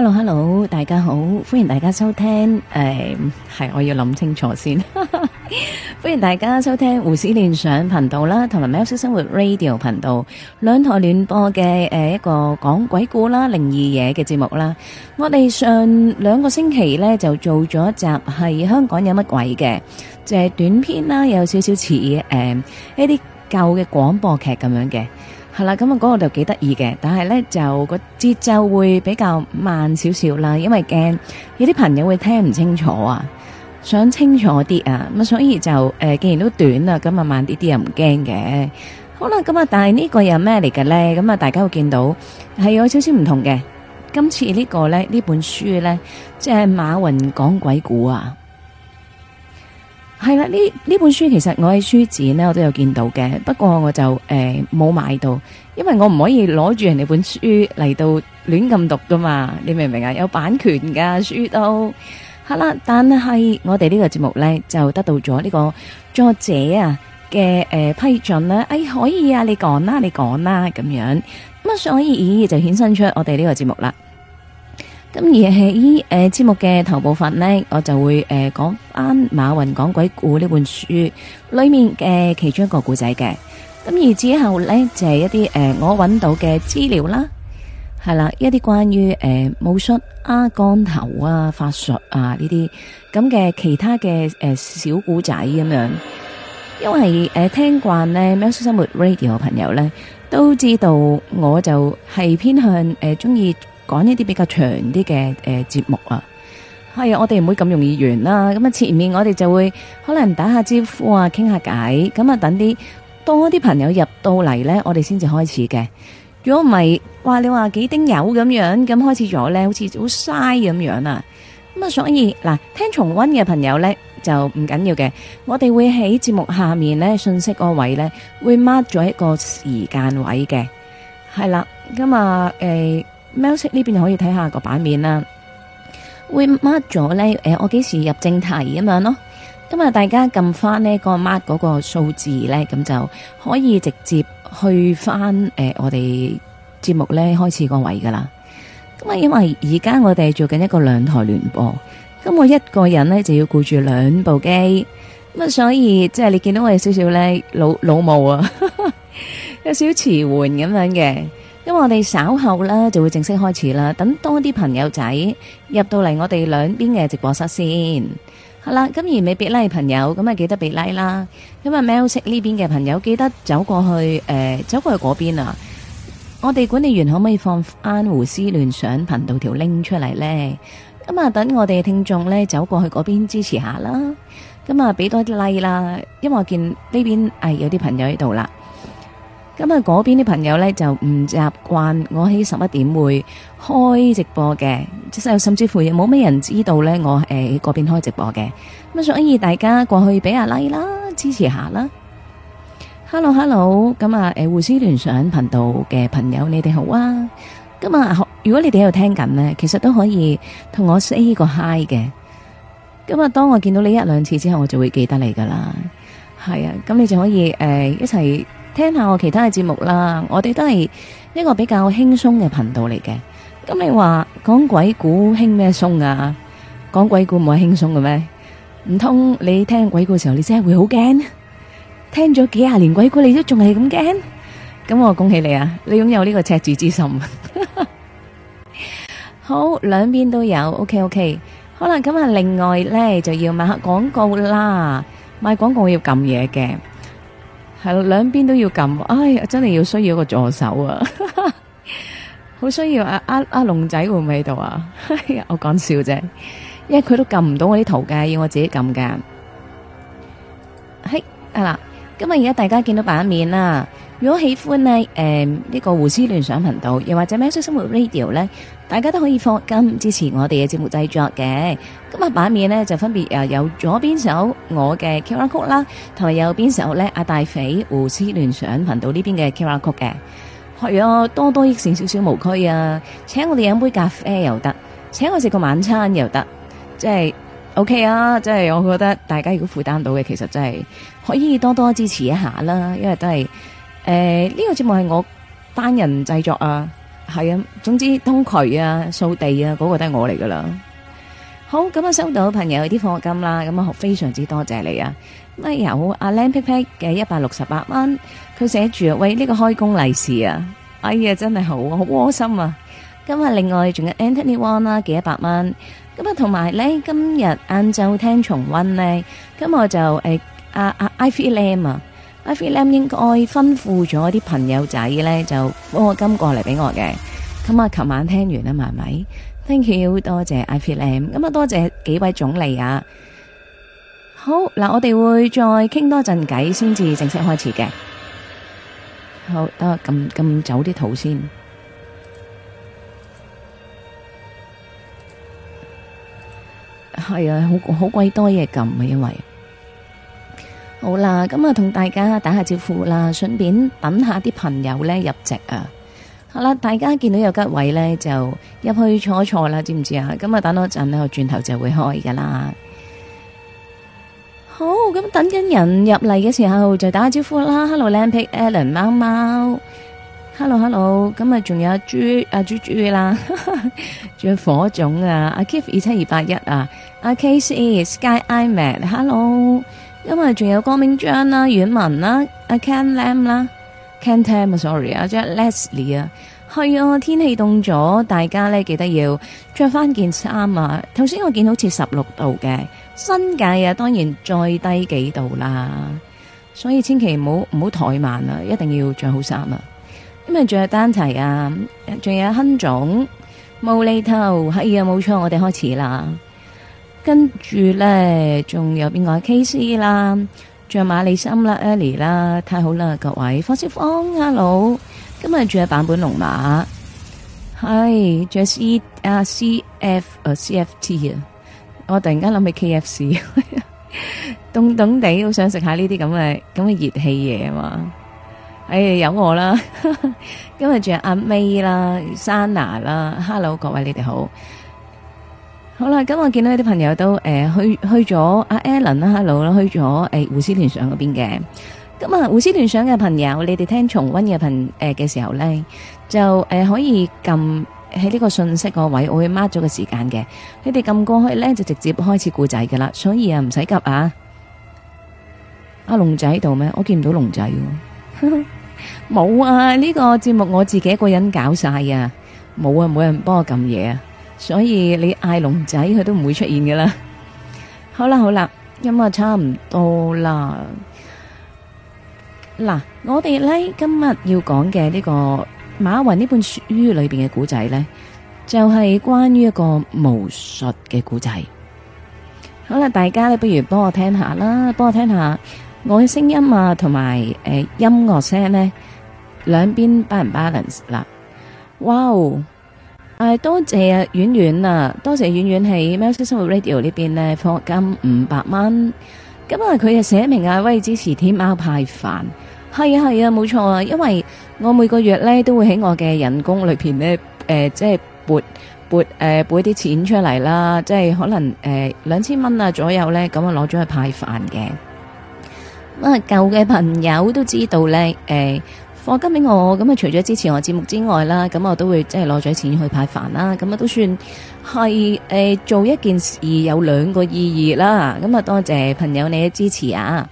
Hello，大家好，歡迎大家收聽。係我要諗清楚先。歡迎大家收聽胡思亂想頻道啦，同埋喵式生活 Radio 頻道兩台聯播嘅一個講鬼故啦、靈異嘢嘅節目啦。我哋上2個星期呢，就做咗一集係香港有乜鬼嘅，就係短篇啦，有少少似一啲舊嘅廣播劇咁樣嘅。係啦，咁啊嗰個就幾得意嘅，但係咧就個節奏會比較慢少少啦，因為驚有啲朋友會聽唔清楚啊，想清楚啲啊，咁所以就既然都短啦，咁啊慢啲又唔驚嘅。好啦，咁啊但係呢個又咩嚟嘅咧？咁啊大家會見到係有少少唔同嘅。今次呢個咧呢本書咧，即係馬雲講鬼故啊。係啦，呢本書其實我喺書展呢我都有見到嘅，不過我就冇買到，因為我唔可以攞住人哋本書嚟到亂咁讀噶嘛，你明唔明啊？有版權噶書都係啦，但係我哋呢個節目呢，就得到咗呢個作者啊嘅批准啦，可以啊，你講啦咁樣，咁所以就衍生出我哋呢個節目啦。咁而喺節目嘅頭部分呢，我就會講翻馬雲講鬼故呢本書裏面嘅其中一個故仔嘅。咁而之後呢，就係一啲我揾到嘅資料啦，係啦，一啲關於武術啊、降頭啊、法術啊呢啲咁嘅其他嘅小故仔咁樣。因為聽慣呢喵式生活 Radio 嘅朋友呢，都知道我就係偏向中意講一啲比較長啲嘅節目啊，係啊，我哋唔會咁容易完啦。咁啊，前面我哋就會可能打下招呼啊，傾下偈，咁啊，等啲多啲朋友入到嚟呢，我哋先至開始嘅。如果唔係，話你話幾丁友咁樣，咁開始咗呢，好似好嘥咁樣啊。咁啊，所以嗱，聽重溫嘅朋友呢，就唔緊要嘅，我哋會喺節目下面呢，信息嗰位呢，會 mark 咗一個時間位嘅，係啦，咁啊喵式呢邊可以睇下個版面啦，會 mark 咗咧，我幾時入正題咁樣咯。咁啊，大家撳翻呢個 mark 嗰個數字咧，咁就可以直接去翻我哋節目咧開始個位噶啦。咁啊，因為而家我哋做緊一個2台聯播，咁我一個人咧就要顧住2部機，咁啊，所以即係你見到我有少少咧老母啊，有少少遲緩咁樣嘅。因為我哋稍後啦就會正式開始啦，等多啲朋友仔入到嚟我哋兩邊嘅直播室先，係啦。咁而未俾 like 朋友，咁啊記得俾 like 啦。咁啊喵式呢邊嘅朋友記得走過去嗰邊啊。我哋管理員可唔可以放翻胡思亂想頻道條 link 出嚟呢？咁啊等我哋嘅聽眾呢走過去嗰邊支持下啦。咁啊俾多啲 like 啦，因為我見呢邊有啲朋友喺度啦。咁啊，嗰邊啲朋友咧就唔習慣我喺11點會開直播嘅，即係甚至乎亦冇咩人知道咧我喺嗰邊開直播嘅。咁所以大家過去俾下 like 啦，支持下啦。Hello， 咁啊，胡思亂想頻道嘅朋友，你哋好啊。咁啊，如果你哋喺度聽緊呢，其實都可以同我 say 個 hi 嘅。咁啊，當我見到你1-2次之後，我就會記得你噶啦。係啊，咁你就可以一齊聽下我其他嘅節目啦，我哋都係一個比較輕鬆嘅頻道嚟嘅。咁你話講鬼故輕咩鬆啊？講鬼故唔係輕鬆嘅咩？唔通你聽鬼故嘅時候，你真係會好驚？聽咗幾廿年鬼故，你都仲係咁驚？咁我恭喜你啊！你擁有呢個赤子之心。好，兩邊都有 OK。好啦，咁啊，另外咧就要賣下廣告啦。賣廣告要撳嘢嘅。係啦，兩邊都要撳，哎，真係要需要一個助手啊！好需要阿龍仔會唔會喺度啊？我講笑啫，因為佢都撳唔到我啲圖嘅，要我自己撳噶。係啦，咁啊，而家大家見到版面啦。如果喜歡呢呢個胡思亂想頻道，又或者喵式生活 Radio 呢，大家都可以課金支持我哋嘅節目製作嘅。咁啊，版面呢就分別有左邊手我嘅 QR Code 啦，同埋右邊手呢阿大肥胡思亂想頻道呢邊嘅 QR Code 嘅。係啊，多多益善，少少無拘啊！請我哋飲杯咖啡又得，請我食個晚餐又得，即係 OK 啊！即係我覺得大家如果負擔到嘅，其實真係可以多多支持一下啦，因為都係。呢個節目係我單人製作啊， 係啊，總之通渠啊、掃地啊，嗰個都係我嚟噶啦。好，咁啊收到朋友啲課金啦，咁啊非常之多謝你啊！咁啊有阿靚 pick pick 嘅168蚊，佢寫住喂呢個開工利是啊，哎呀真係好窩心啊！咁啊另外仲有 Anthony Wong 啦嘅100蚊，咁啊同埋咧今日晏晝聽重溫咧，咁我就阿 Ivy Lam 啊。Ivy Lam 應該吩咐咗啲朋友仔咧，就課金過嚟俾我嘅。咁啊，琴晚聽完啦，係咪 ？Thank you，多謝 Ivy Lam。咁啊，多謝幾位總理啊。好嗱，我哋會再傾多陣偈，先至正式開始嘅。好，等我撳走啲圖先。係啊，好鬼多嘢撳啊，因為。好啦，咁啊，同大家打下招呼啦，順便等下啲朋友咧入席啊。好啦，大家見到有吉位咧，就入去坐一坐啦，知唔知啊？咁啊，等多陣咧，我轉頭就會開噶啦。好，咁等緊人入嚟嘅時候就打下招呼啦。Hello，Lampic，Alan，貓貓。Hello，咁啊，仲有豬啦，仲有火種啊，阿 Keith 27281啊，阿 Casey，Sky，iMac，Hello。因為仲有光明章啦、阮文啦、阿 Ken Lam 啦、Ken Tam 啊 ，sorry 啊，仲有 Leslie 啊，係啊，天氣凍咗，大家咧記得要着翻件衫啊。頭先我見好似16度嘅，新界啊當然再低幾度啦，所以千祈唔好怠慢啊，一定要着好衫啊。咁啊，仲有丹提啊，仲有亨總、無厘頭，係啊，冇錯，我哋開始啦。跟住咧，仲有邊個 KC 啦，仲有馬里森啦、Ellie 啦，太好啦，各位，霍小芳 ，hello，今日仲有版本龍馬，係，仲有 CFT 啊，我突然間諗起 KFC，凍凍地，好想食下呢啲咁嘅熱氣嘢啊嘛，有我啦，今日仲有阿 May 啦、Sana 啦 ，hello， 各位你哋好。好啦，咁我見到啲朋友都去咗阿 Alan 啦 ，hello 啦，去咗胡思亂想嗰邊嘅。咁啊，胡思亂想嘅朋友，你哋聽重溫嘅時候咧，就可以撳喺呢個信息個位，我會 mark 咗個時間嘅。你哋撳過去咧，就直接開始故仔噶啦，所以啊唔使急啊。阿龍仔喺度咩？我見唔到龍仔喎。冇啊，呢個節目我自己一個人搞晒啊，冇啊，冇人幫我撳嘢啊。所以你嗌龍仔佢都唔會出現㗎啦。好啦，咁啊差唔多啦。嗱，我哋咧今日要講嘅呢個馬雲呢本書裏邊嘅古仔咧，就係關於一個巫術嘅古仔。好啦，大家咧不如幫我聽下啦，幫我聽下我嘅聲音啊，同埋音樂聲咧，兩邊 balance 啦。哇！多謝啊，婉婉啊，多謝婉婉喺喵式生活 Radio 呢邊呢課金500蚊。咁啊，佢又寫明啊，喂，支持天喵派飯。係啊，冇錯啊，因為我每個月咧都會喺我嘅人工裏邊呢，即係撥啲錢出嚟啦，即係可能2000蚊啊左右咧，咁啊攞咗去派飯嘅。咁啊，舊嘅朋友都知道咧，課金俾我，咁啊除咗支持我節目之外啦，咁我都會即係攞咗錢去派飯啦，咁啊都算係做一件事有兩個意義啦，咁啊多謝朋友你嘅支持啊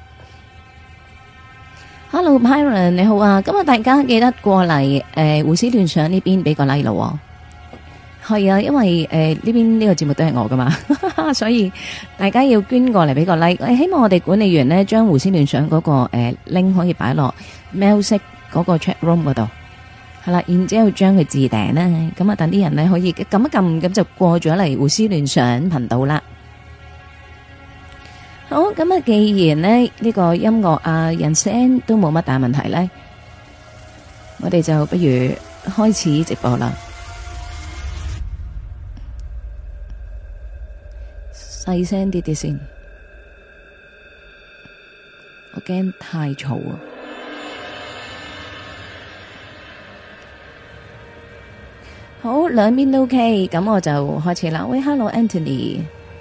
！Hello Byron 你好啊，咁啊大家記得過嚟胡思亂想呢邊俾個 like 咯，係啊，因為呢邊呢個節目都係我噶嘛，所以大家要捐過嚟俾個 like，希望我哋管理員呢將胡思亂想嗰個link 可以擺落喵式嗰個 chat room 嗰度，係啦，然之後將佢置頂咧，咁啊等啲人咧可以撳一撳，咁就過咗嚟胡思亂想頻道啦。好，咁啊，既然咧呢個音樂啊人聲都冇乜大問題咧，我哋就不如開始直播啦。細聲啲先，我驚太嘈啊！好，兩邊都 OK，咁我就開始啦。喂，Hello Anthony，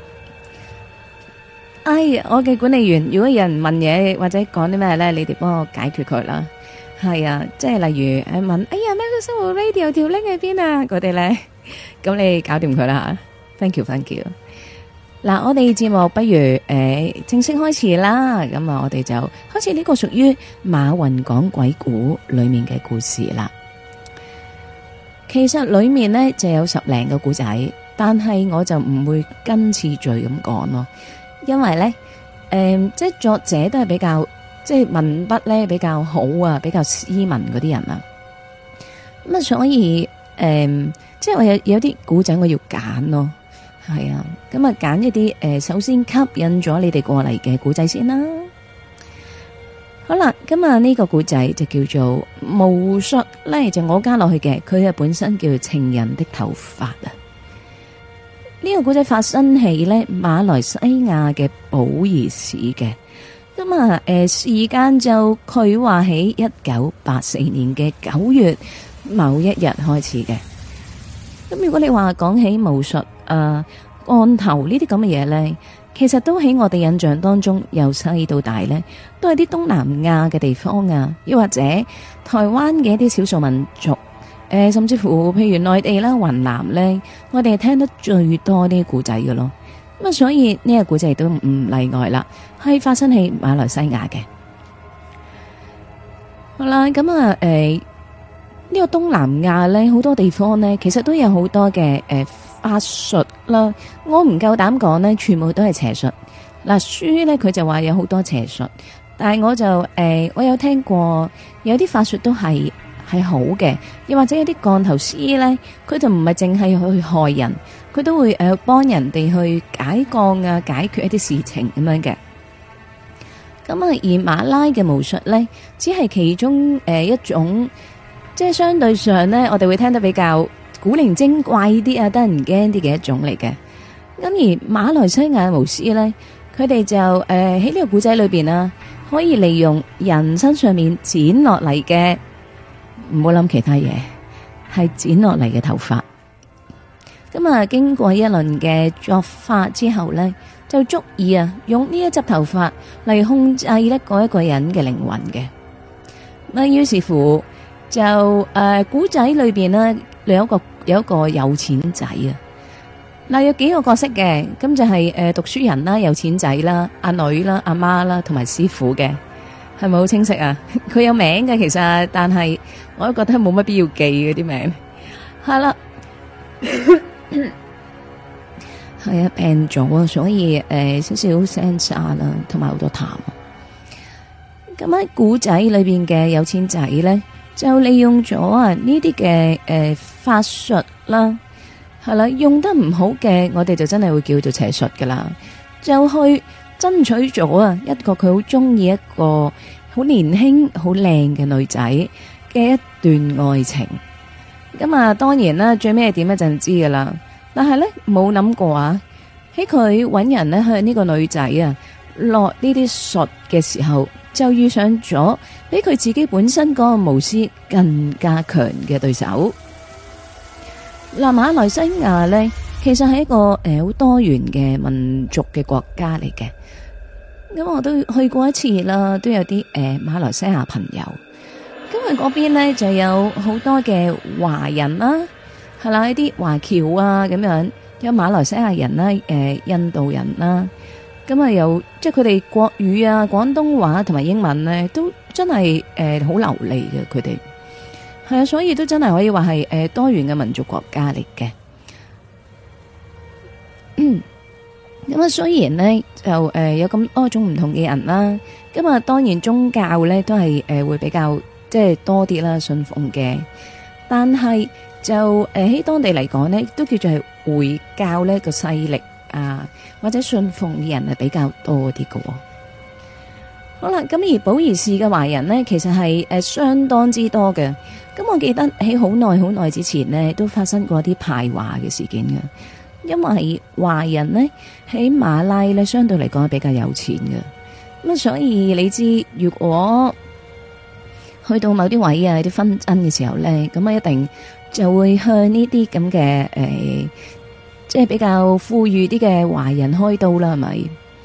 我嘅管理員，如果有人問嘢或者講啲咩咧，你哋幫我解決佢啦。係啊，即係例如問，哎呀咩生活 radio 條 link 喺邊啊？嗰啲咧，咁你搞掂佢啦吓。Thank you。嗱，我哋節目不如正式開始啦。咁啊，我哋就開始呢個屬於馬雲講鬼故裏面嘅故事啦。其實裏面呢就有10零個故仔，但係我就唔會跟次序咁講咯，因為呢，即係作者都係比較即係文筆咧比較好啊，比較斯文嗰啲人啊。咁啊，所以即係我有啲故仔我要揀咯。係啊，咁啊揀一啲首先吸引咗你哋過嚟嘅故仔先啦。好啦，今日呢個故仔就叫做巫術咧，就我加落去嘅，佢係本身叫情人的頭髮啊。呢個故仔發生喺咧馬來西亞嘅保兒市嘅，咁啊時間就佢話喺1984年嘅9月某一日開始嘅。咁如果你話講起巫術降頭呢啲咁嘅嘢呢，其實都喺我哋印象當中由細到大呢，都係啲東南亞嘅地方啊，又或者台灣嘅一啲少數民族，甚至乎譬如內地啦、雲南呢，我哋係聽得最多呢啲故仔嘅咯。咁啊，所以呢個故仔都唔例外啦，係發生喺馬來西亞嘅。好啦，咁啊呢個東南亞呢，好多地方呢，其實都有好多嘅法術啦。我唔夠膽講呢，全部都係邪術。嗱，書呢，佢就話有好多邪術，但係我就我有聽過有啲法術都係好嘅，又或者有啲降頭師呢，佢就唔係淨係去害人，佢都會幫人哋去解降啊，解決一啲事情咁樣嘅。咁啊，而馬拉嘅巫術呢，只係其中一種。即係相對上呢，我哋會聽得比較古靈精怪啲啊，得人驚啲嘅一種嚟嘅。咁而馬來西亞巫師呢，佢哋就喺呢個古仔裏邊啊，可以利用人身上面剪落嚟嘅，唔好諗其他嘢，係剪落嚟嘅頭髮。咁啊，經過一輪嘅作法之後呢，就足以啊用呢一執頭髮嚟控制呢嗰一個人嘅靈魂嘅。咁於是乎。就古仔裏邊呢，有一個有錢仔啊。嗱，有幾個角色嘅，咁就係讀書人啦、有錢仔啦、阿女啦、阿媽啦，同埋師傅嘅，係咪好清晰啊？佢有名嘅其實，但係我都覺得冇乜必要記嗰啲名。係啦，係啊，病咗啊，所以少少聲沙啦，同埋好多痰。咁喺古仔裏邊嘅有錢仔咧。就利用咗呢啲嘅法術啦，係啦，用得唔好嘅，我哋就真係會叫做邪術噶啦。就去爭取咗一個佢好中意一個好年輕、好靚嘅女仔嘅一段愛情。咁啊，當然啦，最尾係點咧就唔知噶啦。但係咧冇諗過啊，喺佢搵人咧向呢個女仔落呢啲術嘅時候。就遇上咗比佢自己本身嗰個巫師更加強嘅對手。嗱，馬來西亞呢，其實係一個好多元嘅民族嘅國家嚟嘅。咁我都去過一次啦，都有啲馬來西亞朋友。咁佢嗰邊呢，就有好多嘅華人啦，係啦，一啲華僑啊咁樣，有馬來西亞人啦，印度人啦。咁啊，有即係佢哋國語啊、廣東話同埋英文咧，都真係好流利嘅。佢哋係啊，所以都真係可以話係多元嘅民族國家嚟嘅。咁啊，雖然咧就有咁多種唔同嘅人啦，咁啊，當然宗教咧都係會比較即係多啲啦，信奉嘅。但係就喺當地嚟講咧，都叫做係回教呢個勢力啊。或者信奉嘅人係比較多啲嘅。好啦，咁而保兒市嘅華人呢，其實係相當之多嘅。咁我記得喺好耐之前呢，都發生過啲排華嘅事件嘅。因為華人呢，喺馬拉呢，相對嚟講係比較有錢嘅。咁所以你知，如果去到某啲位啊，啲紛爭嘅時候呢，咁啊一定就會向呢啲咁嘅即係比較富裕啲嘅華人開刀啦，係咪？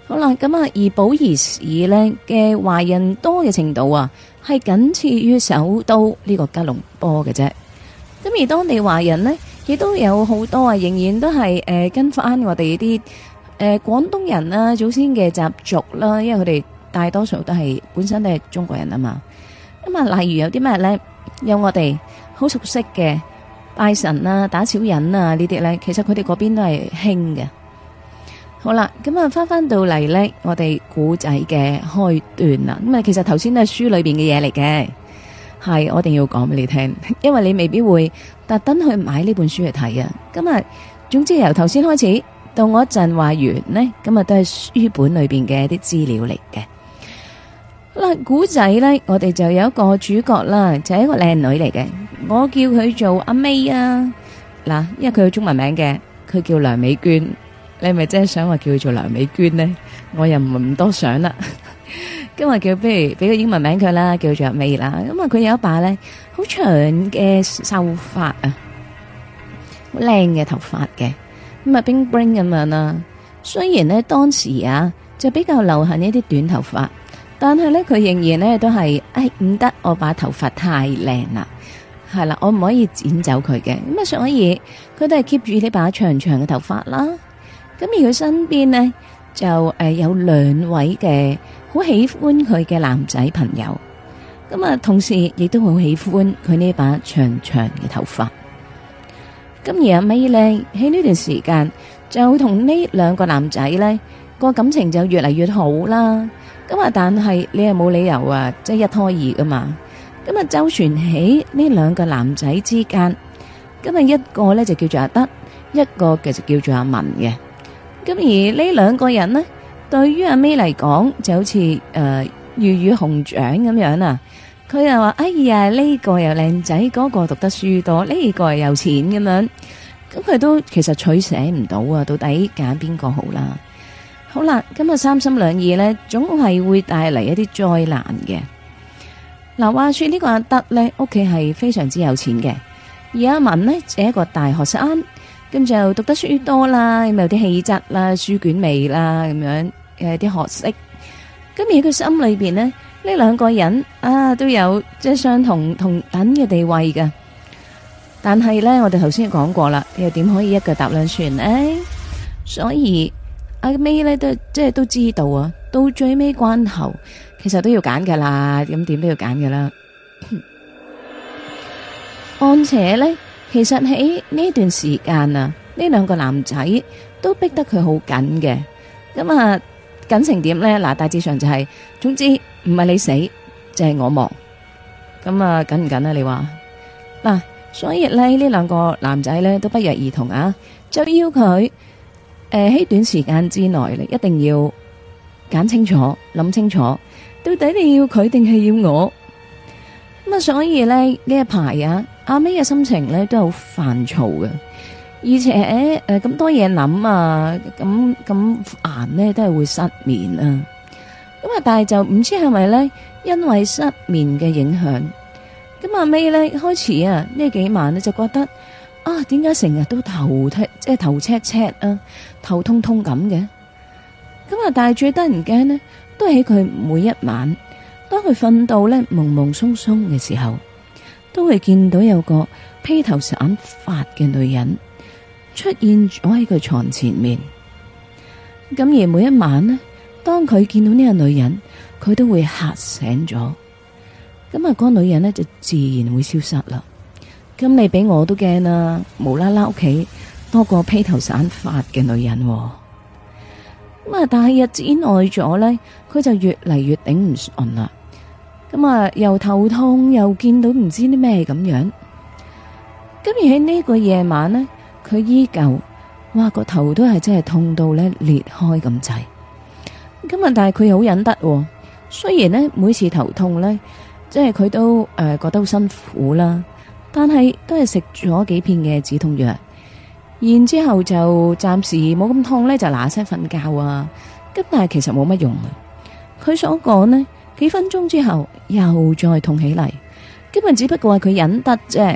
好啦，咁啊，而寶儀市呢嘅華人多嘅程度啊，係僅次於首都呢個吉隆坡嘅啫。咁而當地華人呢，亦都有好多啊，仍然都係跟翻我哋啲廣東人啊祖先嘅習俗啦，因為佢哋大多數都係本身都係中國人啊嘛。咁啊，例如有啲咩呢？有我哋好熟悉嘅拜神啊、打小人啊呢啲呢，其實佢哋嗰邊都係興嘅。好啦，咁啊，翻到嚟呢，我哋古仔嘅開端啦。咁啊，其實頭先都係書裏邊嘅嘢嚟嘅，係我一定要講俾你聽，因為你未必會特登去買呢本書嚟睇啊。咁啊，總之由頭先開始到我一陣話完呢，咁啊都係書本裏邊嘅一啲資料嚟嘅。嗱，古仔呢，我哋就有一個主角啦，就係一個靚女嚟嘅，我叫佢做阿 May 啊。嗱，因為佢有中文名嘅，佢叫梁美娟。你係咪真係想話叫佢做梁美娟呢？我又唔多想啦。今日叫不如俾個英文名佢啦，叫做阿 May 啦。咁啊，佢有一把咧好長嘅秀髮啊，好靚嘅頭髮嘅，咁啊 bling bling 咁樣啦。雖然呢，當時啊就比較流行一啲短頭髮，但係咧佢仍然咧都係唔得，我把頭髮太靚啦，係啦，我唔可以剪走佢嘅。咁啊，所以佢都係 keep 住呢把長長嘅頭髮啦。咁而佢身邊呢，就有兩位嘅好喜歡佢嘅男仔朋友，咁啊同時亦都好喜歡佢呢把長長嘅頭髮。咁而阿 May 呢，喺呢段時間就同呢兩個男仔呢個感情就越嚟越好啦。咁啊但係你又冇理由啊，即係一拖二噶嘛。咁啊周旋喺呢兩個男仔之間，咁啊一個呢就叫做阿德，一個嘅就叫做阿文嘅。咁而呢兩個人呢，對於阿 May 嚟講就好似魚與熊掌咁樣啊。佢又話：哎呀，呢個又靚仔，嗰個讀得書多，呢個又有錢咁樣。咁佢都其實取捨唔到啊，到底揀邊個好啦？好啦，咁啊三心兩意呢，總係會帶嚟一啲災難嘅。嗱，話說呢個阿德呢，屋企係非常之有錢嘅，而阿文呢，就係一個大學生。咁就讀得書多啦，咁有啲氣質啦、書卷味啦，咁樣啲學識。咁而佢心裏邊呢，呢兩個人啊都有即係相同等嘅地位嘅。但係呢，我哋頭先講過啦，又點可以一腳踏兩船呢？所以阿 May 呢都知道啊，到最尾關頭，其實都要揀噶啦，咁點都要揀噶啦。況且呢。其實喺呢段時間啊，呢兩個男仔都逼得佢好緊嘅。咁啊，緊成點呢？嗱，大致上就係，總之唔係你死，就係我亡。咁啊，緊唔緊啊？你話嗱，所以咧呢兩個男仔呢都不約而同啊，就要佢喺短時間之內咧，一定要揀清楚、諗清楚，到底你要佢定係要我？咁啊，所以咧呢一排啊。阿 May 嘅心情咧都好煩躁嘅，而且咁多嘢諗啊，咁煩呢都係會失眠啊。咁啊，但係就唔知係咪咧，因為失眠嘅影響，咁阿 May 咧開始啊呢幾晚呢就覺得啊，點解成日都頭赤赤啊，頭痛痛咁嘅？咁啊，但係最得人驚呢，都係喺佢每一晚，當佢瞓到咧朦朦朧朧嘅時候。都會見到有個披頭散髮嘅女人出現咗喺佢床前面。咁而每一晚呢，當佢見到呢個女人，佢都會嚇醒咗。咁啊，嗰個女人呢就自然會消失啦。咁你俾我都驚啦，無啦啦屋企多個披頭散髮嘅女人。咁啊，但係日子耐咗呢，佢就越嚟越頂唔順啦。咁啊，又頭痛，又見到唔知啲咩咁樣。咁而喺呢個夜晚呢，佢依舊，哇個頭都係真係痛到咧裂開咁滯。咁啊，但係佢好忍得。雖然呢，每次頭痛呢，即係佢都覺得好辛苦啦，但係都係食咗幾片嘅止痛藥，然之後就暫時冇咁痛呢，就嗱聲瞓覺啊。咁但係其實冇乜用啊。佢所講呢。幾分鐘之後又再痛起嚟，根本只不過係佢忍得啫。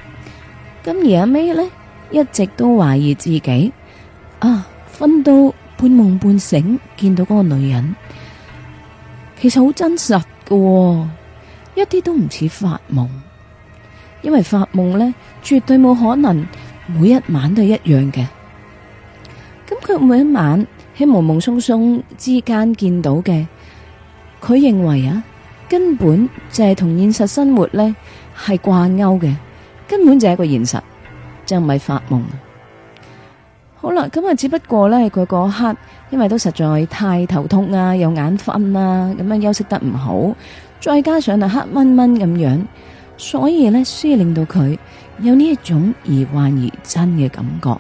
咁而阿 May 呢，一直都懷疑自己啊，瞓到半夢半醒見到嗰個女人，其實好真實㗎，一啲都唔似發夢。因為發夢呢，絕對冇可能每一晚都係一樣嘅。咁佢每一晚喺朦朦朧朧之間見到嘅，佢認為啊，根本就係同現實生活呢係掛鈎嘅，根本就係一個現實，就唔係發夢。好啦，咁啊，只不過呢，佢嗰刻因為都實在太頭痛啊，又眼瞓啊，咁樣休息得唔好，再加上啊黑蚊蚊咁樣，所以呢，先令到佢有呢一種疑幻疑真嘅感覺。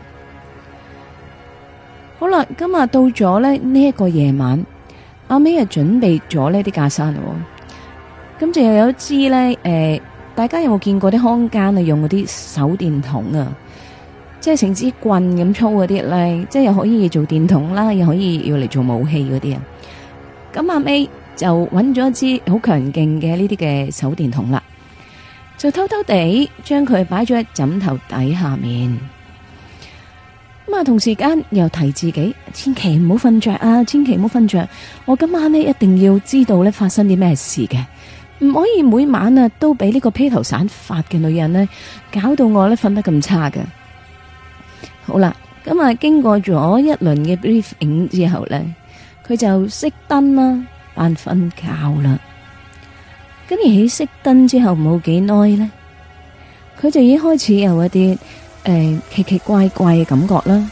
好啦，今日到咗呢一個夜晚，阿 May 啊準備咗呢啲架生，咁就又有一支呢，大家有冇見過啲康間啊用嗰啲手電筒啊？即係成支棍咁粗嗰啲咧，即係又可以做電筒啦，又可以要嚟做武器嗰啲啊。咁阿 May 就揾咗一支好強勁嘅呢啲嘅手電筒啦，就偷偷地將佢擺咗喺枕頭底下面。咁啊，同時間又提自己，千祈唔好瞓着啊，千祈唔好瞓着。我今晚呢一定要知道呢發生啲咩事嘅，唔可以每晚啊都俾呢個披頭散髮嘅女人呢搞到我呢瞓得咁差嘅。好啦，咁啊，經過咗一輪嘅 briefing 之後呢，佢就熄燈啦，扮瞓覺啦。咁而喺熄燈之後冇幾耐呢，佢就已經開始有一啲奇奇怪怪嘅感覺啦，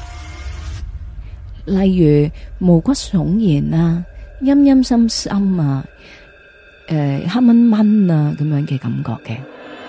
例如毛骨悚然啊、陰陰森森啊、黑蚊蚊啊咁樣嘅感覺嘅。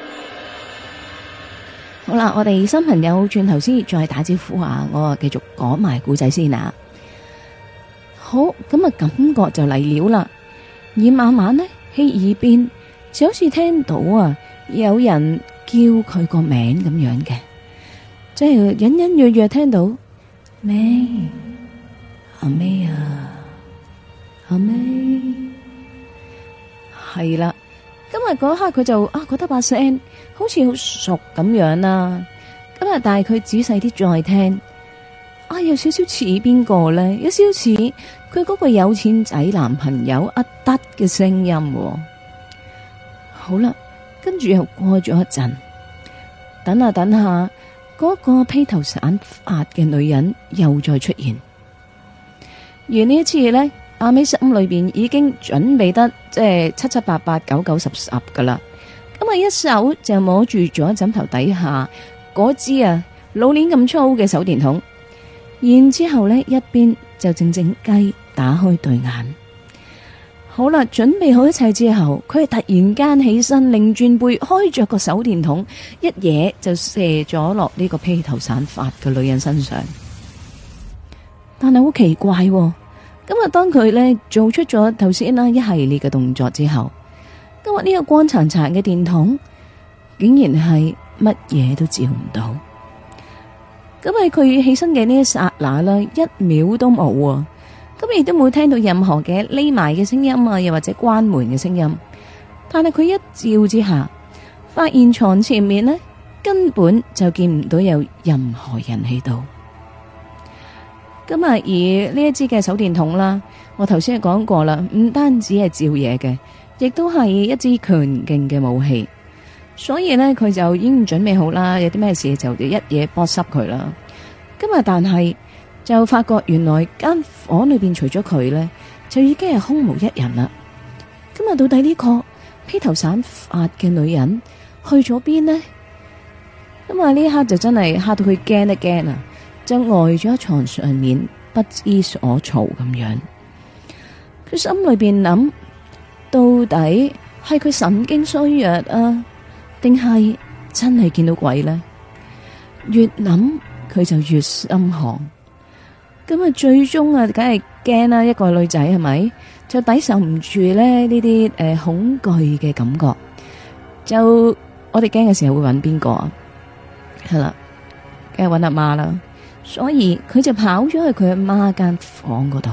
好啦，我哋新朋友轉頭先再打招呼啊，我繼續講埋故仔先啊。好，咁啊感覺就嚟了啦，而慢慢呢，喺耳邊就好似聽到啊有人叫佢個名咁樣嘅，即係隱隱約約聽到May，阿 May 啊，阿 May，係啦。今日嗰刻佢就覺得把聲好似好熟咁樣啦。咁啊，但係佢仔細啲再聽，有少少似邊個咧？有少少似佢嗰個有錢仔男朋友阿德嘅聲音。好啦，跟住又過咗一陣，等下等下，嗰個披頭散髮嘅女人又再出現。而呢一次咧，阿 May 心裏邊已經準備得即係七七八八九九十十噶啦，咁啊一手就摸住咗枕頭底下嗰支老鏈咁粗嘅手電筒，然之後呢一邊就靜靜雞打開對眼。好啦，準備好一切之後，佢係突然間起身，擰轉背，開着個手電筒，一嘢就射咗落呢個披頭散髮嘅女人身上。但係好奇怪喎。咁啊，當佢呢做出咗頭先啦一系列嘅動作之後，今日呢個光殘殘嘅電筒竟然係乜嘢都照唔到。咁喺佢起身嘅呢一剎那啦，一秒都冇啊！咁亦都冇聽到任何嘅匿埋嘅聲音啊，又或者關門嘅聲音。但係佢一照之下，發現床前面呢根本就見唔到有任何人喺度。咁啊，而呢一支嘅手電筒啦，我頭先係講過啦，唔單止係照嘢嘅，亦都係一支強勁嘅武器。所以呢，佢就已經準備好啦，有啲咩事就一嘢剝濕佢啦。今日但係就發覺原來間房裏邊除咗佢呢，就已經係空無一人啦。今日到底呢個披頭散髮嘅女人去咗邊呢？咁啊，呢一刻就真係嚇到佢驚一驚啊！就呆咗喺床上面，不知所措咁樣。佢心裏邊諗，到底係佢神經衰弱啊，定係真係見到鬼呢？越諗佢就越心寒。咁啊，最終啊，梗係驚啦！一個女仔係咪就抵受唔住咧呢啲恐懼嘅感覺？就我哋驚嘅時候會揾邊個啊？係啦，梗係揾阿媽啦。所以佢就跑咗去佢阿媽間房嗰度。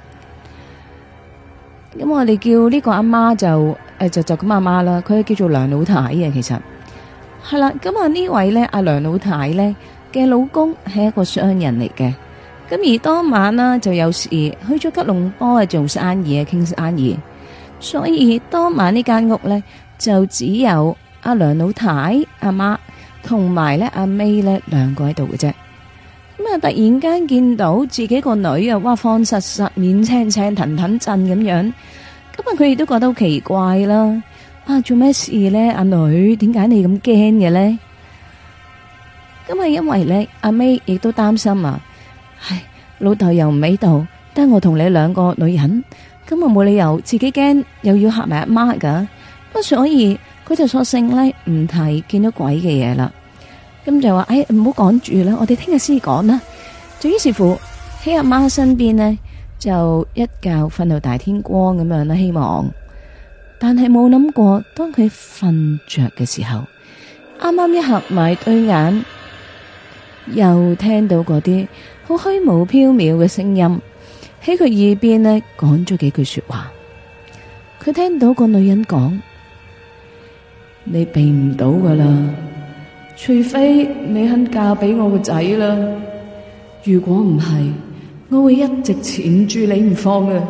咁我哋叫呢個阿媽就咁阿媽啦。佢叫做梁老太嘅，其實係啦。咁啊呢位咧阿梁老太咧嘅老公係一個商人嚟嘅。 咁而當晚啦，就有事去咗吉隆坡做生意傾生意，所以當晚呢間屋咧就只有阿梁老太、阿媽同埋咧阿 May 咧兩個喺度嘅啫。咁啊，突然間見到自己個女啊，哇，慌實實、面青青、騰騰震咁樣，咁啊，佢亦都覺得好奇怪啦。啊，做咩事咧？阿女，點解你咁驚嘅咧？咁啊，因為咧，阿 May 亦都擔心啊。唉，老豆又唔喺度，得我同你兩個女人，咁我冇理由自己驚，又要嚇埋阿媽噶。咁所以佢就索性咧唔提見到鬼嘅嘢啦。咁就話，哎，唔好講住啦，我哋聽日先講啦。就於是乎喺阿媽身邊呢，就一覺瞓到大天光咁樣啦。希望，但係冇諗過，當佢瞓着嘅時候，啱啱一合埋對眼，又聽到嗰啲好虛無縹緲嘅聲音喺佢耳邊呢，講咗幾句說話。佢聽到個女人講：你避唔到噶啦。除非你肯嫁俾我個仔啦，如果唔係，我會一直纏住你唔放嘅。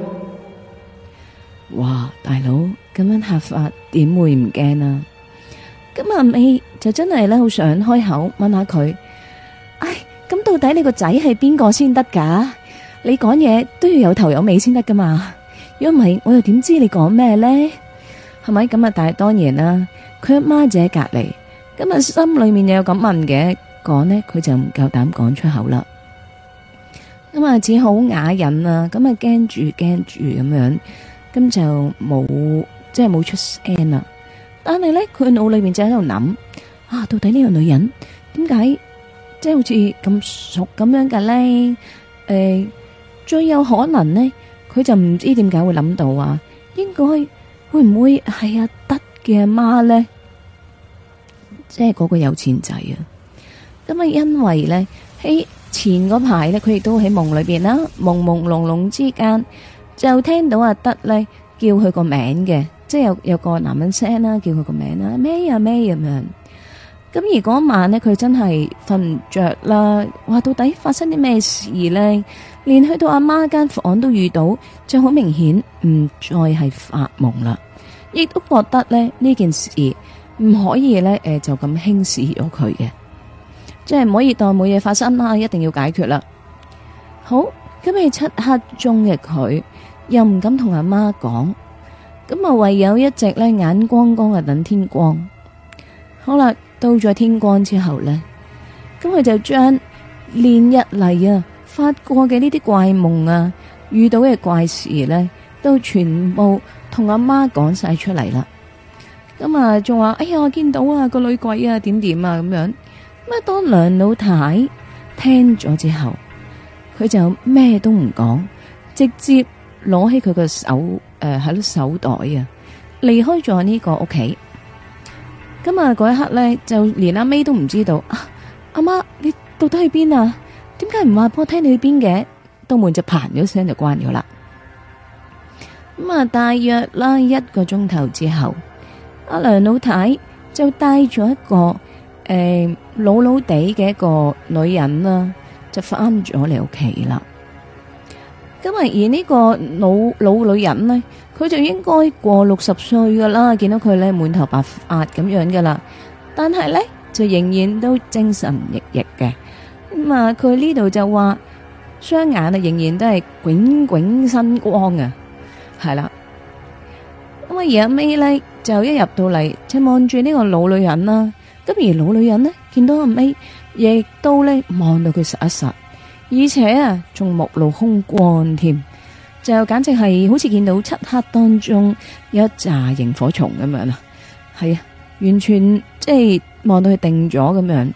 哇，大佬咁樣嚇法，點會唔驚啊？咁阿美就真係咧，好想開口問下佢，唉，咁到底你個仔係邊個先得噶？你講嘢都要有頭有尾先得噶嘛？如果唔係，我又點知你講咩咧？係咪咁啊？但係當然啦，佢阿媽就喺隔籬。咁啊，心裏面又有咁問嘅，講呢，佢就唔夠膽講出口啦。咁啊，只好啞忍啦。咁啊，驚住咁樣，咁就冇出聲啦。但係咧，佢腦裏面就喺度諗啊，到底呢個女人點解即係好似咁熟咁樣嘅咧？最有可能呢，佢就唔知點解會諗到啊，應該會唔會係阿德嘅阿媽咧？即係嗰個有錢仔啊！咁啊，因為咧喺前嗰排咧，佢亦都喺夢裏邊啦，朦朦朧朧之間就聽到阿德咧叫佢個名嘅，即係有個男人聲啦，叫佢個名啦，咩啊咩咁樣。咁而嗰晚咧，佢真係瞓唔着啦。哇，到底發生啲咩事咧？連去到阿媽間房都遇到，就好明顯唔再係發夢啦。亦都覺得咧呢件事唔可以咧，就咁輕視咗佢嘅，即係唔可以當冇嘢發生啦，一定要解決啦。好，咁喺漆黑中嘅佢，又唔敢同阿媽講，咁啊唯有一直咧眼光光啊等天光。好啦，到咗天光之後咧，咁佢就將連日嚟啊發過嘅呢啲怪夢啊，遇到嘅怪事咧，都全部同阿媽講晒出嚟啦。咁啊，仲話哎呀，我見到啊個女鬼啊，點點啊咁樣。咁啊，當梁老太聽咗之後，佢就咩都唔講，直接攞起佢個手喺手袋啊，離開咗呢個屋企。咁啊，嗰一刻咧，就連阿 May 都唔知道啊，阿媽你到底去邊啊？點解唔話俾我聽你去邊嘅？道門就嘭咗聲就關咗啦。咁啊，大約啦1個鐘頭之後，阿梁老太就帶咗一個老老地嘅一個女人啦，就翻咗嚟屋企啦。咁啊，而呢個老女人呢，佢就應該過60歲噶啦，見到佢咧滿頭白髮咁樣噶啦，但係咧就仍然都精神奕奕嘅。咁啊，佢呢度就話雙眼啊仍然都係炯炯生光啊，係啦。咁啊，而阿 May 咧就一入到嚟就望住呢個老女人啦。咁而老女人呢，見到阿 May 亦都咧望到佢實一實，而且啊仲目露凶光添，就簡直係好似見到漆黑當中有一紮螢火蟲咁樣啊。係啊，完全即係望到佢定咗咁樣。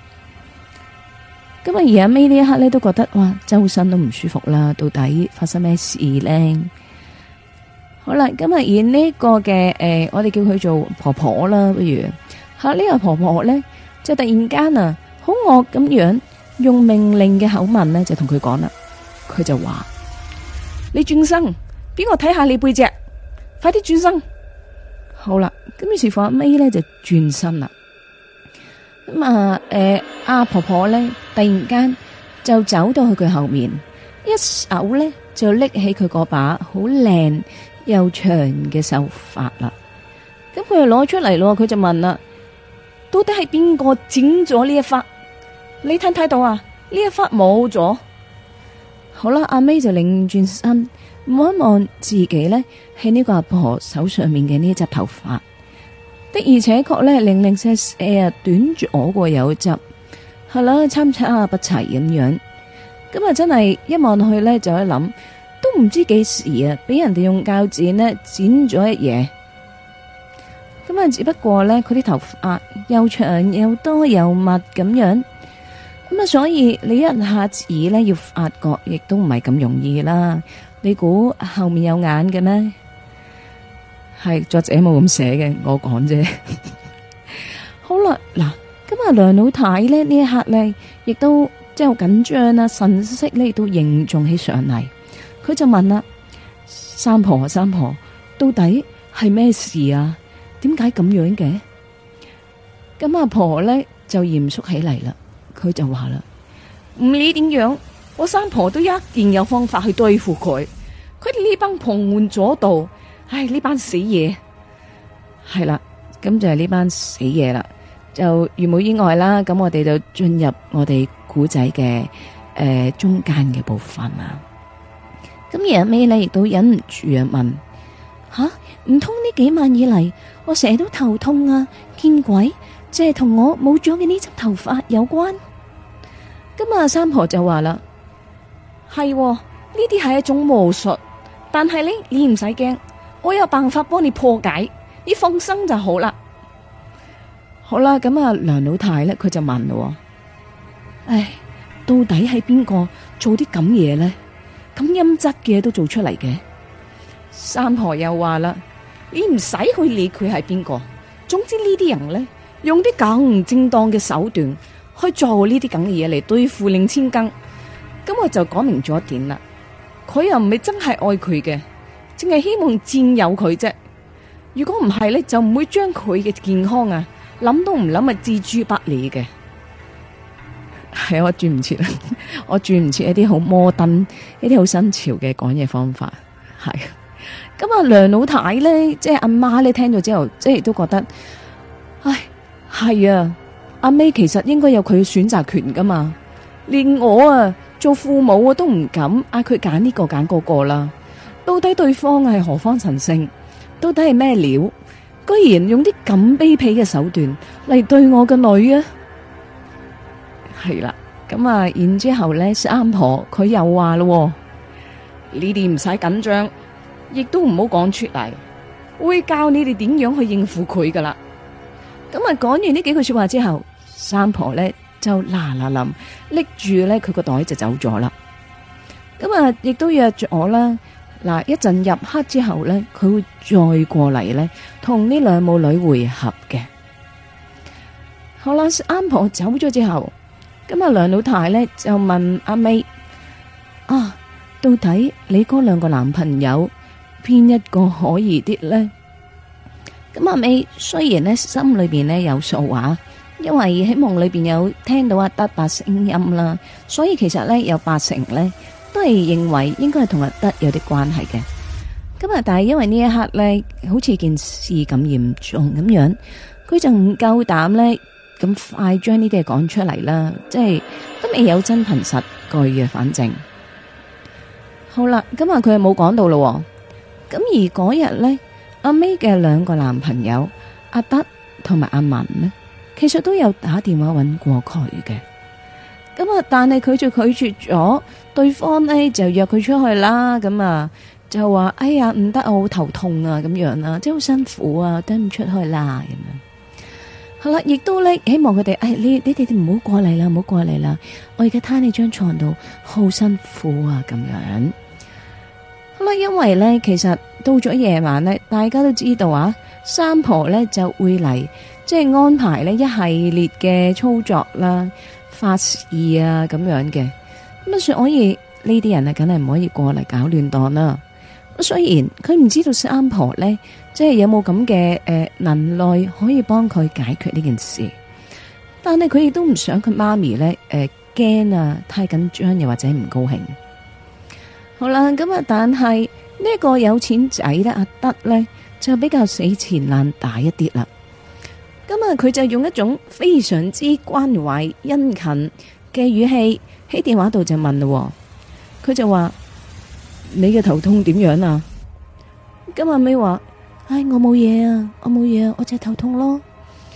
咁啊，而阿 May 呢一刻咧都覺得哇，周身都唔舒服啦。到底發生咩事咧？好啦，咁啊，而呢個嘅我哋叫佢做婆婆啦，不如吓呢個婆婆咧，就突然間啊，好惡咁樣用命令嘅口吻咧，就同佢講啦。佢就話：你轉身，俾我睇下你背脊，快啲轉身。好啦，咁於是乎阿 May 咧就轉身啦。咁啊，阿婆婆咧突然間就走到去佢後面，一手咧就拎起佢嗰把好靚又長嘅秀髮啦。咁佢就攞出嚟咯，佢就問啦：到底係邊個剪咗呢一忽？你睇唔睇到啊？呢一忽冇咗。好啦，阿 May 就擰轉身望一望自己呢，喺呢個阿婆手上面嘅呢一隻頭髮，的而且確呢，零零舍舍短咗過有一執，係啦，參差不齊咁樣。咁啊，真係一望落去呢，就一諗，都唔知幾時啊，俾人哋用鉸剪呢剪咗一嘢。咁啊，只不過呢，佢啲頭髮又長又多又密咁樣。咁啊，所以你一下子咧要發覺，亦都唔係咁容易啦。你估後面有眼嘅咩？係作者冇咁寫嘅，我講啫。好啦，嗱，咁啊，梁老太咧呢一刻咧，亦都即係好緊張啦，神色咧亦都凝重起上嚟。佢就問啦：三婆，三婆，到底係咩事啊？點解咁樣嘅？咁阿婆咧就嚴肅起嚟啦。佢就話啦，唔理點樣，我三婆都一定有方法去對付佢。佢哋呢班旁門左道，唉，呢班死嘢係啦，咁就係呢班死嘢啦。就如冇意外啦，咁我哋就進入我哋古仔嘅中間嘅部分啦。咁而阿尾呢亦都忍唔住啊問：吓，唔通呢幾晚以嚟，我成日都頭痛啊，見鬼？即係同我冇咗嘅呢執頭髮有關。咁啊，三婆就話啦：係呢啲係一種巫術，但係呢，你唔使驚，我有辦法幫你破解，你放心就好啦。好啦，咁啊，梁老太咧，佢就問咯：唉，到底係邊個做啲咁嘢呢？咁陰質嘅嘢都做出嚟嘅？三婆又話啦：你唔使去理佢係邊個，總之呢啲人呢，用啲咁唔正當嘅手段去做呢啲咁嘅嘢嚟對付令千更，咁我就講明咗一點啦。佢又唔係真係愛佢嘅，淨係希望佔有佢啫。如果唔係咧，就唔會將佢嘅健康啊諗都唔諗啊置諸不理嘅。係我轉唔切啦，我轉唔切一啲好摩登、一啲好新潮嘅講嘢方法。係咁啊，梁老太咧，即係阿媽咧，聽咗之後，即係都覺得，唉。係啊，阿 May 其實應該有佢選擇權噶嘛，連我啊做父母都唔敢嗌佢揀呢個揀嗰個啦。到底對方係何方神聖？到底係咩料？居然用啲咁卑鄙嘅手段嚟對我個女啊！係啦，咁啊，然之後咧，三婆佢又話咯，你哋唔使緊張，亦都唔好講出嚟，會教你哋點樣去應付佢噶啦。咁啊，講完呢幾句說話之後，三婆咧就嗱嗱臨拎住咧佢個袋就走咗啦。咁啊，亦都約咗我啦。嗱，一陣入黑之後咧，佢會再過嚟咧，同呢兩母女會合嘅。好啦，三婆走咗之後，咁啊，梁老太咧就問阿 May：啊，到底你嗰兩個男朋友邊一個可疑啲咧？咁阿 May 雖然咧心裏邊咧有數話，因為喺夢裏邊有聽到阿德伯聲音啦，所以其實咧有80%咧都係認為應該係同阿德有啲關係嘅。咁啊，但係因為呢一刻咧，好似件事咁嚴重咁樣，佢就唔夠膽咧咁快將呢啲嘢講出嚟啦，即係都未有真憑實據嘅。反正好啦，咁啊佢又冇講到咯。咁而嗰日咧，阿 May 嘅兩個男朋友阿德同埋阿文呢，其實都有打電話搵過佢嘅。咁啊，但係佢就拒絕咗，對方呢就約佢出去啦。咁啊就話哎呀唔得，我好頭痛啊，咁樣啦，即係好辛苦啊，等唔出去啦咁樣。好啦，亦都咧希望佢哋，你哋唔好過嚟啦，唔好過嚟啦，我而家攤喺張床度好辛苦啊，咁樣。好啦，因為咧其實到咗夜晚咧，大家都知道啊，三婆咧就會嚟，即係安排呢一系列嘅操作啦、法事啊咁樣嘅。咁啊，所以呢啲人啊，梗係唔可以過嚟搞亂檔啦。雖然佢唔知道三婆咧，即係有冇咁嘅能耐可以幫佢解決呢件事，但係佢亦都唔想佢媽咪咧驚啊，太緊張又或者唔高興。好啦，咁啊，但係呢個有錢仔咧，阿德咧就比較死纏爛打一啲啦。咁啊，佢就用一種非常之關懷殷勤嘅語氣喺電話度就問咯。佢就話：你嘅頭痛點樣啊？咁阿咪話：唉，我冇嘢啊，我冇嘢啊，我只係頭痛咯。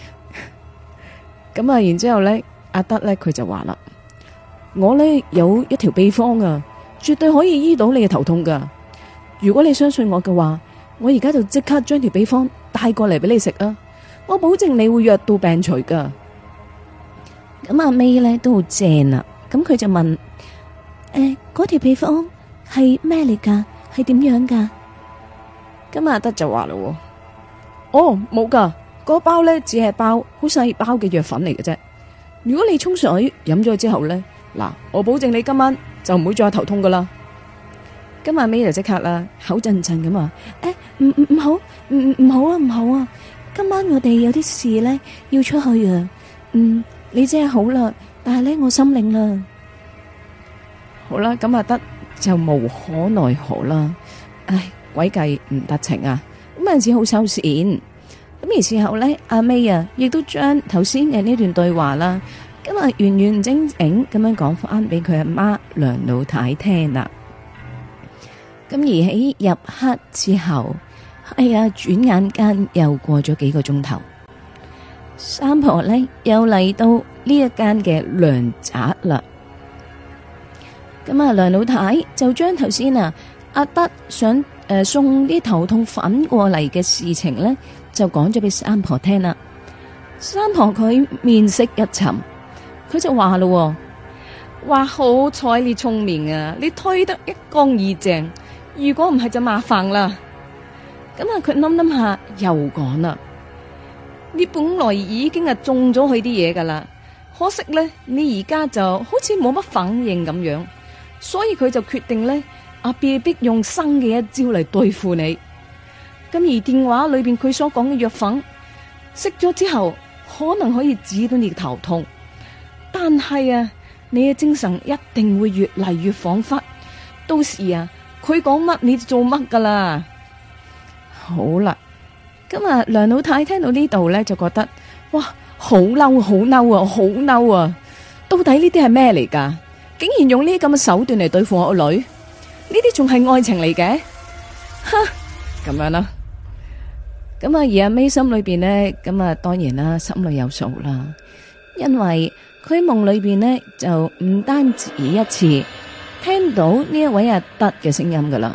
咁啊，然之後咧，阿德咧佢就話啦：我咧有一條秘方啊，絕對可以醫到你嘅頭痛噶。如果你相信我嘅話，我而家就即刻將條秘方帶過嚟俾你食啊！我保證你會藥到病除噶。咁阿 May 咧都好正啊，咁佢就問：嗰條秘方係咩嚟噶？係點樣噶？咁阿德就話咯：哦，冇噶，嗰包咧只係包好細包嘅藥粉嚟嘅啫。如果你沖水飲咗之後咧，嗱，我保證你今晚就唔會再頭痛噶啦。咁阿 May 就即刻啦，口震震咁話：唔好，唔好啊，唔好啊！今晚我哋有啲事咧要出去啊。你真係好啦，但係咧我心領啦。好啦，咁阿德就無可奈何啦。唉，詭計唔得逞啊！咁啊只好收線。咁而事後咧，阿 May 啊，亦都將頭先嘅呢段對話啦，咁啊完完整整咁樣講翻俾佢阿媽梁老太聽啦。咁而喺入黑之後，轉眼間又過咗幾個鐘頭，三婆呢又嚟到呢一間嘅糧宅啦。咁啊，梁老太就將頭先阿德想送啲頭痛粉過嚟嘅事情呢，就講咗俾三婆聽啦。三婆佢面色一沉，佢就話咯：哇，好彩你聰明啊，你推得一乾二淨。如果唔係就麻煩啦。咁啊，佢諗下又講啦：你本來已經中咗佢啲嘢噶啦，可惜咧你而家就好似冇乜反應咁樣，所以佢就決定咧被逼用新嘅一招嚟對付你。咁而電話裏邊佢所講嘅藥粉食咗之後，可能可以治到你嘅頭痛，但係你嘅精神一定會越嚟越恍惚，到時佢講乜你就做乜噶啦。好啦，咁梁老太聽到呢度咧，就覺得哇，好嬲，好嬲啊，好嬲啊！到底呢啲係咩嚟噶？竟然用呢啲咁嘅手段嚟對付我個女，呢啲仲係愛情嚟嘅？哈，咁樣啦。咁而阿 May 心裏邊呢，咁當然啦，心裏有數啦，因為佢夢裏邊呢，就唔單止一次聽到呢一位阿德嘅聲音噶啦，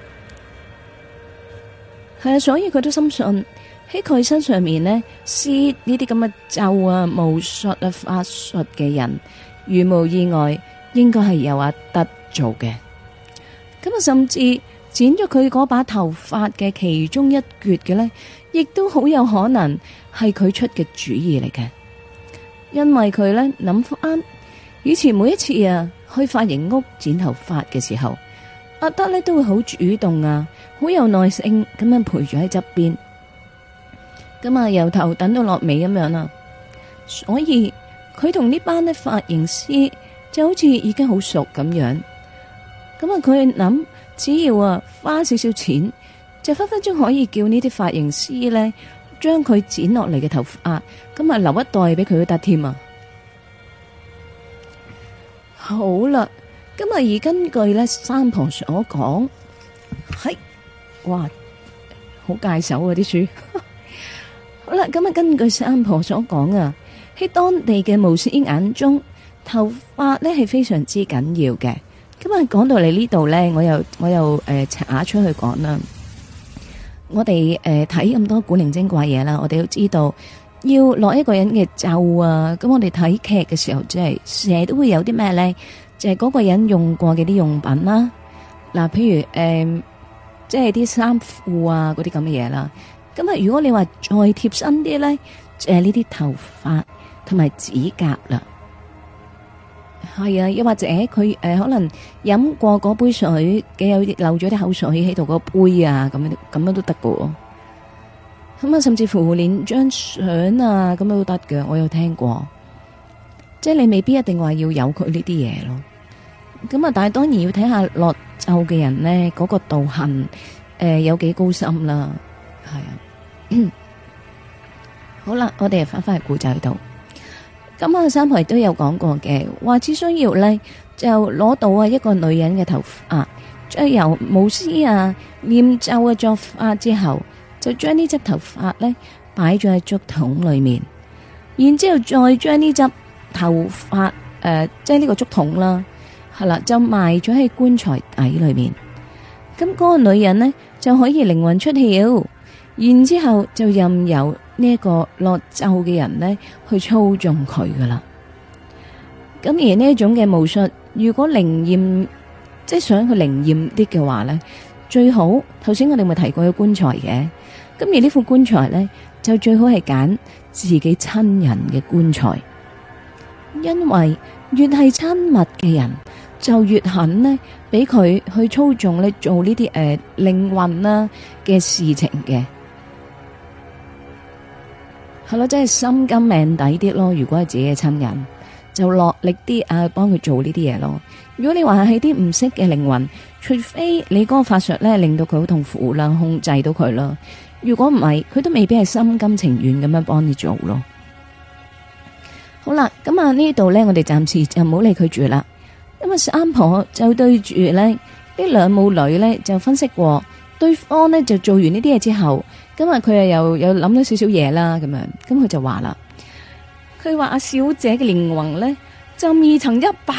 係啊，所以佢都深信喺佢身上面呢，施呢啲咁嘅咒巫術法術嘅人，如無意外，應該係由阿德做嘅。咁甚至剪咗佢嗰把頭髮嘅其中一橛嘅呢，亦都好有可能係佢出嘅主意嚟嘅，因為佢呢諗翻以前每一次去髮型屋剪頭髮嘅時候，阿德呢都會好主動好有耐性咁樣陪住喺側邊，咁由頭等到落尾咁樣啦。所以佢同呢班髮型師就好似已經好熟咁樣。咁佢諗只要花少少錢，就分分鐘可以叫呢啲髮型師呢將佢剪落嚟嘅頭髮咁留一袋俾佢都得添啊！好啦，咁而根據呢三婆所講，係哇好介手啲書。好啦，咁根據三婆所講喺當地嘅巫師眼中，頭髮呢係非常之緊要嘅。咁講到嚟呢度呢，我又查出去講啦。我哋睇咁多古靈精怪嘢啦，我哋都知道要落一個人嘅咒咁我哋睇劇嘅時候，即係成日都會有啲咩呢？就係嗰個人用過嘅啲用品啦。嗱，譬如即係啲衫褲嗰啲咁嘅嘢啦。咁如果你話再貼身啲呢，就係呢啲頭髮同埋指甲啦。係啊，又或者佢可能飲過嗰杯水嘅有漏咗啲口水喺度個杯咁樣都得㗎。咁甚至乎連張相咁樣都得嘅，我有聽過。 即係你未必一定話要有佢呢啲嘢咯。咁啊，但係當然要睇下落咒嘅人咧，嗰個道行有幾高深啦。係啊，好啦，我哋翻返去古仔度。咁啊，三婆亦都有講過嘅，話只需要咧就攞到啊一個女人嘅頭髮，再由巫師啊念咒嘅作法之後，就將呢執頭髮咧擺咗喺竹筒裏面，然之後再將呢執頭髮即係呢個竹筒啦，係啦，就埋咗喺棺材底裏面。咁嗰個女人呢，就可以靈魂出竅，然之後就任由呢一個落咒嘅人呢去操縱佢噶啦。咁而呢一種嘅巫術，如果靈驗，即係想佢靈驗啲嘅話呢，最好頭先我哋咪提過個棺材嘅。咁而呢副棺材呢，就最好係揀自己親人嘅棺材，因為越係親密嘅人，就越肯呢俾佢去操縱呢做呢啲靈魂啦嘅事情嘅。係咯，即係心甘命抵啲咯。如果係自己嘅親人，就落力啲啊，幫佢做呢啲嘢咯。如果你話係啲唔識嘅靈魂，除非你嗰個法術咧令到佢好痛苦啦，控制到佢啦。如果唔係，佢都未必係心甘情願咁樣幫你做咯。好啦，咁啊呢度咧，我哋暫時就唔好理佢住啦。咁啊，三婆就對住咧呢兩母女咧就分析過，對方呢就做完呢啲嘢之後，咁啊佢又諗到少少嘢啦，咁樣，咁佢就話啦，佢話阿小姐嘅靈魂咧就未曾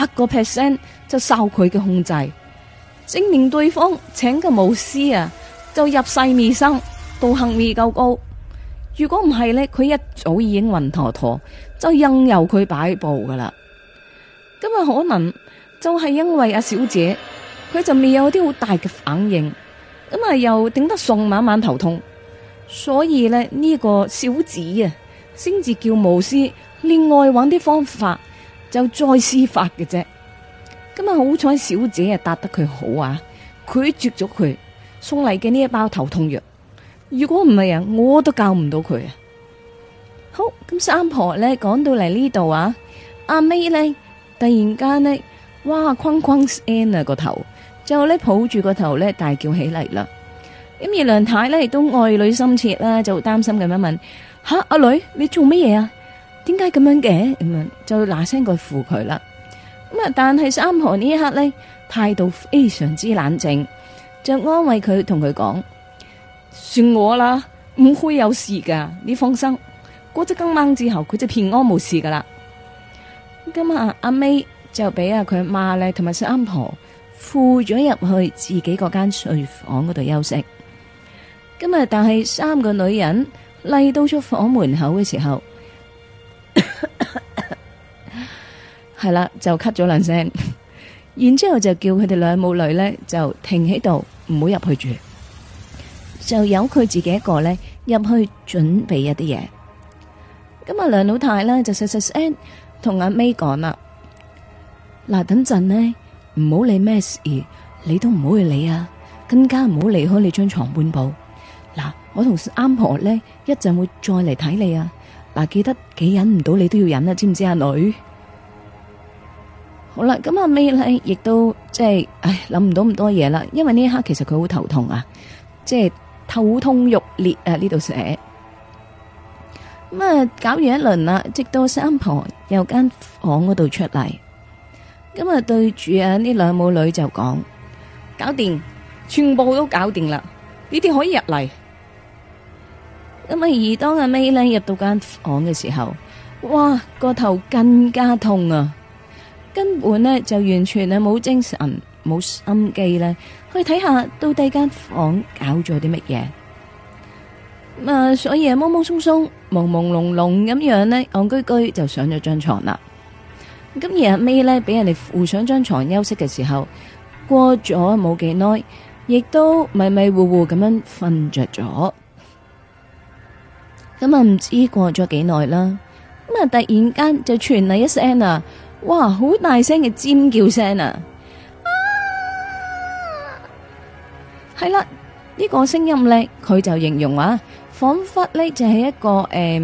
100%就受佢嘅控制，證明對方請嘅巫師啊就入世未深，道行未夠高。如果唔係咧，佢一早已經暈陀陀，就任由佢擺布噶啦。咁啊，可能就係因為阿小姐佢就未有啲好大嘅反應，咁啊又頂得順，晚晚頭痛，所以咧呢個小子啊，先至叫巫師另外揾啲方法就再施法嘅啫。咁啊好彩小姐啊答得佢好啊，拒絕咗佢送嚟嘅呢一包頭痛藥。如果唔係啊，我都教唔到佢啊。好，咁三婆咧講到嚟呢度啊，阿 May 咧突然間咧，哇，哐哐聲啊個頭，就咧抱住個頭咧大叫起嚟啦。咁而梁太咧亦都愛女心切啦，就擔心咁樣問：吓，阿女你做乜嘢啊？點解咁樣嘅？咁樣就嗱聲過扶佢啦。咁啊，但係三婆呢一刻咧態度非常之冷靜，就安慰佢，同佢講：算我啦，唔會有事噶，你放心。過咗今晚之後，佢就平安無事噶啦。咁啊，阿 May 就俾阿佢阿媽咧同埋三婆扶咗入去自己嗰間睡房嗰度休息。今日但係三個女人嚟到咗房門口嘅時候，係啦就咳咗兩聲，然之後就叫佢哋兩母女咧就停喺度，唔好入去住，就由佢自己一個咧入去準備一啲嘢。咁啊，梁老太咧就細細聲同阿 May 講啦：嗱，等陣呢，唔好理咩事，你都唔好去理啊，更加唔好離開你張床半步。嗱，我同啱婆咧一陣會再嚟睇你啊！嗱，記得幾忍唔到你都要忍啊，知唔知啊，女？好啦，咁阿 May 咧亦都即係，諗唔到咁多嘢啦，因為呢一刻其實佢好頭痛啊，即係頭痛欲裂啊，呢度寫。咁啊，搞完一輪啦，直到三婆由間房嗰度出嚟，咁啊對住啊呢兩母女就講：搞掂，全部都搞掂啦，你哋可以入嚟。咁啊，而當阿 May 咧入到間房嘅時候，哇，個頭更加痛啊，根本呢就完全係冇精神、冇心機咧去睇下到底間房搞咗啲乜嘢。所以啊，懵懵鬆鬆、朦朦朧朧咁樣呢，戇居居就上咗張床啦。咁而阿 May 咧，俾人哋扶上張床休息嘅時候，過咗冇幾耐，亦都迷迷糊糊咁樣瞓着咗。咁啊，唔知過咗幾耐啦。咁啊，突然間就傳嚟一聲啊，哇，好大聲嘅尖叫聲啊！係啦，呢個聲音咧，佢就形容話，仿佛咧就係一個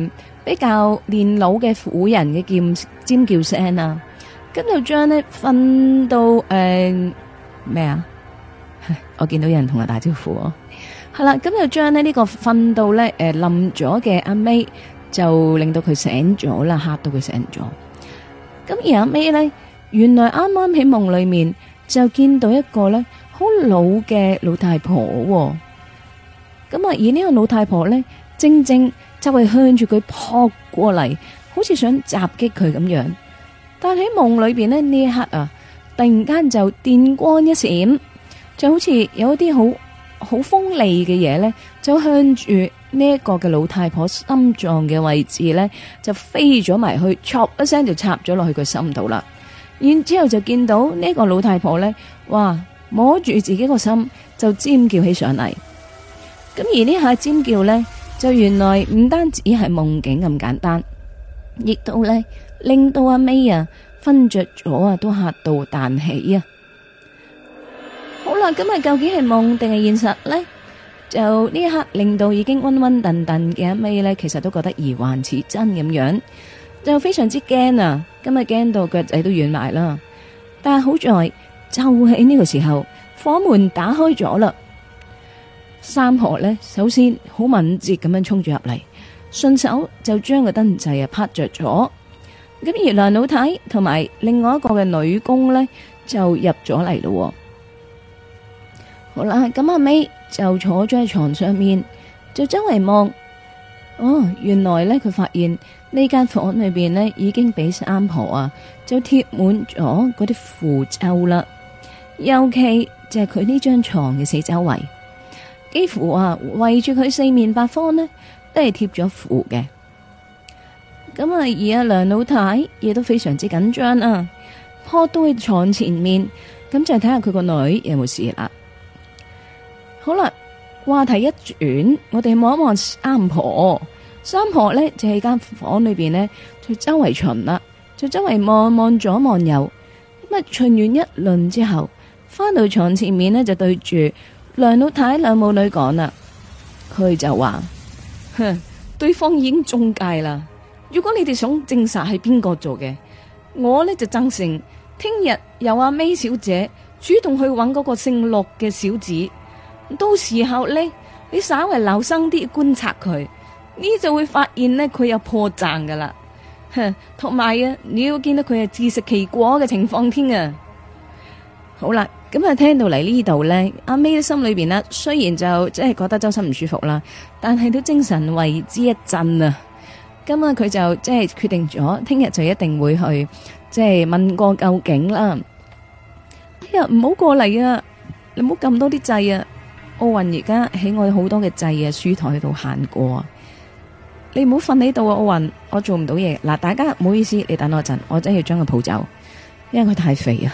比較年老嘅婦人嘅尖叫聲啊，咁就將呢瞓到咩啊？我見到有人同我打招呼，係啦，咁就將呢個瞓到咧冧咗嘅阿 May 就令到佢醒咗啦，嚇到佢醒咗。咁而阿 May 咧，原來啱啱喺夢裏面就見到一個咧好老嘅老太婆，咁啊而呢個老太婆咧正正就係向住佢撲過嚟，好似想襲擊佢咁樣。但喺夢裏邊咧呢一刻啊，突然間就電光一閃，就好似有一啲好鋒利嘅嘢咧，就向住呢一個嘅老太婆心臟嘅位置咧，就飛咗埋去，戳一聲就插咗落去佢心度啦。然之後就見到呢個老太婆咧，哇，摸住自己個心就尖叫起上嚟。咁而呢下尖叫咧，就原來唔單止係夢境咁簡單，亦都咧令到阿 May 啊瞓着咗啊，都嚇到彈起啊！好啦，咁啊究竟係夢定係現實咧？就呢一刻令到已經暈暈沌沌嘅阿 May咧，其實都覺得疑幻似真咁樣，就非常之驚啊！今日驚到腳仔都軟埋啦。但係好在就喺呢個時候，火門打開咗啦。三婆咧，首先好敏捷咁樣衝住入嚟，順手就將個燈掣啊拍着咗。咁而梁老太同埋另外一個嘅女工咧，就入咗嚟咯。好啦，咁阿 May 就坐咗喺床上面，就周圍望。哦，原來咧佢發現呢間房裏邊咧已經俾三婆啊就貼滿咗嗰啲符咒啦，尤其就係佢呢張床嘅四周圍，幾乎啊圍住佢四面八方呢都係貼咗符嘅。咁啊而阿梁老太亦都非常之緊張啊，撲到去床前面，咁就睇下佢個女有冇事啦。好啦，話題一轉，我哋望一望三婆。三婆咧就喺間房裏邊呢，就周圍巡啦，就周圍望左望右。咁啊巡完一輪之後，翻到床前面呢，就對住梁老太兩母女講啦。佢就話：哼，對方已經中計啦。如果你哋想證實係邊個做嘅，我呢就贊成聽日由阿 May 小姐主動去揾嗰個姓陸嘅小子。到時候呢，你稍為留心啲觀察佢，呢就會發現呢，佢有破綻噶啦。同埋啊，你要見到佢係自食其果嘅情況添啊。好啦，咁啊聽到嚟呢度呢，阿 May 心裏邊呢，雖然就即係覺得周身唔舒服啦，但係都精神為之一振啊。咁啊佢就即係決定咗，聽日就一定會去即係問個究竟啦。哎呀，唔好過嚟啊！你唔好撳多啲掣啊！奧運而家喺我哋好多嘅掣啊書台度行過啊！你唔好瞓喺度啊！奧運，我做唔到嘢。嗱，大家唔好意思，你等我一陣，我真係要將佢抱走，因為佢太肥啊！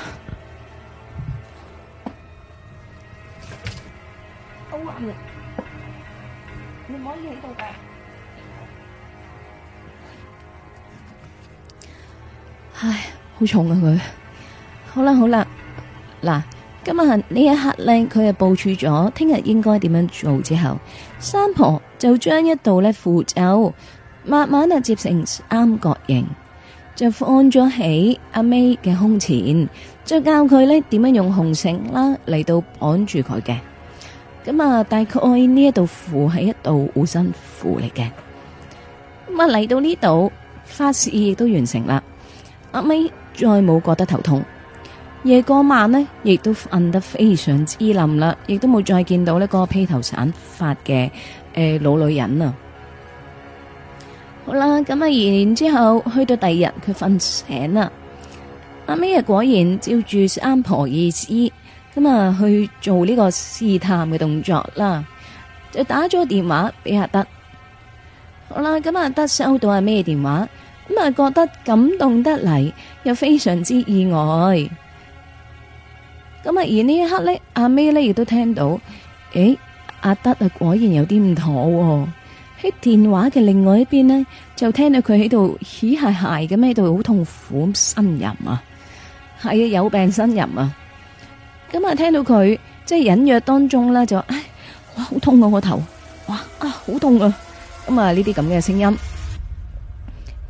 奧運，你唔可以喺度㗎。唉，好重啊佢。好啦好啦，嗱。今日呢一刻呢，佢就部署咗聽日應該點樣做之後，三婆就將一道呢符咒慢慢啊接成三角形，就放咗喺阿 May 嘅胸前，就教佢呢點樣用紅繩啦嚟到綁住佢嘅。咁啊，大概呢一道符係一道護身符嚟嘅。咁啊嚟到呢度，法事亦都完成啦。阿 May 再冇覺得頭痛。夜嗰晚呢，亦都瞓得非常之冧啦，亦都冇再見到呢個披頭散髮嘅老女人啊。好啦，咁啊，然之後去到第二日，佢瞓醒啦。阿 May 果然照住三婆意思，咁啊去做呢個試探嘅動作啦，就打咗電話俾阿德。好啦，咁阿德收到阿 May 電話，咁啊覺得感動得嚟，又非常之意外。咁啊，而呢一刻咧，阿 May 咧亦都聽到，阿德啊，果然有啲唔妥喎。喺電話嘅另外一邊呢，就聽到佢喺度嘻鞋鞋咁喺度好痛苦咁呻吟啊，係啊，有病呻吟啊。咁啊，聽到佢即係隱約當中啦，就話唉，哇，好痛啊個頭，哇啊，好痛啊。咁啊，呢啲咁嘅聲音。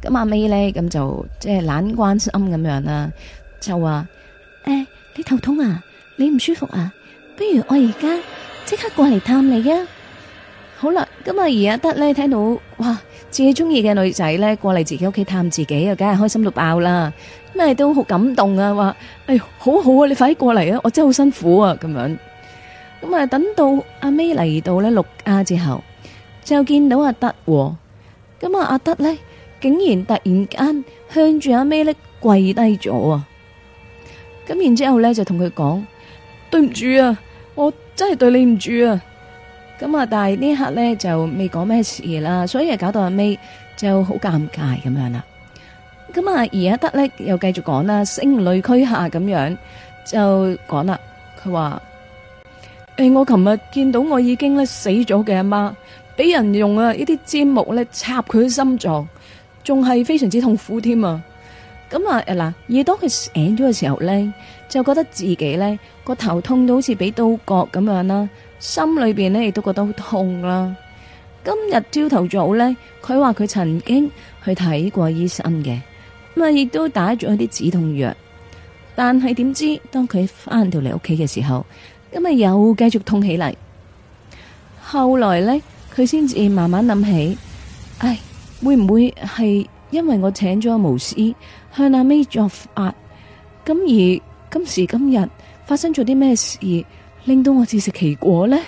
咁阿 May 咧咁就即係懶關心咁樣啦，就話你頭痛啊，你唔舒服啊，不如我而家即刻過嚟探你啊！好啦，咁啊而阿德咧聽到哇自己中意嘅女仔咧過嚟自己屋企探自己啊，梗係開心到爆啦，咩都好感動啊，話好好啊，你快啲過嚟啊，我真係好辛苦啊咁樣。咁啊等到阿 May 嚟到咧陸家之後，就見到阿德，咁啊阿德咧竟然突然間向住阿 May 咧跪低咗啊！咁然之後咧就同佢講，對唔住啊，我真係對你唔住啊！咁啊，但係呢一刻咧就未講咩事啦，所以啊搞到阿 May 就好尷尬咁樣啦。咁啊而阿德咧又繼續講啦，聲淚俱下咁樣就講啦，佢話我琴日見到我已經咧死咗嘅阿媽，俾人用呢啲尖木咧插佢嘅心臟，仲係非常之痛苦添啊！咁啊嗱，而當佢醒咗嘅時候咧，就覺得自己咧個頭痛到好似俾刀割咁樣啦，心裏邊咧亦都覺得好痛啦。今日朝頭早咧，佢話佢曾經去睇過醫生嘅，咁啊亦都打咗一啲止痛藥，但係點知當佢翻到嚟屋企嘅時候，咁啊又繼續痛起嚟。後來咧，佢先至慢慢諗起，會唔會係因為我請咗巫師向阿 May 作法，咁而今時今日發生咗啲咩事，令到我自食其果呢？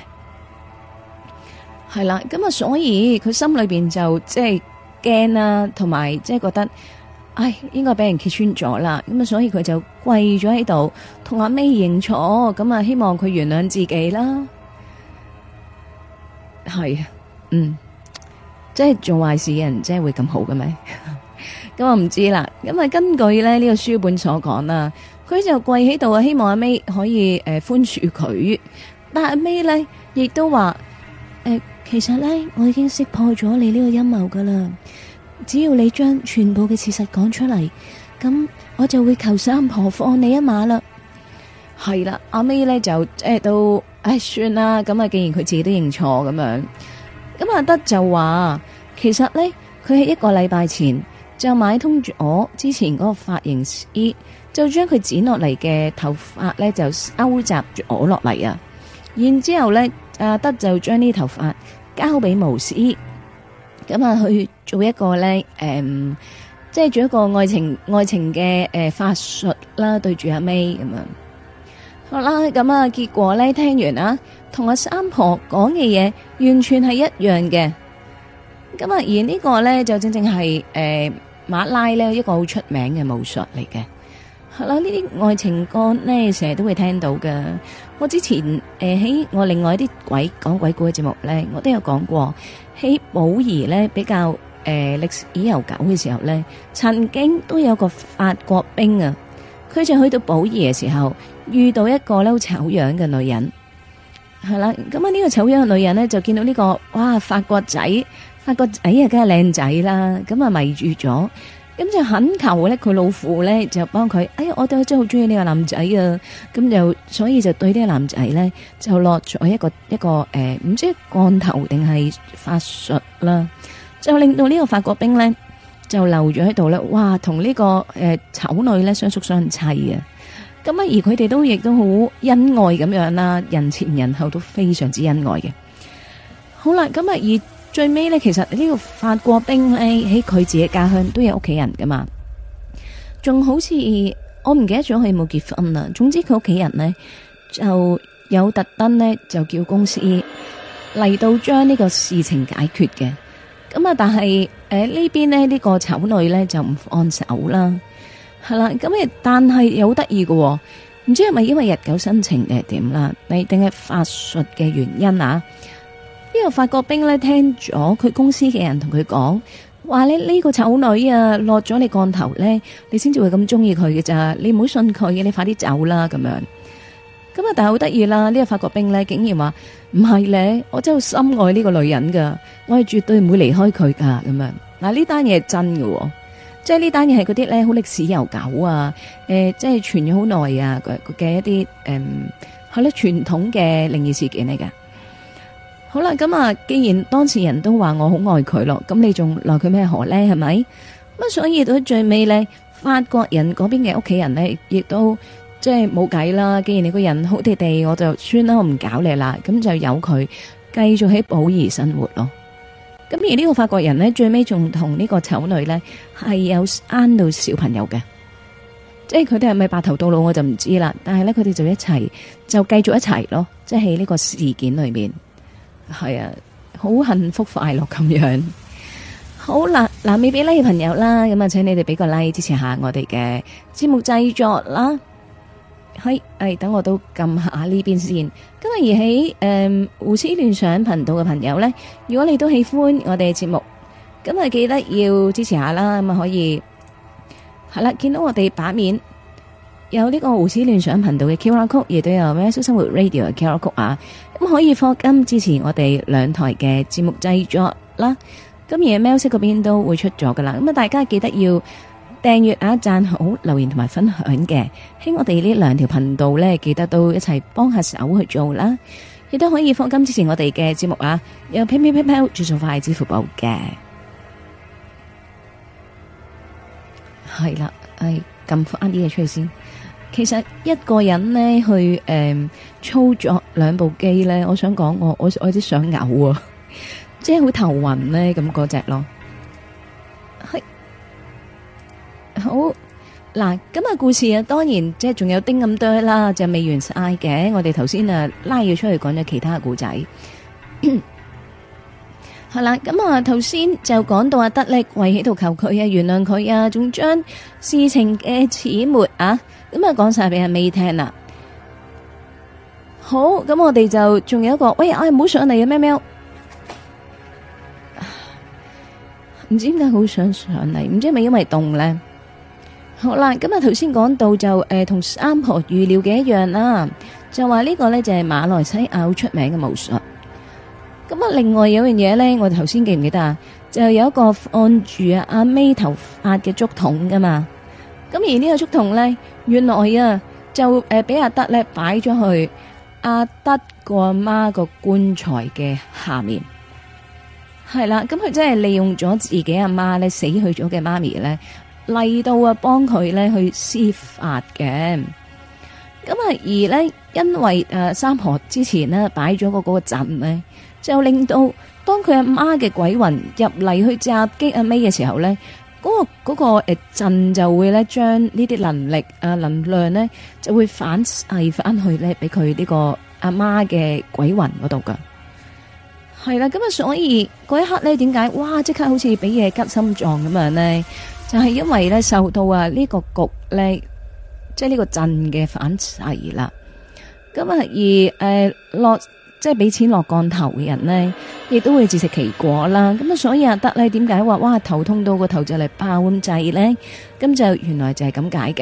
係啦，咁啊，所以佢心裏邊就即係驚啦，同埋即係覺得，應該俾人揭穿咗啦。咁啊，所以佢就跪咗喺度，同阿 May 認錯，咁啊，希望佢原諒自己啦。係啊，即係做壞事嘅人，真係會咁好嘅咩？咁我唔知啦。咁啊，根據咧呢個書本所講啦，佢就跪喺度啊，希望阿 May 可以寬恕佢。但係阿 May 咧亦都話其實咧我已經識破咗你呢個陰謀噶啦，只要你將全部嘅事實講出嚟，咁我就會求三婆放你一馬啦。係啦，阿 May 咧就都算啦。咁啊，既然佢自己都認錯咁樣，咁阿德就話其實咧佢喺1個禮拜前就買通咗之前嗰個髮型師，就將佢剪落嚟嘅頭髮咧就收集咗落嚟啊。然之後咧，阿德就將呢啲頭髮交俾巫師，咁啊去做一個咧即係做一個愛情嘅法術啦，對住阿 May 咁樣。好啦，咁啊結果咧聽完啊，同阿三婆講嘅嘢完全係一樣嘅。咁啊而呢個咧就正正係馬拉咧一個好出名嘅巫術嚟嘅。係啦，呢啲愛情歌咧成日都會聽到㗎。我之前喺我另外啲講鬼故嘅節目咧，我都有講過，喺寶儀咧比較歷史悠久嘅時候咧，曾經都有個法國兵啊，佢就去到寶儀嘅時候遇到一個咧好醜樣嘅女人。係啦，咁啊呢個醜樣嘅女人咧就見到呢個哇法國仔啊，梗係靚仔啦，咁啊迷住咗。咁就懇求咧，佢老父咧就幫佢。我都真係好中意呢個男仔啊！咁就所以就對呢個男仔咧就落咗一個唔知降頭定係法術啦，就令到呢個法國兵咧就留咗喺度咧。哇，同呢個醜女咧相宿相棲啊！咁啊，而佢哋都亦都好恩愛咁樣啦，人前人後都非常之恩愛嘅。好啦，咁啊而最尾咧，其實呢個法國兵咧喺佢自己家鄉都有屋企人噶嘛，仲好似我唔記得咗佢有冇結婚啦。總之佢屋企人咧就有特登咧就叫公司嚟到將呢個事情解決嘅。咁啊，但係呢邊咧呢個醜女咧就唔放手啦，係啦。咁但係又好得意嘅，唔知係咪因為日久生情定係點啦，定係法術嘅原因啊？呢個法國兵咧聽咗佢公司嘅人同佢講，話咧呢個醜女啊落咗你降頭咧，你先至會咁中意佢嘅咋，你唔好信佢嘅，你快啲走啦咁樣。咁啊，但係好得意啦，呢個法國兵咧竟然話唔係咧，我真係深愛呢個女人噶，我係絕對唔會離開佢噶咁樣。嗱，呢單嘢係真嘅，即係呢單嘢係嗰啲咧好歷史悠久啊，即係傳咗好耐啊嘅一啲係咧傳統嘅靈異事件嚟噶。好啦，咁啊，既然當事人都話我好愛佢咯，咁你仲奈佢咩何呢？係咪？咁咁所以到最尾咧，法國人嗰邊嘅屋企人咧，亦都即係冇計啦。既然你個人好地地，我就算啦，我唔搞你啦，咁就由佢繼續喺保兒生活咯。咁而呢個法國人咧，最尾仲同呢個醜女咧係有生到小朋友嘅，即係佢哋係咪白頭到老我就唔知啦。但係咧佢哋就一齊就繼續一齊咯，即係喺呢個事件裏面係啊，好幸福快樂咁樣。好啦，嗱未俾 like 嘅朋友啦，咁啊請你哋俾個 like 支持下我哋嘅節目製作啦。係，等我都撳下呢邊先。今日而喺胡思亂想頻道嘅朋友呢，如果你都喜歡我哋嘅節目，咁啊記得要支持下啦。咁啊可以係啦，見到我哋版面有呢個胡思亂想頻道嘅 QR Code，亦都有喵式生活 Radio 嘅 QR Code 啊。咁可以課金支持我哋兩台嘅節目製作啦。咁而喵式嗰邊都會出咗噶啦。咁啊大家記得要訂閱啊、讚好、留言同埋分享嘅，喺我哋呢兩條頻道呢，記得都一齊幫下手去做啦。亦都可以課金支持我哋嘅節目啊，有 PayPal 轉數快支付寶嘅。係啦，撳翻啲嘢出嚟先。其實一個人呢去操作兩部機呢，我想講我有啲想嘔啊，即係好頭暈呢咁嗰隻咯。係。好嗱，今日故事啊，當然即係仲有丁咁多啦，就未完晒嘅。我哋頭先啊拉佢出去講咗其他嘅故仔，係啦。咁啊頭先就講到阿德力為喺度求佢啊，原諒佢啊，仲將事情嘅始末啊，咁啊講晒俾阿 May 聽啦。好，咁我哋就仲有一個，喂，唔好上嚟啊，喵喵，唔知點解好想上嚟，唔知係咪因為凍咧？好啦，咁啊頭先講到就同三婆預料嘅一樣啦，就話呢個呢就係馬來西亞好出名嘅巫術。咁啊另外有樣嘢呢，我哋頭先記唔記得啊？就有一個按住阿 May 頭髮嘅竹筒噶嘛。咁而呢個竹筒呢，原來啊就俾阿德呢擺咗去阿德個阿媽個棺材嘅下面。係啦，咁佢真係利用咗自己阿媽呢死去咗嘅媽咪呢。嚟到啊，幫佢咧去施法嘅。咁啊，而咧因為三婆之前呢擺咗嗰個陣呢，就令到當佢阿媽嘅鬼魂入嚟去襲擊阿 May 嘅時候咧，嗰個陣就會咧將呢啲能力能量咧就會反噬翻去咧俾佢呢個阿媽嘅鬼魂嗰度噶。係啦，咁啊，所以嗰一刻咧，點解哇即刻好似俾嘢吉心臟咁樣咧？就係因為咧受到呢個局咧，即係呢個陣嘅反噬啦。咁啊而落即係俾錢落降頭嘅人咧，亦都會自食其果啦。咁啊所以阿德咧點解話哇頭痛到個頭就嚟爆咁滯咧？咁就原來就係咁解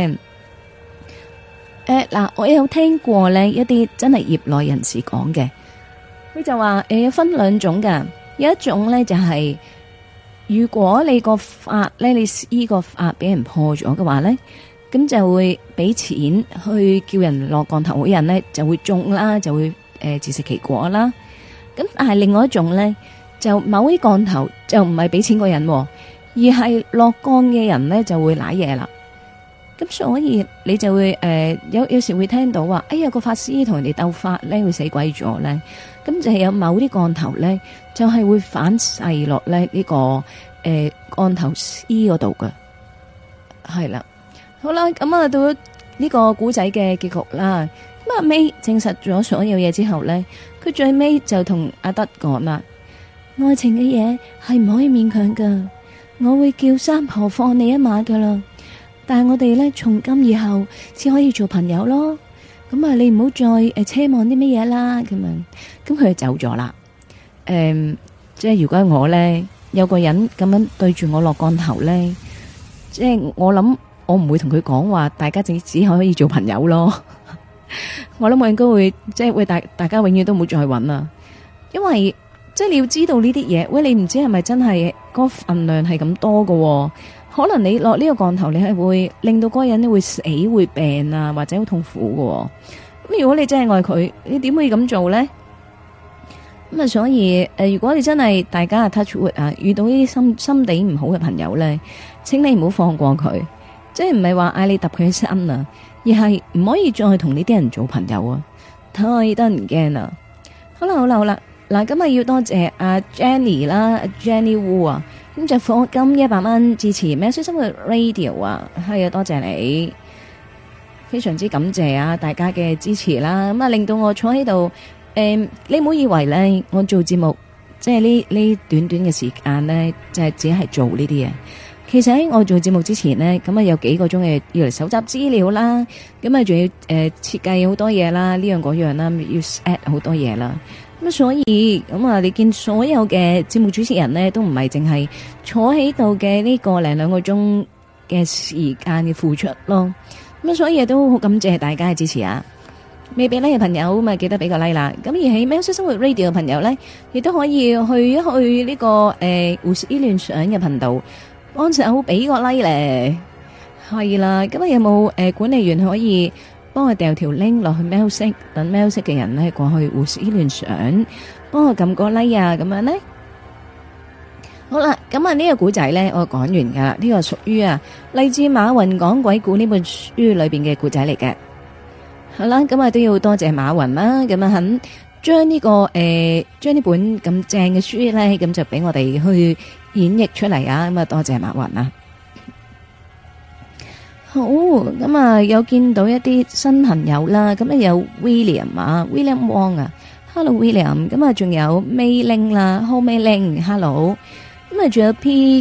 嘅。嗱，我有聽過咧一啲真係業內人士講嘅，佢就話有分兩種噶，有一種咧就係。如果你個法咧，你呢個法俾人破咗嘅話咧，咁就會俾錢去叫人落降頭嘅人咧，就會中啦，就會自食其果啦。咁但係另外一種咧，就某啲降頭就唔係俾錢個人，而係落降嘅人咧就會瀨嘢啦。咁所以你就會有時會聽到話，哎呀個法師同人哋鬥法咧會死鬼咗咧。咁就係有某啲降頭咧，就係會反噬落咧呢個降頭師嗰度嘅，係啦。好啦，咁啊到呢個古仔嘅結局啦。咁阿 May 證實咗所有嘢之後咧，佢最尾就同阿德講啦：愛情嘅嘢係唔可以勉強噶，我會叫三婆放你一馬噶啦。但係我哋咧從今以後只可以做朋友咯。咁啊，你唔好再奢望啲乜嘢啦，咁樣，咁佢就走咗啦。即係如果我咧有個人咁樣對住我落降頭咧，即係我諗我唔會同佢講話，大家只可以做朋友咯。我諗我應該會即係會大家永遠都唔好再搵啦，因為即係你要知道呢啲嘢，喂，你唔知係咪真係個份量係咁多喎？可能你落呢個降頭，你係會令到嗰個人咧會死會病啊，或者好痛苦喎。咁如果你真係愛佢，你點可以咁做咧？ 咁啊，所以如果你真係大家 touch wood 啊，遇到呢啲心地唔好嘅朋友咧，請你唔好放過佢，即係唔係話嗌你揼佢身啊，而係唔可以再同呢啲人做朋友啊，太得人驚啦。好啦，嗱，今日要多謝阿 Jenny 啦，Jenny Wu 啊，咁就課金100蚊支持喵式生活 Radio 啊，係啊，多謝你，非常之感謝啊大家嘅支持啦，咁啊令到我坐喺度。你唔好以為咧，我做節目即係呢短短嘅時間咧，就係只係做呢啲嘢。其實喺我做節目之前咧，咁啊有幾個鐘嘅要嚟搜集資料啦，咁啊仲要設計好多嘢啦，呢樣嗰樣啦，要 add 好多嘢啦。咁所以咁啊，你見所有嘅節目主持人咧，都唔係淨係坐喺度嘅呢個零兩個鐘嘅時間嘅付出咯。咁所以都好感謝大家嘅支持啊！未俾 like 嘅朋友咪記得俾個 like 啦，咁而喺喵式生活 Radio 嘅朋友咧，亦都可以去一去呢個胡思亂想嘅頻道，幫手俾個 like 咧，係啦。咁啊有冇管理員可以幫我掉條 link 落去喵式，等喵式嘅人咧過去胡思亂想，幫我撳個 like 啊，咁樣咧。好啦，咁啊呢個古仔咧我講完噶啦，呢個屬於勵志馬雲講鬼故呢本書裏邊嘅古仔嚟嘅。好啦，咁啊都要多謝馬雲啦，咁啊肯將呢個將呢本咁正嘅書咧，咁就俾我哋去演繹出嚟啊！咁啊多謝馬雲啊。好，咁啊有見到一啲新朋友啦，咁啊有 William Wong 啊 ，Hello William，咁啊仲有 May Ling 啦，Ho May Ling，Hello，咁啊仲有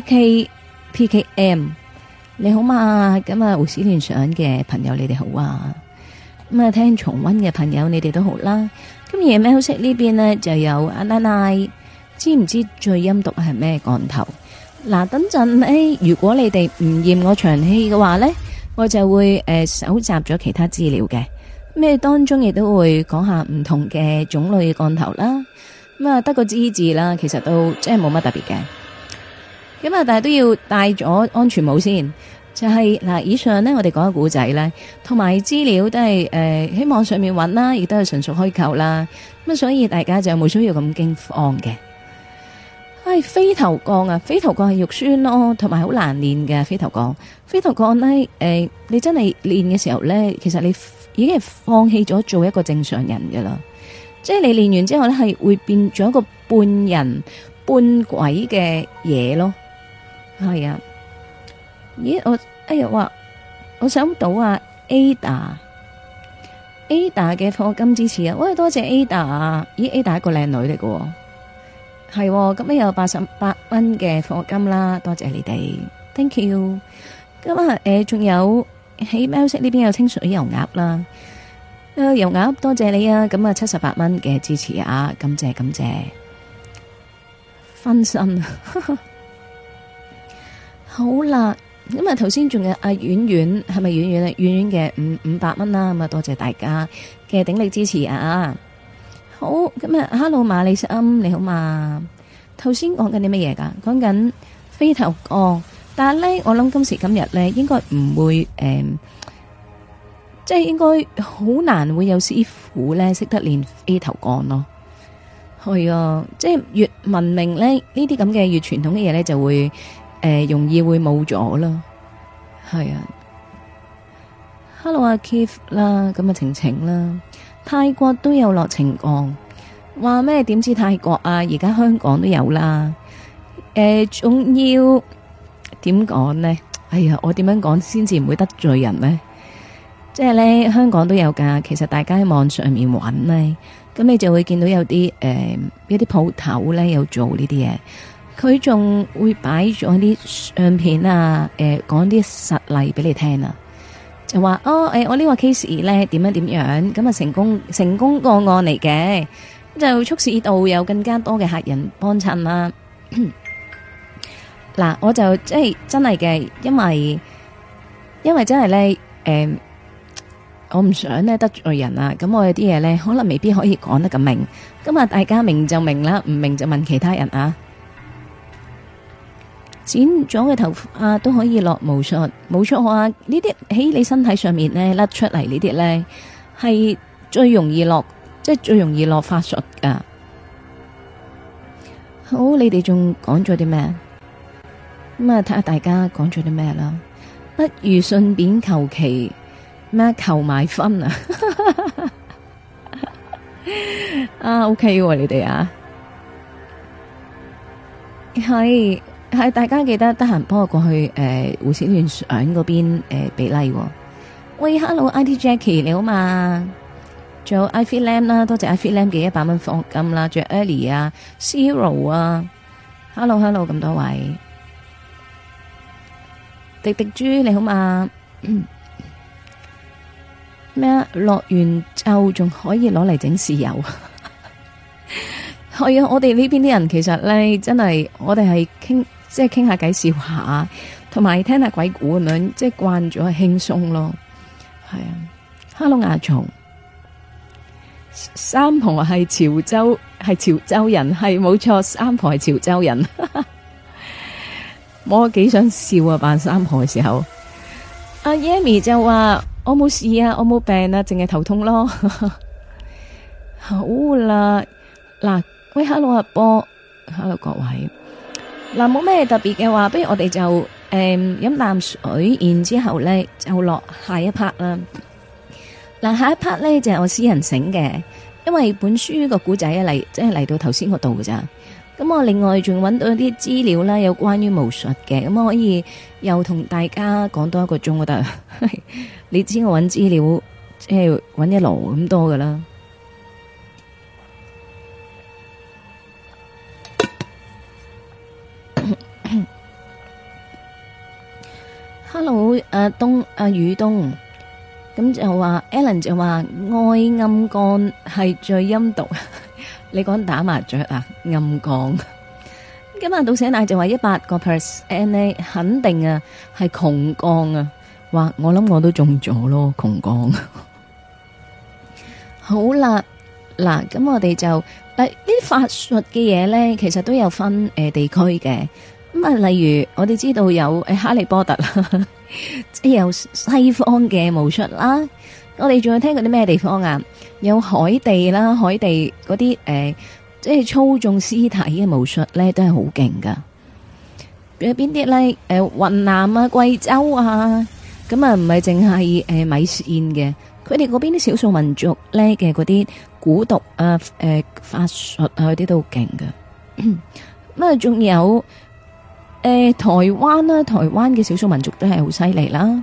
PKM，你好嘛？咁啊胡思亂想嘅朋友你哋好啊！咁啊，聽重溫嘅朋友，你哋都好啦。咁而喵式呢邊呢，就有阿奶奶，知唔知最陰毒係咩降頭？嗱，等陣呢，如果你哋唔嫌我長氣嘅話呢，我就會搜集咗其他資料嘅。咩當中亦都會講下唔同嘅種類嘅降頭啦。咁啊，得個知字啦，其實都真係冇乜特別嘅。咁啊，但係都要戴咗安全帽先。就係嗱，以上呢，我哋講嘅古仔咧，同埋資料都係喺網上面揾啦，亦都係純屬虛構啦。咁所以大家就冇需要咁驚慌嘅。飛頭降啊，飛頭降係肉酸咯，同埋好難練嘅飛頭降。飛頭降咧，你真係練嘅時候咧，其實你已經係放棄咗做一個正常人噶啦。即係你練完之後咧，係會變咗一個半人半鬼嘅嘢咯。係啊。咦，我想到Ada 嘅課金支持啊！喂，多謝 Ada， 咦 Ada 係一個靚女嚟嘅，係咁有88蚊嘅課金啦，多謝你哋 ，thank you。咁仲有喺喵式呢邊有清水油鴨啦，油鴨多謝你啊！咁78蚊嘅支持啊，感謝，分身好啦。咁頭先仲有阿婉婉，係咪婉婉啊？婉婉嘅500蚊啦，咁啊多謝大家嘅鼎力支持啊！好，咁Hello 馬里斯恩，你好嘛？頭先講緊啲乜嘢噶？講緊飛頭降，但係咧，我諗今時今日咧，應該唔會即係應該好難會有師傅咧識得練飛頭降咯。係啊，即係越文明咧，呢啲咁嘅越傳統嘅嘢咧，就會。容易會冇咗咯，係啊。Hello 阿 Keith 啦，咁晴晴啦，泰國都有落情降，話咩？點知泰國啊？而家香港都有啦。仲要點講呢？哎呀，我點樣講先至唔會得罪人呢？即係咧，香港都有噶。其實大家喺網上面揾呢，咁你就會見到有啲一啲鋪頭咧有做呢啲嘢。佢仲會擺咗啲相片啊，講啲實例俾你聽啊，就話我呢個 case 咧點樣點樣，咁啊成功個案嚟嘅，就促使到有更加多嘅客人幫襯啦。嗱，我就即係真係嘅，因為真係咧，我唔想咧得罪人啊，咁我有啲嘢咧可能未必可以講得咁明，咁啊大家明就明啦，唔明就問其他人啊。剪咗嘅頭髮都可以落巫術，冇錯啊！呢啲喺你身體上面咧甩出嚟呢啲咧，係最容易落，即係最容易落法術噶。 好，你哋仲講咗啲咩？咁啊，睇下大家講咗啲咩啦。不如順便求其咩求埋分啊！啊，OK 喎，你哋啊，係大家記得得閒幫我過去胡思亂想嗰邊俾 like。喂，Hello，IT Jackie 你好嘛？仲有 I Feel Lam 啦，多謝 I Feel Lam 嘅100蚊課金啦，仲有 Ellie 啊 ，Zero 啊 ，Hello 咁多位，迪迪豬你好嘛？咩啊？落完咒仲可以攞嚟整豉油？係啊，我哋呢邊啲人其實咧，真係我哋係傾下偈笑下，同埋聽下鬼故咁樣，即係慣咗輕鬆咯。係啊 ，Hello 亞松，三婆係潮州人，係冇錯，三婆係潮州人。我幾想笑啊！扮三婆嘅時候，阿 Yami 就話我冇事啊，我冇病啊，淨係頭痛咯。好啦，嗱，喂 ，Hello 阿波 ，Hello 各位，嗱，冇咩特別嘅話，不如我哋就飲啖水，然之後咧就落下一 part 啦。嗱，下一 part 咧就係我私人醒嘅，因為本書個古仔即係嚟到頭先嗰度㗎咋。咁我另外仲揾到一啲資料啦，有關於巫術嘅，咁我可以又同大家講多1個鐘都得。你知我揾資料即係揾一籮咁多噶啦。Hello， 宇東，咁就話 Alan 就話愛暗幹係最陰毒。你講打麻雀啊，暗槓。今日到寫奶就話100%呢，肯定啊係窮槓啊。哇，我諗我都中咗咯，窮槓。好啦，嗱，咁我哋就呢啲法術嘅嘢咧，其實都有分地區嘅。咁啊，例如我哋知道有哈利波特啦，即係有西方嘅巫術啦。我哋仲有聽過啲咩地方啊？有海地啦，海地嗰啲即係操縱屍體嘅巫術咧，都係好勁噶。有邊啲咧？雲南啊、貴州啊，咁啊唔係淨係米線嘅，佢哋嗰邊啲少數民族咧嘅嗰啲蠱毒啊、法術啊嗰啲都好勁噶。咁啊，仲有台灣啦，台灣嘅少數民族都係好犀利啦。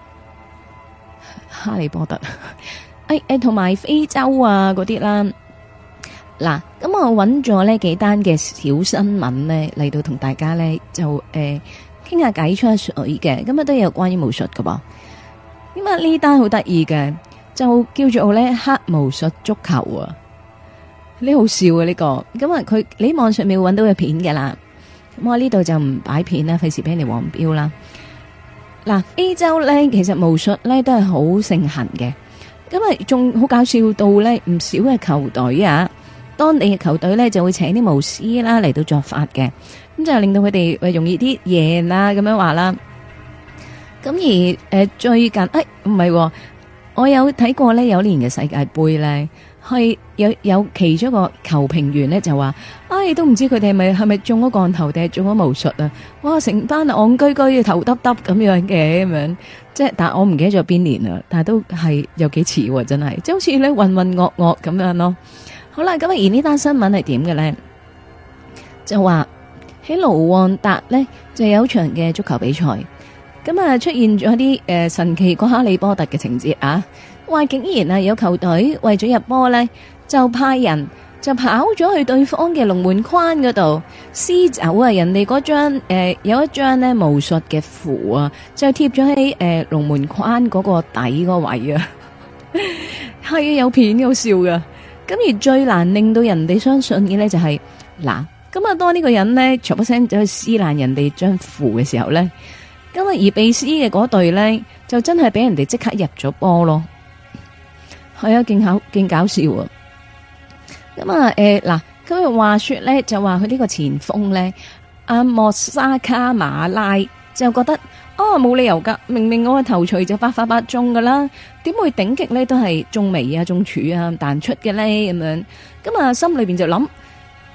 哈利波特，同埋非洲啊嗰啲啦。嗱，咁我揾咗呢幾單嘅小新聞呢嚟到同大家呢就傾下偈吹下水嘅，咁啊都有關於巫術噶噃。咁啊呢單好得意嘅，就叫做呢黑巫術足球啊，呢好笑啊呢個。咁啊佢你喺網上面會揾到嘅片嘅啦，咁我呢度就唔擺片啦，費事俾人哋黃標啦。嗱，非洲咧其實巫術咧都係好盛行嘅，咁啊仲好搞笑到咧唔少嘅球隊啊，當地嘅球隊咧就會請啲巫師啦嚟到作法嘅，咁就令到佢哋容易啲贏啦咁樣話啦。咁而最近唔係，我有睇過咧有年嘅世界盃咧，係有其中一個球評員咧就話，都唔知佢哋係咪中咗降頭定係中咗巫術啊！哇，成班戇居居頭耷耷咁樣嘅咁樣，即係但係我唔記得咗邊年啦，但係都係有幾似喎，真係，即係好似咧渾渾噩噩咁樣咯。好啦，咁而呢單新聞係點嘅咧？就話喺盧旺達咧就有場嘅足球比賽，咁啊出現咗啲神奇過哈利波特嘅情節啊！話竟然啊有球隊為咗入波咧，就派人就跑咗去對方嘅龍門框嗰度撕走啊人哋嗰張有一張咧巫術嘅符啊，就貼咗喺龍門框嗰個底個位啊，係有片好笑噶。咁而最難令到人哋相信嘅咧就係嗱，咁啊當呢個人咧唰一聲走去撕爛人哋張符嘅時候咧，咁啊而被撕嘅嗰隊咧就真係俾人哋即刻入咗波咯。係啊，勁搞笑啊！咁啊，嗱，佢話說咧，就話佢呢個前鋒咧，阿莫沙卡馬拉就覺得，冇理由噶，明明我嘅頭錘就百發百中噶啦，點會頂極咧都係中眉啊、中柱啊彈出嘅咧咁樣？咁啊，心裏邊就諗，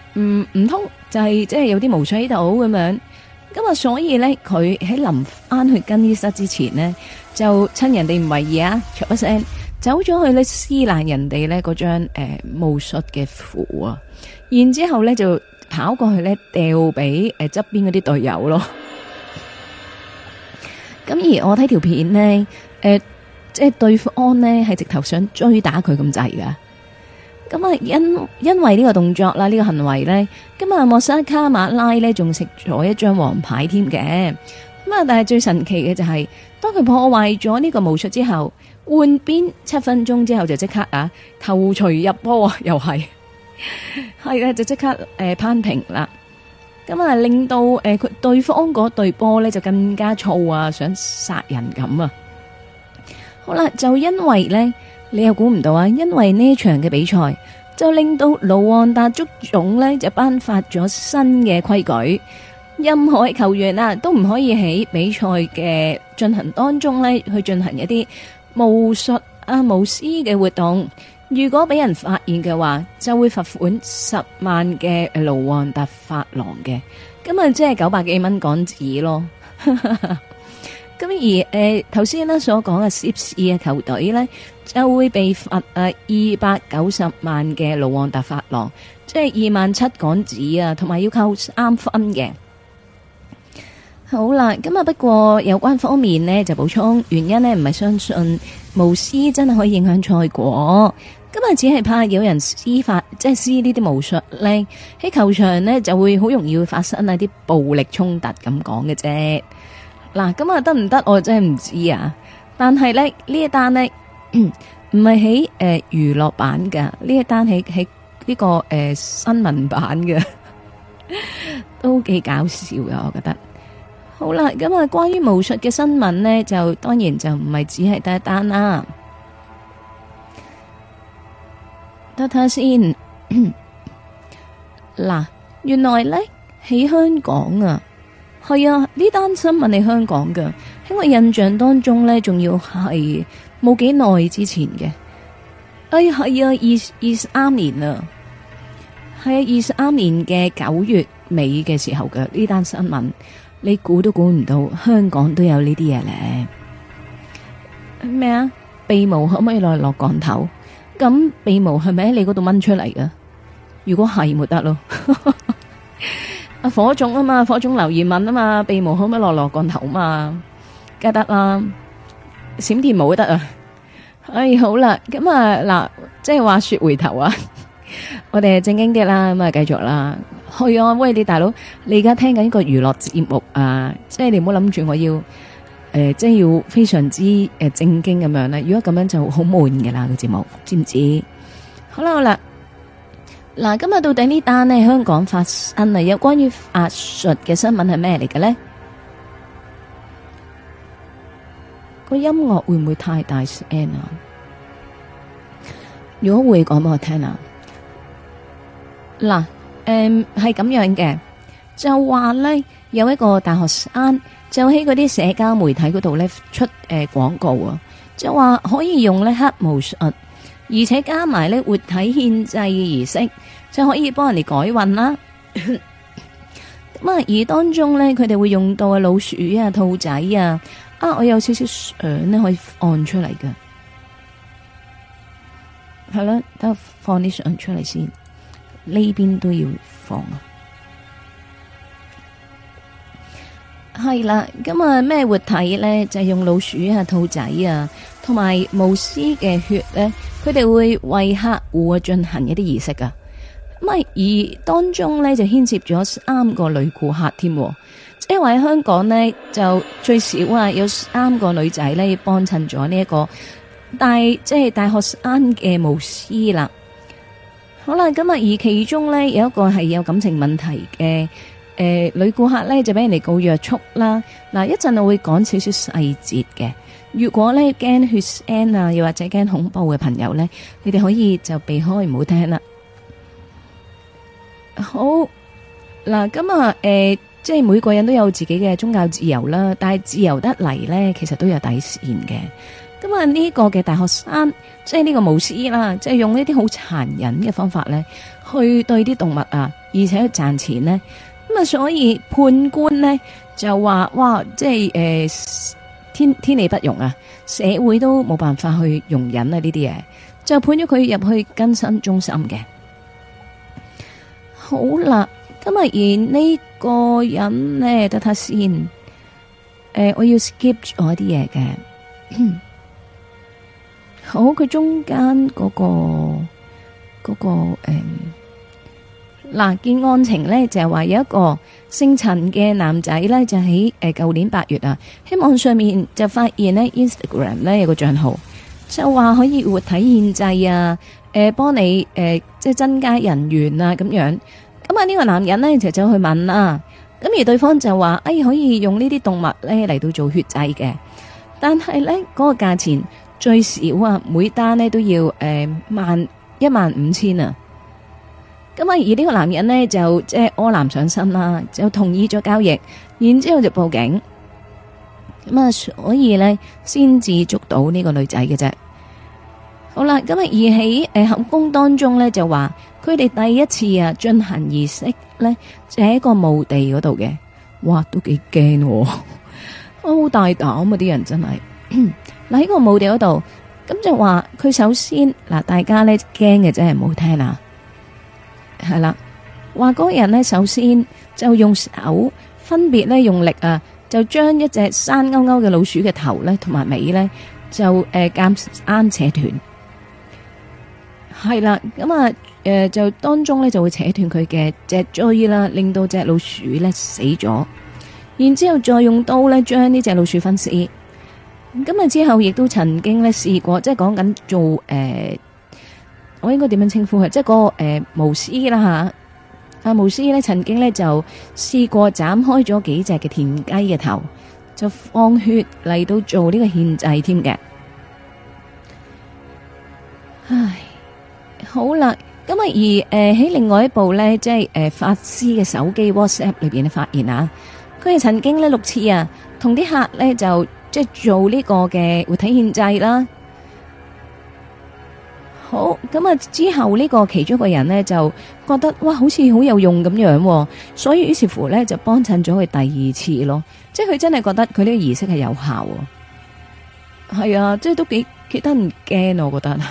唔通就係即係有啲巫術喺度咁樣。咁啊，所以咧，佢喺臨翻去更衣室之前呢，就趁人哋唔為意啊，唰一聲走咗去咧撕爛人哋咧嗰張巫術嘅符啊，然之後咧就跑過去咧掉俾側邊嗰啲隊友咯。咁而我睇條片呢，即係對方呢係直頭想追打佢咁滯噶。咁啊，因為呢個動作啦，呢個行為咧，咁啊莫沙卡馬拉咧仲食咗一張黃牌添嘅。咁啊，但係最神奇嘅就係，當佢破壞咗呢個巫術之後，換邊7分鐘之後就即刻啊頭錘入波啊，又係嘅就即刻攀平啦。咁啊，令到佢對方嗰隊波咧就更加燥啊，想殺人咁啊。好啦，就因為咧。你又估唔到啊！因為呢場嘅比賽就令到盧旺達足總呢就頒發咗新嘅規矩，任何球員啊都唔可以喺比賽嘅進行當中呢去進行一啲巫術啊巫師嘅活動。如果俾人發現嘅話，就會罰款10萬嘅盧旺達法郎嘅，咁啊即係900幾蚊港紙咯。咁而頭先呢所講嘅涉事嘅球隊呢，就會被罰290萬嘅盧旺達法郎，即係27,000港紙啊，同埋要扣3分嘅。好啦，咁啊不過有關方面呢，就補充，原因呢唔係相信巫師真係可以影響賽果，咁啊只係怕有人施法，即係施呢啲巫術呢，喺球場呢就會好容易會發生一啲暴力衝突咁講嘅啫。嗱，咁啊得唔得？我真係唔知啊。但係咧呢一單呢，唔係喺娛樂版噶，呢一單喺呢個新聞版嘅，都幾搞笑噶，我覺得。好啦，咁啊關於巫術嘅新聞呢，就當然就唔係只係得一單啦。得睇下先。嗱，原來咧喺香港啊。係啊，呢單新聞係香港嘅，喺我印象當中呢，仲要係冇幾耐之前嘅。係啊，23年啊，係啊，23年嘅9月尾嘅時候嘅呢單新聞，你估都估唔到香港都有呢啲嘢咧。咩啊？鼻毛可唔可以落降頭？咁鼻毛係咪喺你嗰度掹出嚟㗎？如果係，咪得咯。火種啊嘛，火種留言問啊嘛，鼻毛可唔可以落降頭嘛？梗得啦，閃電毛都得啊。好啦，咁啊嗱，即係話說回頭啊，我哋正經啲啦，咁啊繼續啦。係啊，喂你大佬，你而家聽緊呢個娛樂節目啊，即係你唔好諗住我要即係要非常之正經咁樣啦。如果咁樣就好悶㗎啦個節目，知唔知？好啦。嗱，今日到底呢單呢香港發生啊有關於法術嘅新聞係咩嚟嘅呢？個音樂會唔會太大聲啊？如果會講俾我聽啊！嗱，係咁樣嘅，就話呢，有一個大學生就喺嗰啲社交媒體嗰度呢出廣告啊，就話可以用呢黑巫術，而且加埋呢活體獻祭嘅儀式，就可以幫人哋改運啦。咁啊，而當中呢，佢哋會用到老鼠啊、兔仔啊，我有少少相呢可以放出嚟嘅，係啦，等我放啲相出嚟先，呢邊都要放啊。係啦，咁啊咩活體咧，就係用老鼠啊、兔仔啊，同埋巫師嘅血咧，佢哋會為客戶啊進行一啲儀式噶。咁啊，而當中咧就牽涉咗3個女顧客添，即係話喺香港咧就最少啊有3個女仔咧幫襯咗呢一個大學生嘅巫師啦。好啦，咁啊而其中咧有一個係有感情問題嘅。女顧客咧就俾人哋告約束啦。嗱，一陣我會講少少細節嘅。如果咧驚血腥啊，又或者驚恐怖嘅朋友咧，你哋可以就避開唔好聽啦。好嗱，咁啊，即係每個人都有自己嘅宗教自由啦，但係自由得嚟咧，其實都有底線嘅。咁啊，呢個嘅大學生，即係呢個巫師啦，即係用呢啲好殘忍嘅方法咧， 去對啲動物啊，而且去賺錢呢。咁啊，所以判官呢就話：哇，即係天理不容啊，社會都冇辦法去容忍啊呢啲嘢，就判咗佢入去更新中心嘅。好啦，咁啊，而呢個人呢，等下先，我要 skip 咗啲嘢嘅。好，佢中間嗰個嗱，件案情呢就係話有一個姓陳嘅男仔呢，就喺舊年8月啊，喺網上面就發現呢 Instagram 呢有個賬號，就話可以活體獻祭啊，幫你即係增加人緣啊咁樣。咁啊呢個男人呢就走去問啦，咁而對方就話可以用呢啲動物呢嚟到做血祭嘅，但係呢嗰個價錢最少啊，每單呢都要15000啊。咁啊，而呢個男人呢，就即係柯南上身啦，就同意咗交易，然之後就報警。咁啊，所以呢，先至捉到呢個女仔嘅啫。好啦，咁啊，而喺口供當中呢，就話佢哋第一次啊進行儀式呢，就喺一個墓地嗰度嘅。哇，都幾驚，好大膽啊！啲人真係嗱喺個墓地嗰度，咁就話佢首先嗱，大家呢驚嘅真係唔好聽啊！係啦，話嗰個人呢，首先就用手分別呢用力啊，就將一隻生勾勾嘅老鼠嘅頭呢同埋尾呢，就夾硬扯斷。係啦，咁啊就當中呢就會扯斷佢嘅脊椎啦，令到隻老鼠呢死咗。然之後再用刀呢將呢隻老鼠分屍。咁啊之後亦都曾經呢試過，即係講緊做我應該點樣稱呼佢？即係嗰個巫師啦吓，巫師咧曾經咧就試過斬開咗幾隻嘅田雞嘅頭，就放血嚟到做呢個獻祭添嘅。唉，好啦，咁啊而喺另外一部咧，即係法師嘅手機 WhatsApp 裏邊咧發現啊，佢係曾經咧6次啊，同啲客咧就即係做呢個嘅活體獻祭啦。好，咁啊之後呢個其中一個人呢，就覺得哇好似好有用咁樣，所以於是乎呢，就幫襯咗佢第2次咯，即係佢真係覺得佢呢個儀式係有效，係啊，即係都幾得唔驚，我覺得。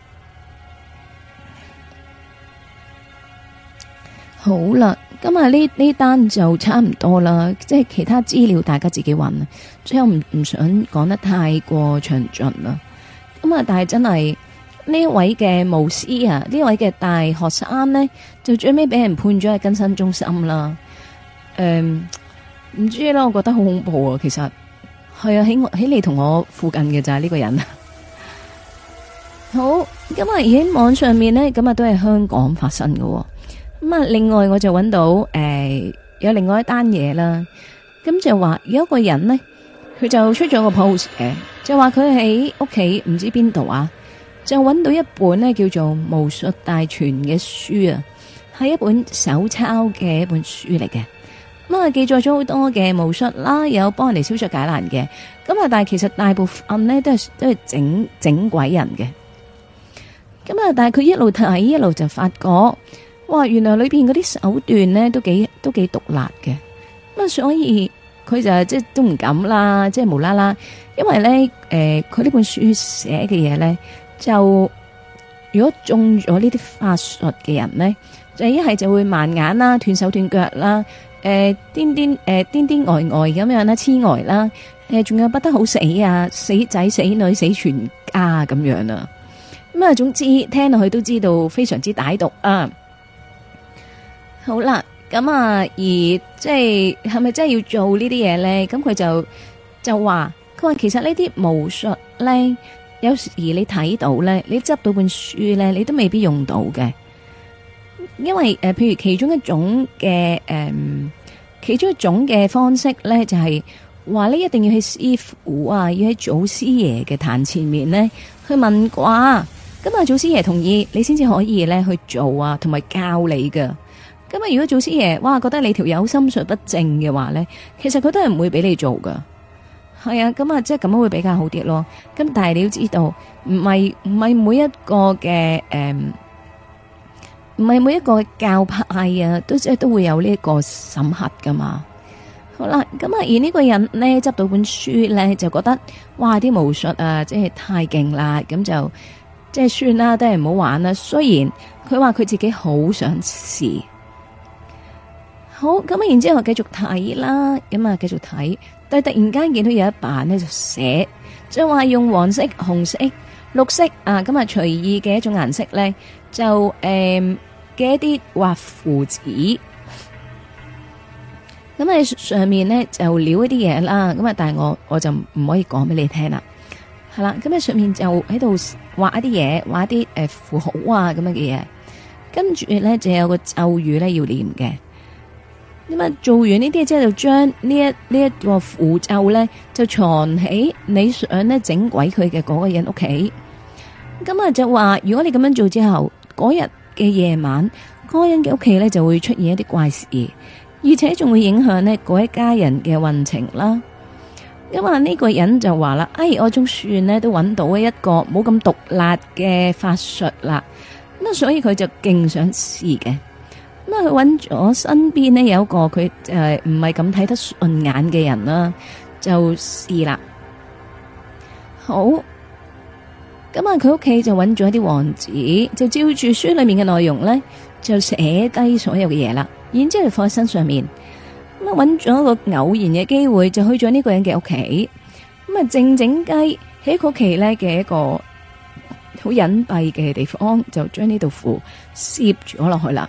好啦，咁啊呢單就差唔多啦，即係其他資料大家自己揾，所以我唔想講得太過詳盡啦。咁啊，但係真係。呢位嘅巫師啊，呢位嘅大學生呢，就最尾俾人判咗喺更生中心啦。唔知啦，我覺得好恐怖啊。其實係啊，喺你同我附近嘅就係呢個人。好，咁啊而喺網上面呢，咁啊都係香港發生嘅。咁啊，另外我就揾到有另外一單嘢啦。咁就話有一個人呢，佢就出咗個 post 嘅，就話佢喺屋企唔知邊度啊。就揾到一本呢叫做《巫術大全》嘅書啊，係一本手抄嘅一本書嚟嘅。咁啊，記載咗好多嘅巫術啦，有幫人哋消除解難嘅。咁啊，但係其實大部分呢都係整鬼人嘅。咁啊，但係佢一路睇一路就發覺，哇，原來裏邊嗰啲手段呢都幾毒辣嘅。咁啊，所以佢就即係都唔敢啦，即係無啦啦，因為呢佢呢本書寫嘅嘢呢。就如果中咗呢啲法術嘅人呢，就一係就會盲眼啦、斷手斷腳啦、癲癲呆咁樣啦、痴呆啦，仲有不得好死啊、死仔死女死全家咁樣啊。咁啊，總之聽落去都知道非常之歹毒啊。好啦，咁啊，而即係咪真係要做呢啲嘢呢？咁佢就話，佢話其實呢啲巫術呢。有時你睇到咧，你執到本書咧，你都未必用到嘅，因為譬如其中一種嘅方式咧，就係話你一定要喺師傅啊，要喺祖師爺嘅壇前面咧去問卦，咁啊祖師爺同意你先至可以咧去做啊，同埋教你噶。咁啊如果祖師爺哇覺得你條友心術不正嘅話咧，其實佢都係唔會俾你做噶。係啊，咁啊，即係咁樣會比較好啲咯。咁但係你要知道，唔係每一個嘅唔係每一個教派啊，都會有呢一個審核噶嘛。好啦，咁啊，而呢個人呢，執到本書咧，就覺得哇，啲巫術啊，即係太勁啦，咁就即係算啦，都係唔好玩啦。雖然佢話佢自己好想試，好咁啊，然之後繼續睇啦，咁啊繼續睇，但係突然間見到有一版呢，就寫，就話用黃色、紅色、綠色啊，咁啊隨意嘅一種顏色咧，就嘅一啲畫符紙。咁喺上面咧就撩一啲嘢啦，咁啊，但係我就唔可以講俾你聽啦，係啦，咁喺上面就喺度畫一啲嘢，畫一啲符號啊咁樣嘅嘢，跟住咧就有個咒語咧要念嘅，咁啊做完呢啲之後就將呢一個符咒咧就藏喺你想咧整鬼佢嘅嗰個人屋企，咁啊就話如果你咁樣做之後，嗰日嘅夜晚嗰個人嘅屋企咧就會出現一啲怪事。而且仲會影響呢嗰一家人嘅運程啦。咁啊呢個人就話啦，我總算呢都揾到一個冇咁毒辣嘅法術啦。咁啊，所以佢就勁想試嘅。咁啊，佢揾咗身邊呢有一個佢唔係咁睇得順眼嘅人啦，就試啦。好，咁啊，佢屋企就揾咗一啲黃紙，就照住書裏面嘅內容呢，就寫低所有嘅嘢啦。然之後放喺身上面，咁啊揾咗一個偶然嘅機會，就去咗呢個人嘅屋企，咁啊靜靜雞喺佢屋企咧嘅一個好隱蔽嘅地方，就將呢道符攝咗落去啦。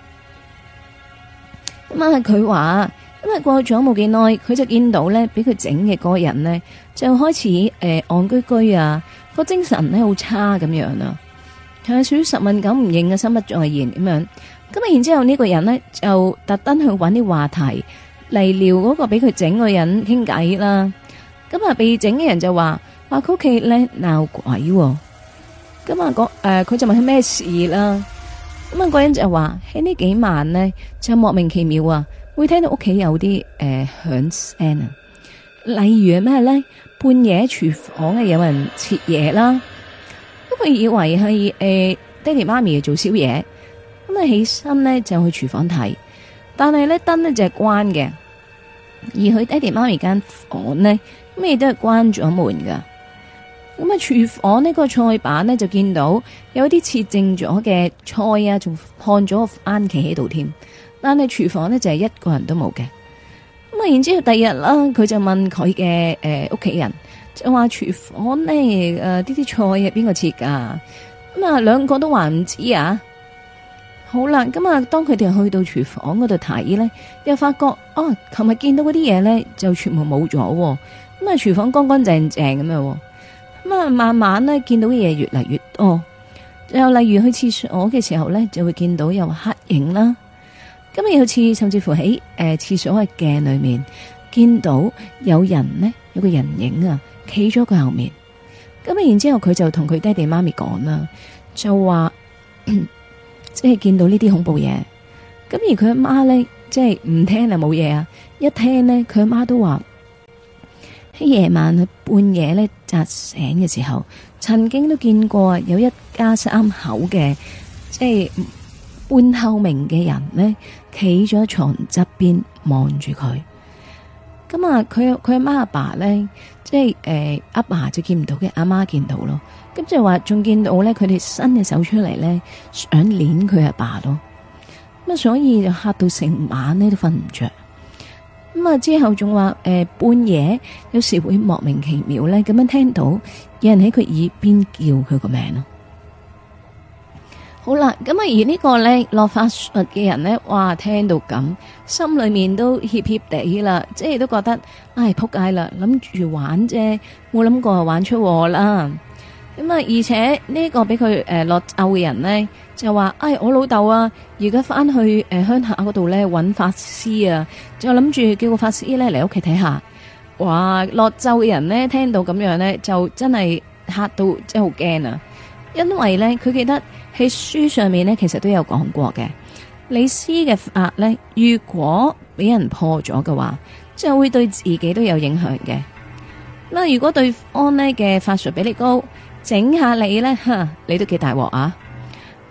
咁啊佢話，咁啊過咗冇幾耐，佢就見到咧，俾佢整嘅嗰個人咧，就開始戇居居啊，個精神咧好差咁樣啦，係屬於十問九唔應嘅，心不在焉咁樣。咁啊，然之後呢個人呢，就特登去揾啲話題嚟撩嗰個俾佢整個人傾偈啦。咁啊，被整嘅人就話佢屋企咧鬧鬼。咁啊，佢就問佢咩事啦。咁啊，個人就話喺呢幾晚呢，就莫名其妙啊，會聽到屋企有啲響聲啊。例如係咩咧？半夜廚房啊有人切嘢啦。咁佢以為係爹哋媽咪做宵夜。咁啊，起身咧就去廚房睇，但係咧燈咧就係關嘅，而佢爹哋媽咪間房咧咩都係關咗門噶。咁啊，廚房呢個菜板咧就見到有啲切淨咗嘅菜啊，仲看咗個番茄喺度添。但係廚房咧就係一個人都冇嘅。咁啊，然之後第二日啦，佢就問佢嘅屋企人，就話廚房咧呢啲菜係邊個切噶？咁啊，兩個都話唔知啊。好啦，咁啊，當佢哋去到廚房嗰度睇咧，又發覺琴日見到嗰啲嘢咧就全部冇咗，咁啊，廚房乾乾淨淨咁樣，咁啊，慢慢咧見到嘅嘢越嚟越多，又例如去廁所嘅時候咧，就會見到有黑影啦，咁啊，有次甚至乎喺廁所嘅鏡裏面見到有人呢，有個人影啊，企咗佢後面，咁啊，然之後佢就同佢爹哋媽咪講啦，就話。即係見到呢啲恐怖嘢，咁而佢阿媽咧，即係唔聽就冇嘢啊！一聽咧，佢阿媽都話喺夜晚啊半夜咧扎醒嘅時候，曾經都見過有一家三口嘅，即係半透明嘅人咧，企咗喺床側邊望住佢。咁啊，佢阿媽阿爸咧，即係阿爸就見唔到嘅，阿媽見到咯。咁就話仲見到咧，佢哋伸隻手出嚟咧，想捏佢阿爸咯。咁啊，所以就嚇到成晚咧都瞓唔着。咁啊，之後仲話半夜有時會莫名其妙咧咁樣聽到有人喺佢耳邊叫佢個名咯。好啦，咁啊，而呢個咧落法術嘅人咧，哇，聽到咁，心裏面都怯怯地啦，即係都覺得唉扑街啦，諗住玩啫，冇諗過玩出禍啦。咁啊，而且呢個俾佢落咒嘅人咧，就話我老豆啊，而家翻去鄉下嗰度咧揾法師啊，就諗住叫個法師咧嚟屋企睇下。哇，落咒嘅人咧聽到咁樣咧，就真係嚇到真係好驚啊！因為咧佢記得喺書上面咧其實都有講過嘅，你施嘅法咧，如果俾人破咗嘅話，就會對自己都有影響嘅。嗱，如果對方咧嘅法術比你高，整下你咧，你都幾大鑊啊！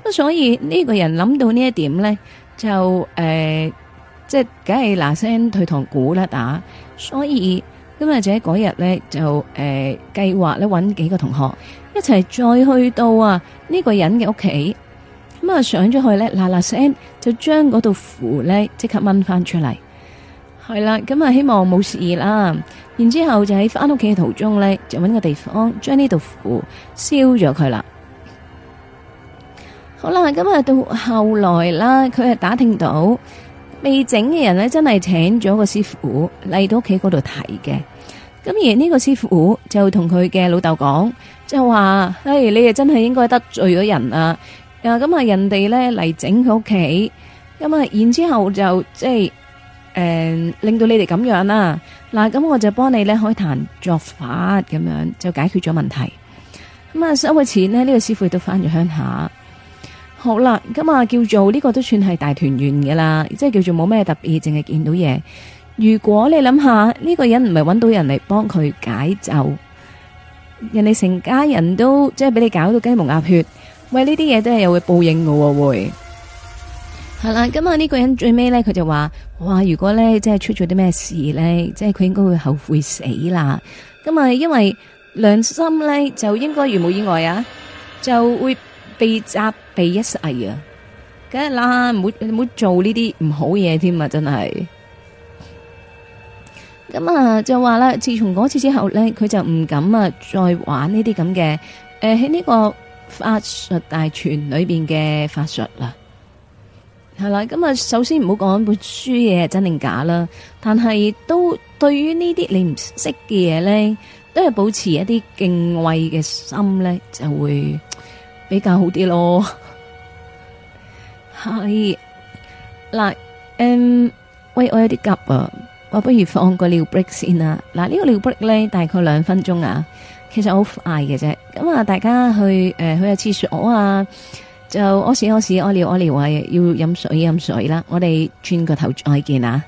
咁所以呢個人諗到呢一點咧，就即係梗係嗱聲退堂鼓啦打。所以今日就喺嗰日咧就計劃咧搵幾個同學一齊再去到呢個人嘅屋企。咁啊上咗去咧嗱嗱聲就將嗰道符咧即刻掹翻出嚟。係啦，咁啊希望冇事啦。然之後就喺翻屋企嘅途中咧，就搵個地方將呢道符燒咗佢啦。好啦，咁啊到後來啦，佢係打聽到未整嘅人咧，真係請咗個師傅嚟到屋企嗰度睇嘅。咁而呢個師傅就同佢嘅老豆講，就話：你哋真係應該得罪咗人啊！咁啊，人哋咧嚟整佢屋企，咁啊，然之後就即係令到你哋咁樣啦。嗱，咁我就幫你咧開壇作法，咁樣就解決咗問題。咁啊，收嘅錢呢，呢個師傅亦都翻咗鄉下。好啦，咁啊，叫做呢個都算係大團圓嘅啦，即係叫做冇咩特別，淨係見到嘢。如果你諗下呢個人唔係搵到人嚟幫佢解咒，人哋成家人都即係俾你搞到雞毛鴨血，喂，呢啲嘢都係有會報應嘅喎，會係啦。咁啊，呢個人最尾咧，佢就話：哇，如果咧即係出咗啲咩事咧，即係佢應該會後悔死啦。咁啊，因為良心咧就應該如無意外啊，就會被責備一世啊。梗係啦，唔好做呢啲唔好嘢添啊，真係。咁啊，就話啦，自從嗰次之後咧，佢就唔敢再玩呢啲咁嘅喺呢個法術大全裏邊嘅法術啦。係啦，咁啊，首先唔好講本書嘢係真定假啦，但係都對於呢啲你唔識嘅嘢咧，都係保持一啲敬畏嘅心咧，就會比較好啲咯。係嗱，喂，我有啲急啊。我不如放個尿 break 先啦。嗱，呢個尿 break 咧大概2分鐘啊，其實好快嘅啫。咁啊，大家去下廁所啊，就屙屎屙尿啊，要飲水啦。我哋轉個頭再見啊！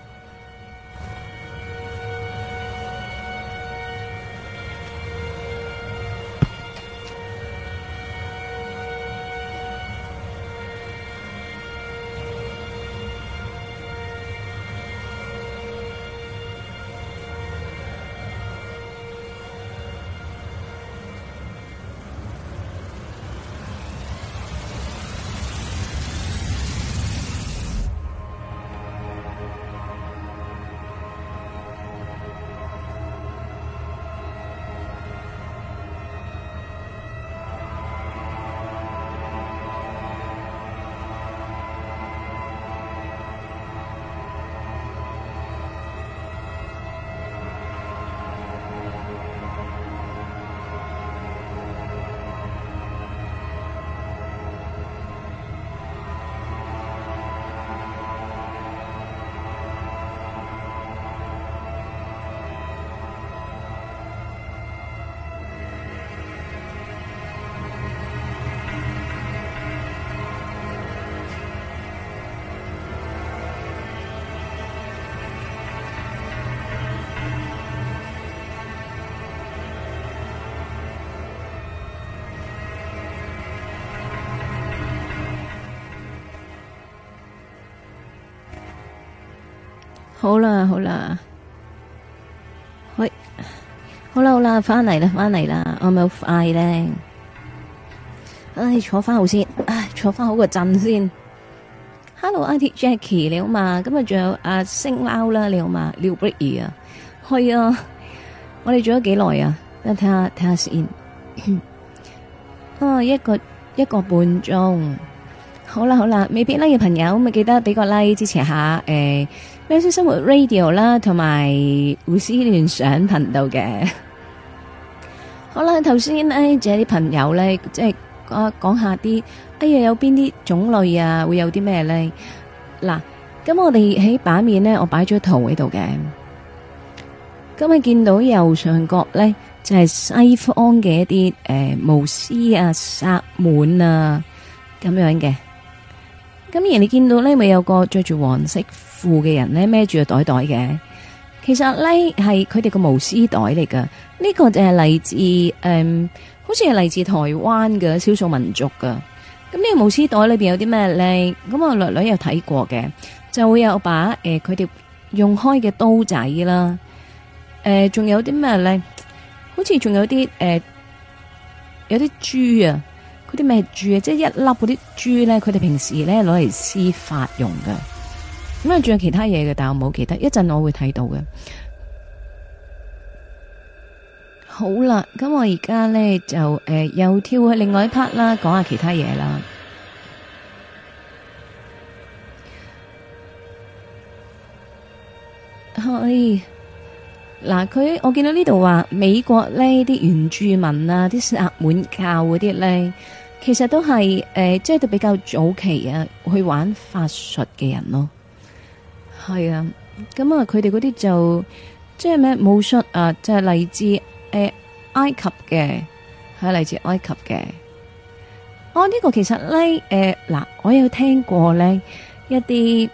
好啦，喂，好啦，翻嚟啦，我咪好快咧，唉，坐翻好先，坐翻好個陣先。Hello，IT Jackie 你好嘛？今日仲有阿星貓啦，你好嘛？廖 Brady 啊，係啊，我哋做咗幾耐啊？等睇下先，一個半鐘。好啦，未必 like 嘅朋友咪記得俾個 like 支持下喵式生活 Radio 啦，同埋胡思亂想頻道嘅。好啦，頭先咧就有啲朋友咧，即係講下啲，有邊啲種類啊，會有啲咩咧？嗱，咁我哋喺版面咧，我擺咗圖喺度嘅。咁你見到右上角咧，就係西方嘅一啲巫師啊、薩滿啊咁樣嘅。咁而你見到咧，咪有個着住黃色褲嘅人咧，孭住個袋袋嘅。其實咧係佢哋個巫師袋嚟噶。呢個就係嚟自好似係嚟自台灣嘅少數民族噶。 咁呢個巫師袋裏邊有啲咩咧？咁我略略有睇過嘅，就會有把佢哋用開嘅刀仔啦。仲有啲咩咧？好似仲有啲有啲珠啊，嗰啲咩珠啊？即係一粒嗰啲珠咧，佢哋平時咧攞嚟施法用嘅。咁啊，仲有其他嘢嘅，但我冇記得，一陣我會睇到嘅。好啦，咁我而家咧就又跳去另外一 part 啦，講下其他嘢啦。係嗱，我見到呢度話美國呢啲原住民啊，啲薩滿教嗰啲咧，其實都係即係都比較早期啊，去玩法術嘅人咯。係啊，咁啊，佢哋嗰啲就即係咩巫術啊，就係嚟自埃及嘅，係嚟自埃及嘅。呢個其實咧，嗱，我有聽過咧一啲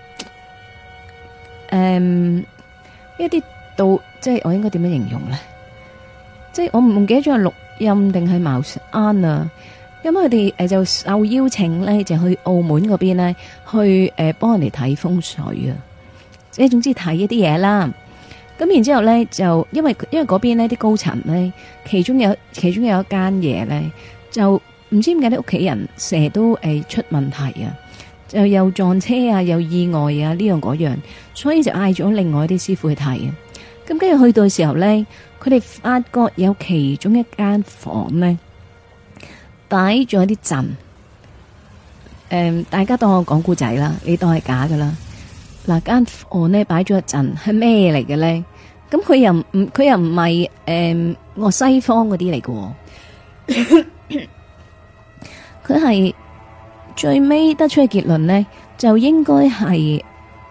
一啲道，即係我應該點樣形容咧？即係我唔記得咗係錄音定係茅山啊。咁佢哋就受邀請咧，就去澳門嗰邊咧，去幫人哋睇風水啊。即係總之睇一啲嘢啦。咁然之後咧，就因為嗰邊呢啲高層咧，其中有一間嘢咧，就唔知點解啲屋企人成日都出問題啊，就又撞車啊，又意外啊，呢樣嗰樣，所以就嗌咗另外一啲師傅去睇啊。咁跟住去到嘅時候咧，佢哋發覺有其中一間房咧擺咗一啲陣，大家當我講故仔啦，你當係假噶啦。嗱，間房呢擺咗一陣係咩嚟嘅咧？咁佢又唔係我西方嗰啲嚟嘅，佢係最尾得出嘅結論咧，就應該係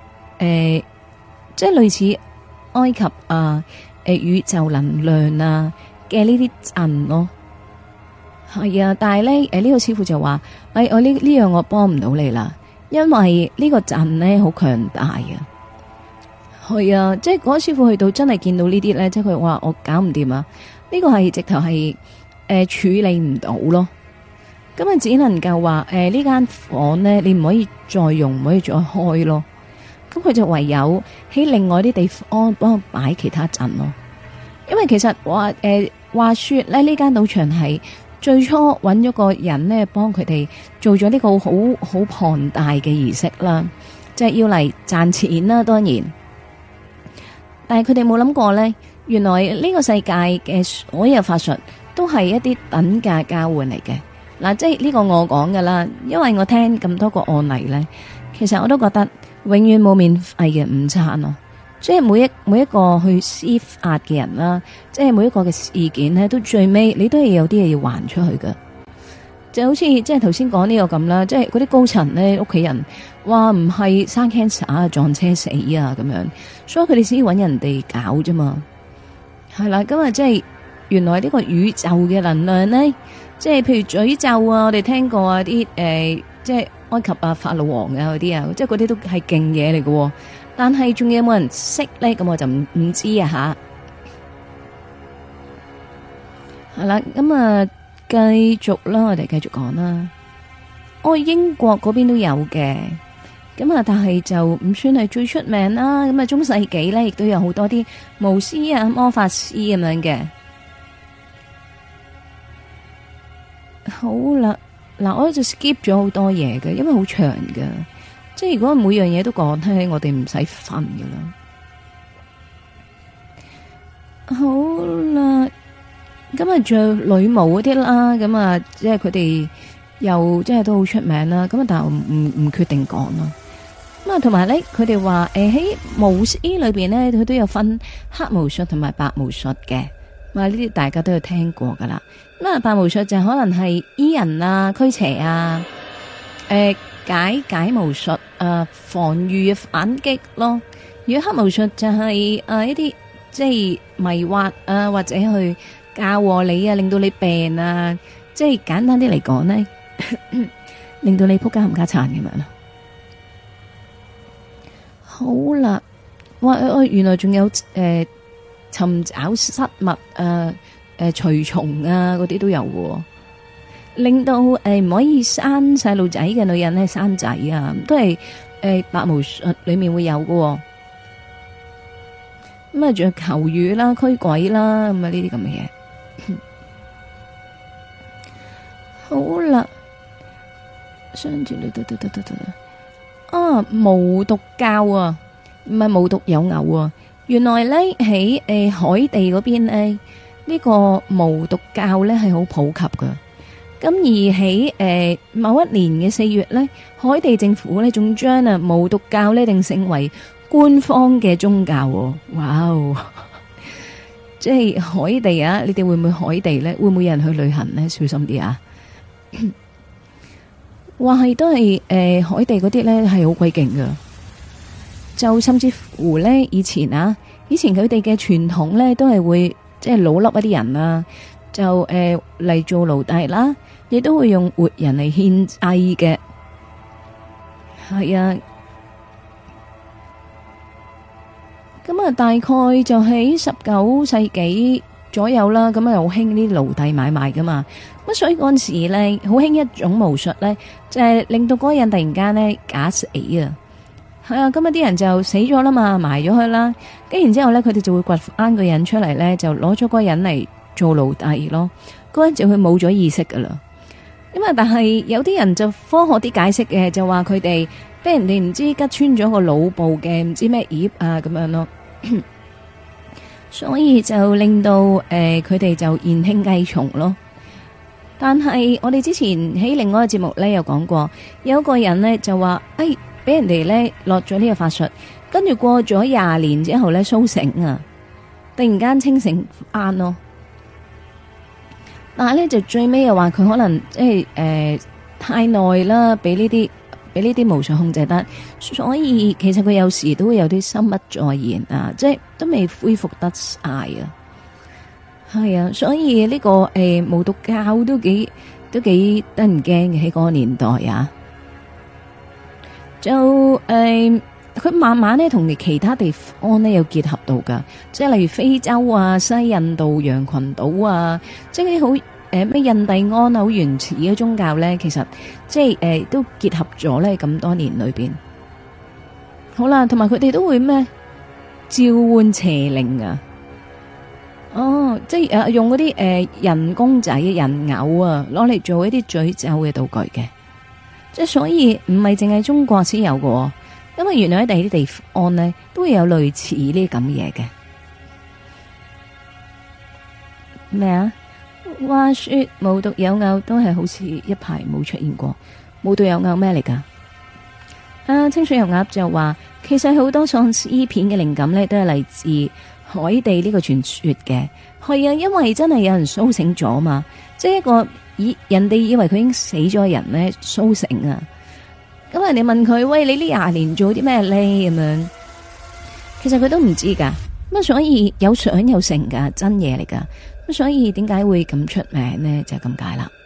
即係類似埃及啊，宇宙能量啊嘅呢啲陣咯。係啊，但係咧呢個師傅就話，我呢樣我幫唔到你啦。因為呢個陣咧好強大啊，係啊，即係嗰個師傅去到真係見到呢啲咧，即係佢話我搞唔掂啊，呢個係直頭係處理唔到咯，咁啊只能夠話呢間房咧你唔可以再用，唔可以再開咯，咁佢就唯有喺另外啲地方幫我擺其他陣咯，因為其實話說咧呢間賭場係。最初揾咗個人呢，幫佢哋做咗呢個好龐大嘅儀式啦，即係要嚟賺錢啦。當然，但係佢哋冇諗過呢，原來呢個世界嘅所有法術都係一啲等價交換嚟嘅。嗱，即係呢個我講噶啦，因為我聽咁多個案例呢，其實我都覺得永遠冇免費嘅午餐咯。即係每一個去施法嘅人啦，即係每一個嘅事件咧，都最尾你都係有啲嘢要還出去噶。就好似即係頭先講呢個咁啦，即係嗰啲高層咧，屋企人話唔係生 cancer 啊，撞車死啊咁樣，所以佢哋先揾人哋搞啫嘛。係啦，咁啊，即係原來呢個宇宙嘅能量咧，即係譬如詛咒啊，我哋聽過啊啲即係埃及啊法老王啊嗰啲啊，即係嗰啲都係勁嘢嚟嘅。但係仲有冇人識咧？咁我就唔知啊吓。係啦，咁啊繼續啦，我哋繼續講啦。英國嗰邊都有嘅，咁啊，但係就唔算係最出名啦。咁啊，中世紀咧，亦都有好多啲巫師啊、魔法師咁樣嘅。好啦，嗱，我就 skip 咗好多嘢嘅，因為好長噶。即係如果每樣嘢都講聽，我哋唔使瞓噶啦。好啦，咁啊仲有女巫嗰啲啦，咁啊即係佢哋又即係都好出名啦。咁啊，但係我唔決定講啦。咁啊，同埋咧，佢哋話喺巫師裏邊咧，佢都有分黑巫術同埋白巫術嘅。呢啲大家都有聽過噶啦。咁啊，白巫術就可能係醫人啊、驅邪啊、解巫術防禦反擊咯。如果黑巫術就係一啲即係迷惑啊，或者去教禍你啊，令到你病啊，即係簡單啲嚟講呢，令到你仆街冚家鏟咁樣咯。好啦，原來仲有尋找失物隨從啊嗰啲都有嘅。 令到唔可以生細路仔嘅女人咧生仔啊，都係白巫術裏面會有喎。咁啊，仲有求雨啦、驅鬼啦，咁啊呢啲咁嘅嘢。好啦，相住你啊，無毒教啊，唔係無獨有偶啊。原來咧喺海地嗰邊咧，呢個無毒教咧係好普及噶。咁而喺某一年嘅4月咧，海地政府咧仲將無毒教咧定性為官方嘅宗教。哇哦！即係海地啊，你哋會唔會海地咧？會唔會有人去旅行咧？小心啲啊！話係都係海地嗰啲咧係好鬼勁噶，就甚至乎咧以前佢哋嘅傳統咧都係會即係老笠一啲人啊，就嚟做奴隸啦，亦都會用活人嚟獻祭嘅。係啊，咁啊大概就喺19世紀左右啦，咁啊好興啲奴隸買賣噶嘛。咁所以嗰陣時咧，好興一種巫術咧，就係令到嗰個人突然間咧假死啊！係啊，咁啊啲人就死咗啦嘛，埋咗佢啦，跟然之後咧，佢哋就會掘翻個人出嚟咧，就攞咗嗰個人嚟做奴隸咯。嗰人就會冇咗意識噶啦。咁啊，但係有啲人就科學啲解釋嘅，就話佢哋俾人哋唔知吉穿咗個腦部嘅唔知咩葉啊咁樣咯。所以就令到佢哋就言輕計重咯。但係我哋之前喺另外一個節目咧有講過，有一個人咧就話，俾人哋咧落咗呢個法術，跟住過咗20年之後咧蘇醒啊，突然間清醒翻咯。但係咧就最尾又話佢可能即係太耐啦，俾呢啲巫術控制得，所以其實佢有時都會有啲心不在焉啊，即係都未恢復得晒啊。係啊，所以呢個無毒教都幾得人驚嘅喺嗰個年代啊。就佢慢慢咧同其他地方咧有結合到噶，即係例如非洲啊、西印度洋群島啊，即係啲好咩印第安啊好原始嘅宗教咧，其實即係都結合咗咧咁多年裏邊。好啦，同埋佢哋都會咩召喚邪靈啊。哦，即係用嗰啲人工仔、人偶啊，攞嚟做一啲詛咒嘅道具嘅，即係所以唔係淨係中國先有嘅，因為原來喺第二啲地方呢都會有類似呢啲咁嘢嘅。咩啊？話說無獨有偶都係好似一排冇出現過，無獨有偶咩嚟噶？清水油鴨就話，其實好多喪屍片嘅靈感呢都係嚟自海地呢個傳說嘅。係啊，因為真係有人蘇醒咗嘛，即係一個人哋以為佢已經死咗嘅人咧蘇醒啊。咁人哋問佢，喂，你呢20年做啲咩咧？咁樣，其實佢都唔知噶。咁所以有相有成噶，真嘢嚟噶。咁所以點解會咁出名呢？就係咁解啦。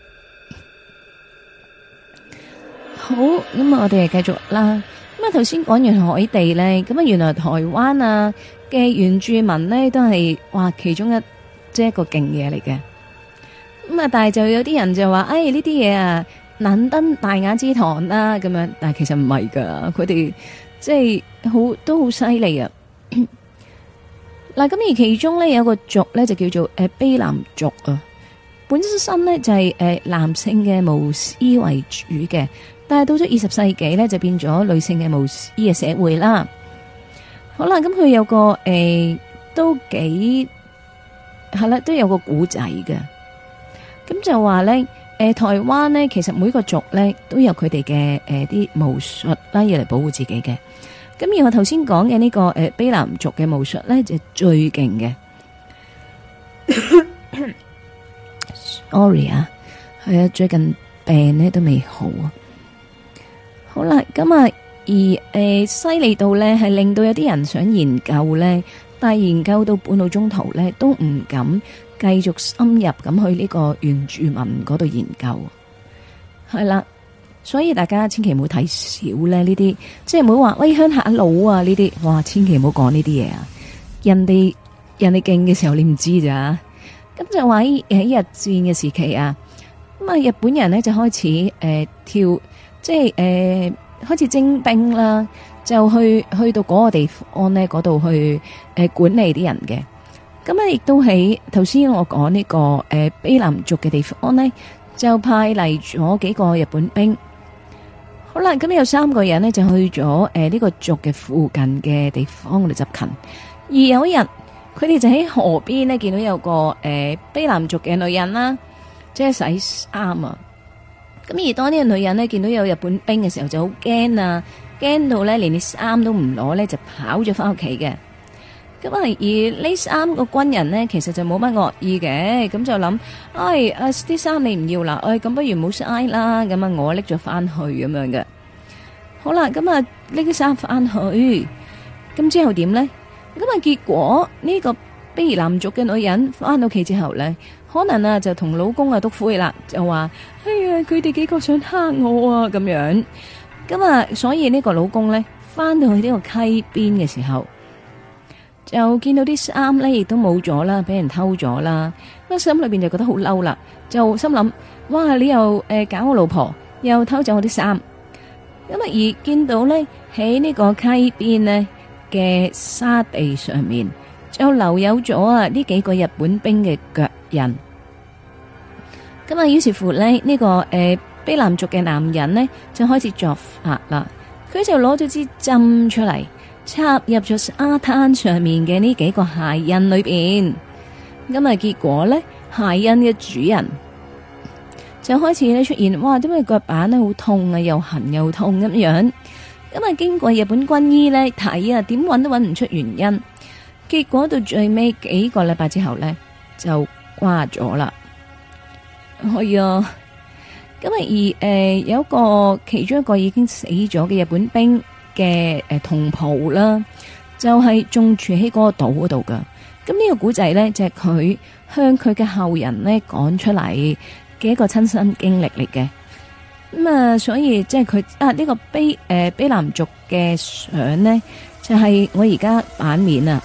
好，咁我哋繼續啦。咁啊，頭先講完海地咧，咁啊，原來台灣啊嘅原住民咧都係哇其中一個勁嘢嚟嘅。咁啊，但係就有啲人就話，呢啲嘢啊難登大雅之堂啦，咁樣，但係其實唔係噶，佢哋即係都好犀利啊。嗱，咁而其中咧有個族咧就叫做卑南族啊，本身咧就係男性嘅巫師為主嘅。但係到咗20世紀咧，就變咗女性嘅巫師嘅社會啦。好啦，咁佢有個都幾係啦，都有個古仔嘅。咁就話咧，台灣咧，其實每個族咧都有佢哋嘅啲巫術啦，要嚟保護自己嘅。咁而我頭先講嘅呢個卑南族嘅巫術咧，就最勁嘅。Sorry 啊，係啊，最近病咧都未好啊。好啦，咁啊，而犀利到咧，係令到有啲人想研究咧，但係研究到半路中途咧，都唔敢繼續深入咁去呢個原住民嗰度研究。係啦，所以大家千祈唔好睇少咧呢啲，即係唔好話喂鄉下佬啊呢啲，哇，千祈唔好講呢啲嘢啊！人哋勁嘅時候你唔知咋，咁就話喺日戰嘅時期啊。 咁啊，日本人咧就開始即係開始徵兵啦，就去到嗰個地方咧，嗰度去管理啲人嘅。咁啊，亦都喺頭先我講呢個卑南族嘅地方咧，就派嚟咗幾個日本兵。好啦，咁有3個人呢，就去咗呢個族嘅附近嘅地方嚟執勤。而有一日，佢哋就喺河邊呢，見到有個卑南族嘅女人啦，即係洗衫啊。咁而當呢個女人呢，見到有日本兵嘅時候，就好驚啊，驚到呢連啲衫都唔攞呢，就跑咗翻屋企嘅。咁啊，而呢3個軍人呢，其實就冇乜惡意嘅，咁就諗，啲衫你唔要啦，咁不如唔好嘥啦，咁啊，我拎咗翻去咁樣嘅。好啦，咁啊，拎啲衫翻去，咁之後點呢？咁啊，結果呢個卑南族嘅女人翻到屋企之後呢，可能啊就同老公啊篤灰啦，就話，哎呀，佢哋幾個想蝦我啊，咁樣。咁啊，所以呢個老公呢，翻到去呢個溪邊嘅時候，就見到啲衫咧，亦都冇咗啦，俾人偷咗啦。咁心裏邊就覺得好嬲啦，就心諗：哇！你又搞我老婆，又偷走我啲衫。咁啊，而見到咧喺呢個溪邊呢嘅沙地上面，就留有咗啊呢幾個日本兵嘅腳印。咁啊，於是乎咧呢個卑南族嘅男人呢，就開始作法啦。佢就攞咗支針出嚟，插入咗沙灘上面嘅呢幾個鞋印裏邊，咁啊結果咧鞋印嘅主人就開始咧出現，哇！點解腳板咧好痛啊，又痕又痛咁樣？咁啊經過日本軍醫咧睇啊，點揾都揾唔出原因，結果到最尾幾個禮拜之後咧就瓜咗啦。係啊，咁啊而有一個其中一個已經死咗嘅日本兵嘅同袍啦，就係仲住喺嗰個島嗰度噶。咁呢個古仔咧，就係佢向佢嘅後人咧講出嚟嘅一個親身經歷嚟嘅。咁啊，所以即係佢呢個卑南族嘅相咧，就係我而家版面啊，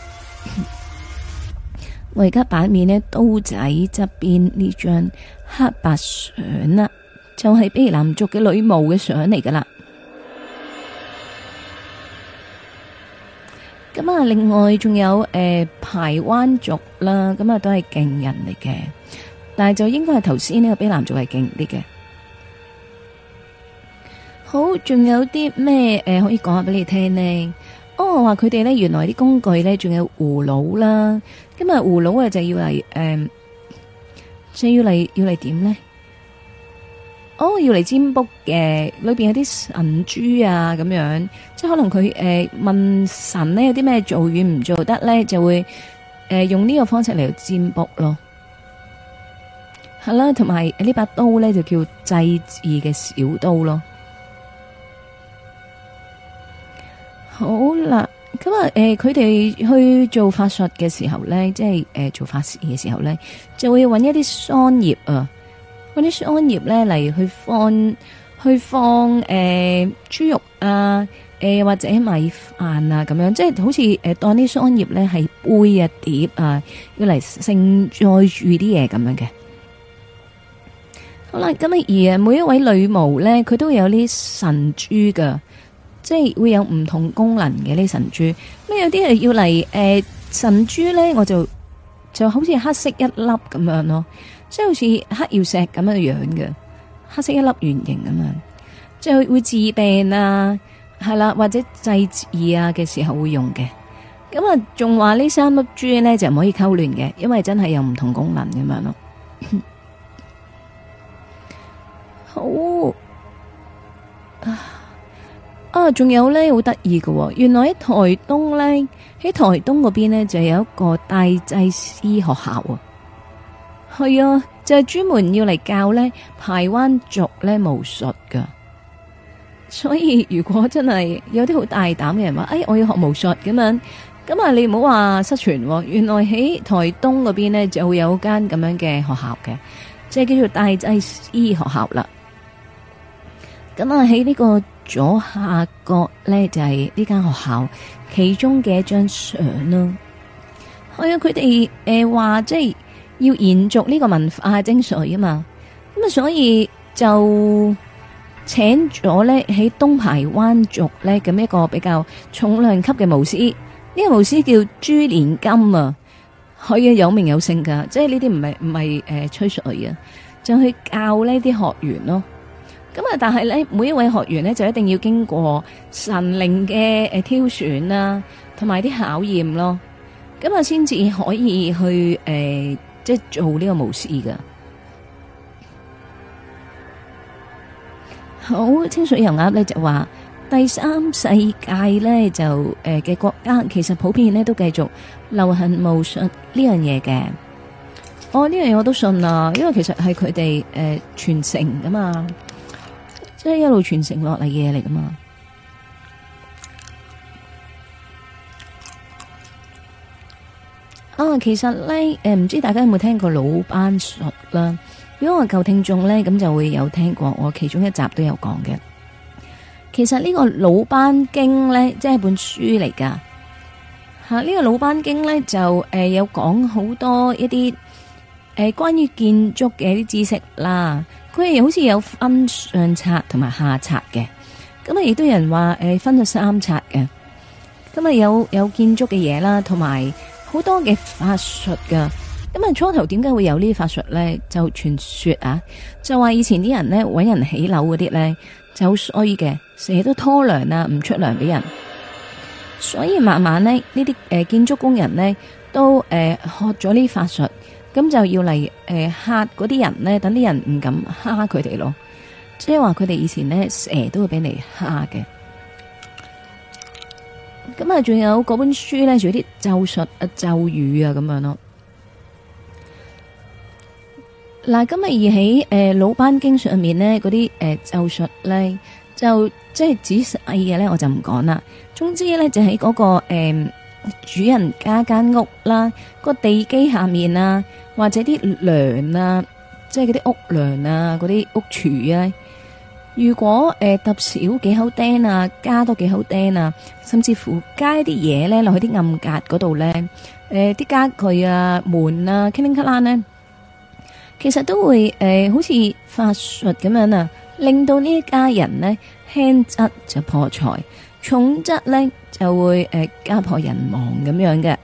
我而家版面咧刀仔側邊呢張黑白相啦，就係卑南族嘅女巫嘅相嚟噶啦。咁啊，另外仲有排灣族啦，咁啊都係勁人嚟嘅，但係就應該係頭先呢個卑南族係勁啲嘅。好，仲有啲咩可以講下俾你聽呢？我話佢哋咧原來啲工具咧仲有葫蘆啦，咁啊葫蘆啊就要嚟要嚟點咧？要嚟占卜嘅，裏邊有啲神珠啊，咁樣，即係可能佢問神咧有啲咩做與唔做得咧，就會用呢個方式嚟占卜咯。係啦，同埋呢把刀咧就叫祭祀嘅小刀咯。好啦，咁啊佢哋去做法術嘅時候咧，即係做法事嘅時候咧，就會揾一啲桑葉啊。嗰啲桑葉咧嚟去放豬肉啊，或者米飯啊咁樣，即係好似當啲桑葉咧係杯啊碟啊，要嚟盛載住啲嘢咁樣嘅。好啦，咁而每一位女巫咧，佢都會有啲神珠噶，即係會有唔同功能嘅呢神珠。咁有啲係要嚟神珠咧，我就好似黑色一粒咁樣咯。即係好似黑曜石咁樣樣嘅，黑色一粒圓形咁樣，即係會治病啊，係啦，或者祭祀啊嘅時候會用嘅。咁啊，仲話呢3粒珠咧就唔可以溝亂嘅，因為真係有唔同功能咁樣咯。好仲有咧好得意嘅，原來喺台東咧，喺台東嗰邊咧就有一個大祭司學校啊。係啊，就係專門要嚟教咧排灣族咧巫術噶，所以如果真係有啲好大膽嘅人話，我要學巫術咁樣，咁啊你唔好話失傳，原來喺台東嗰邊咧就會有間咁樣嘅學校嘅，即係叫做大祭司學校啦。咁啊喺呢個左下角咧就係呢間學校其中嘅一張相咯。係啊，佢哋話即係要延續呢個文化精髓啊嘛， 咁啊，所以就請咗咧喺東排灣族咧咁一個比較重量級嘅巫師，呢個巫師叫朱連金啊，佢嘅有名有姓噶，即係呢啲唔係吹水啊，就去教呢啲學員咯。咁啊，但係咧每一位學員咧就一定要經過神靈嘅挑選啦，同埋啲考驗咯，咁啊先至可以去即係做呢個巫師噶。好，清水油鴨咧就話第三世界咧就嘅國家其實普遍咧都繼續流行巫術呢樣嘢嘅。哦，呢樣嘢我都信啊，因為其實係佢哋傳承噶嘛，即係一路傳承落嚟嘅嘢嚟噶嘛。啊，其實咧唔知大家有冇聽過魯班術啦？如果我舊聽眾咧，咁就會有聽過，我其中一集都有講嘅。其實呢個魯班經咧，即係本書嚟噶吓。呢個魯班經咧就有講好多一啲關於建築嘅一啲知識啦。佢係好似有分上冊同埋下冊嘅，咁啊亦都有人話分咗三冊嘅。咁啊有建築嘅嘢啦，同埋好多嘅法術噶。咁啊，初頭點解會有呢啲法術咧？就傳說啊，就話以前啲人咧搵人起樓嗰啲咧就好衰嘅，成日都拖糧啊，唔出糧俾人。所以慢慢咧呢啲建築工人咧都學咗呢啲法術，咁就要嚟嚇嗰啲人咧，等啲人唔敢蝦佢哋咯。即係話佢哋以前咧成日都會俾你蝦嘅。咁啊，仲有嗰本書咧，仲有啲咒術啊、咒語啊咁樣咯。嗱，今日而喺魯班經上面咧，嗰啲咒術咧，就即係仔細嘅咧，我就唔講啦。總之咧，就喺嗰個主人家間屋啦，個地基下面啊，或者啲梁啊，即係嗰啲屋梁啊，嗰啲屋柱啊，如果揼少幾口釘啊，加多幾口釘啊，甚至乎加啲嘢咧落去啲暗格嗰度咧，啲家具啊、門啊、叮叮咔啷咧。其實都會好似法術咁樣啊，令到呢一家人呢輕則就破財，重則呢就會家破人亡咁樣嘅。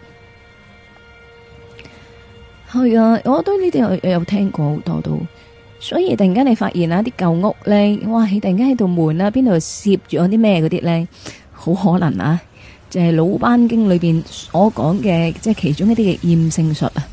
係啊，我都呢啲有聽過好多都，所以突然間你發現啊啲舊屋呢，哇！突然間喺度門啊邊度攝咗啲咩嗰啲呢，好可能啊，就係魯班經裏邊所講嘅，即係其中一啲嘅厭勝術啊。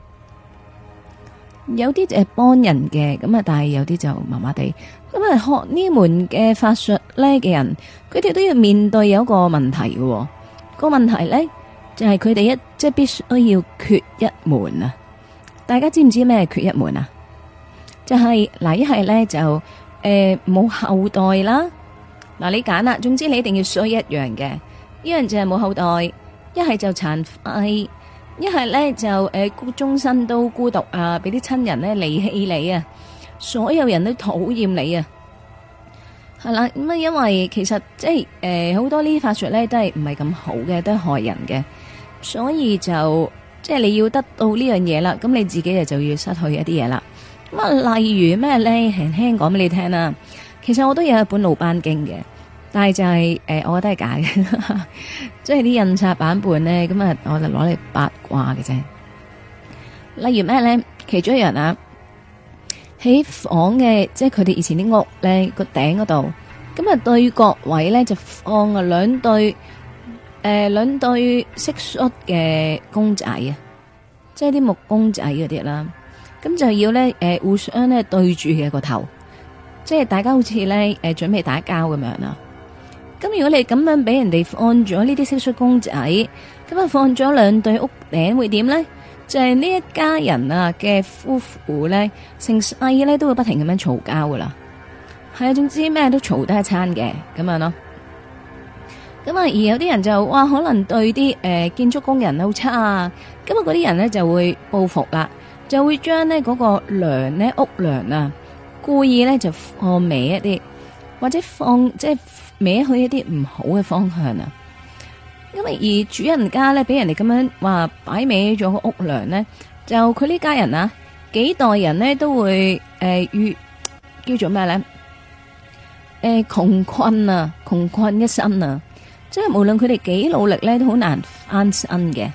有啲就係幫人嘅，咁啊，但係有啲就麻麻地。咁啊，學呢門嘅法術咧嘅人，佢哋都要面對有一個問題嘅。個問題咧就係佢哋即係必須要缺一門啊！大家知唔知咩缺一門啊？就係嗱，一係咧就冇後代啦。嗱，你揀啦，總之你一定要衰一樣嘅，一樣就係冇後代，一係就殘廢。一係咧就終身都孤獨啊，俾啲親人咧離棄你啊，所有人都討厭你啊，係啦。咁啊，因為其實即係好多呢啲法術咧都係唔係咁好嘅，都係害人嘅，所以就即係你要得到呢樣嘢啦，咁你自己就要失去一啲嘢啦。咁啊，例如咩咧，輕輕講俾你聽啦。其實我都有一本魯班經嘅。但係就係我覺得係假嘅，即係啲印刷版本咧，咁啊，我就攞嚟八卦嘅啫。例如咩咧？其中一樣啊，喺房嘅，即係佢哋以前啲屋咧個頂嗰度，咁啊對角位咧就放啊兩對蟋蟀嘅公仔啊，即係啲木公仔嗰啲啦。咁就要咧互相咧對住嘅個頭，即係大家好似咧準備打交咁樣啊。咁如果你咁樣俾人哋放咗呢啲蟋蟀公仔，咁啊放咗兩對屋頂會點咧？就係呢一家人啊嘅夫婦咧，成世咧都會不停咁樣嘈交噶啦。係啊，總之咩都嘈得一餐嘅咁樣咯。咁啊，而有啲人就哇，可能對啲建築工人好差啊。咁啊，嗰啲人咧就會報復啦，就會將呢嗰個梁咧屋梁啊，故意咧就放歪一啲，或者放即係。歪去一啲唔好嘅方向啊！因為而主人家咧俾人哋咁樣話擺歪咗個屋梁咧，就佢呢家人啊幾代人咧都會叫做咩咧？窮困啊，窮困一生啊，即係無論佢哋幾努力咧，都好難翻身嘅。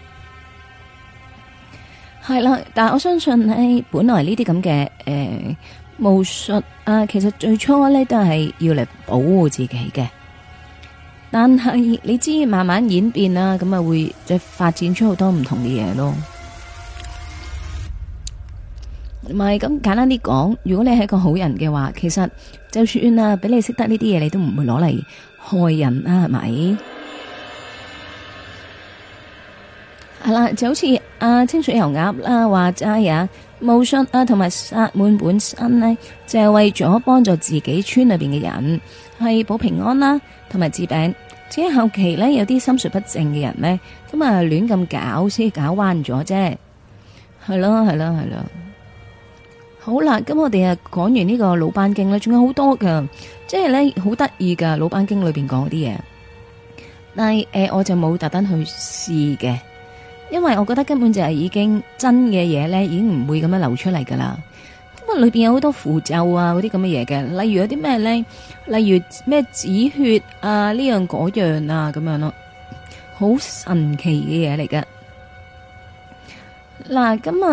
係啦，但係我相信咧，本來呢啲咁嘅巫術啊，其實最初咧都係要嚟保護自己嘅。但係你知慢慢演變啦，咁啊會即係發展出好多唔同嘅嘢咯。唔係咁簡單啲講，如果你係一個好人嘅話，其實就算啊，俾你識得呢啲嘢，你都唔會攞嚟害人啊，係咪？係啦，就好似清水油鴨啦，話齋啊，巫術啊，同埋薩滿本身呢，就係為咗幫助自己村裏邊嘅人，係保平安啦，同埋治病。只係後期呢，有啲心術不正嘅人呢，咁啊亂咁搞，先搞彎咗啫。係咯，係咯，係咯。好啦，咁我哋啊講完呢個魯班經咧，仲有好多噶，即係咧好得意噶魯班經裏邊講嗰啲嘢，但係我就冇特登去試嘅，因為我覺得根本就係已經真嘅嘢咧，已經唔會咁樣流出嚟噶啦。咁啊，裏邊有好多符咒啊，嗰啲咁嘅嘢嘅，例如有啲咩咧，例如咩止血啊，呢樣嗰樣啊，咁樣咯，好神奇嘅嘢嚟噶。嗱，咁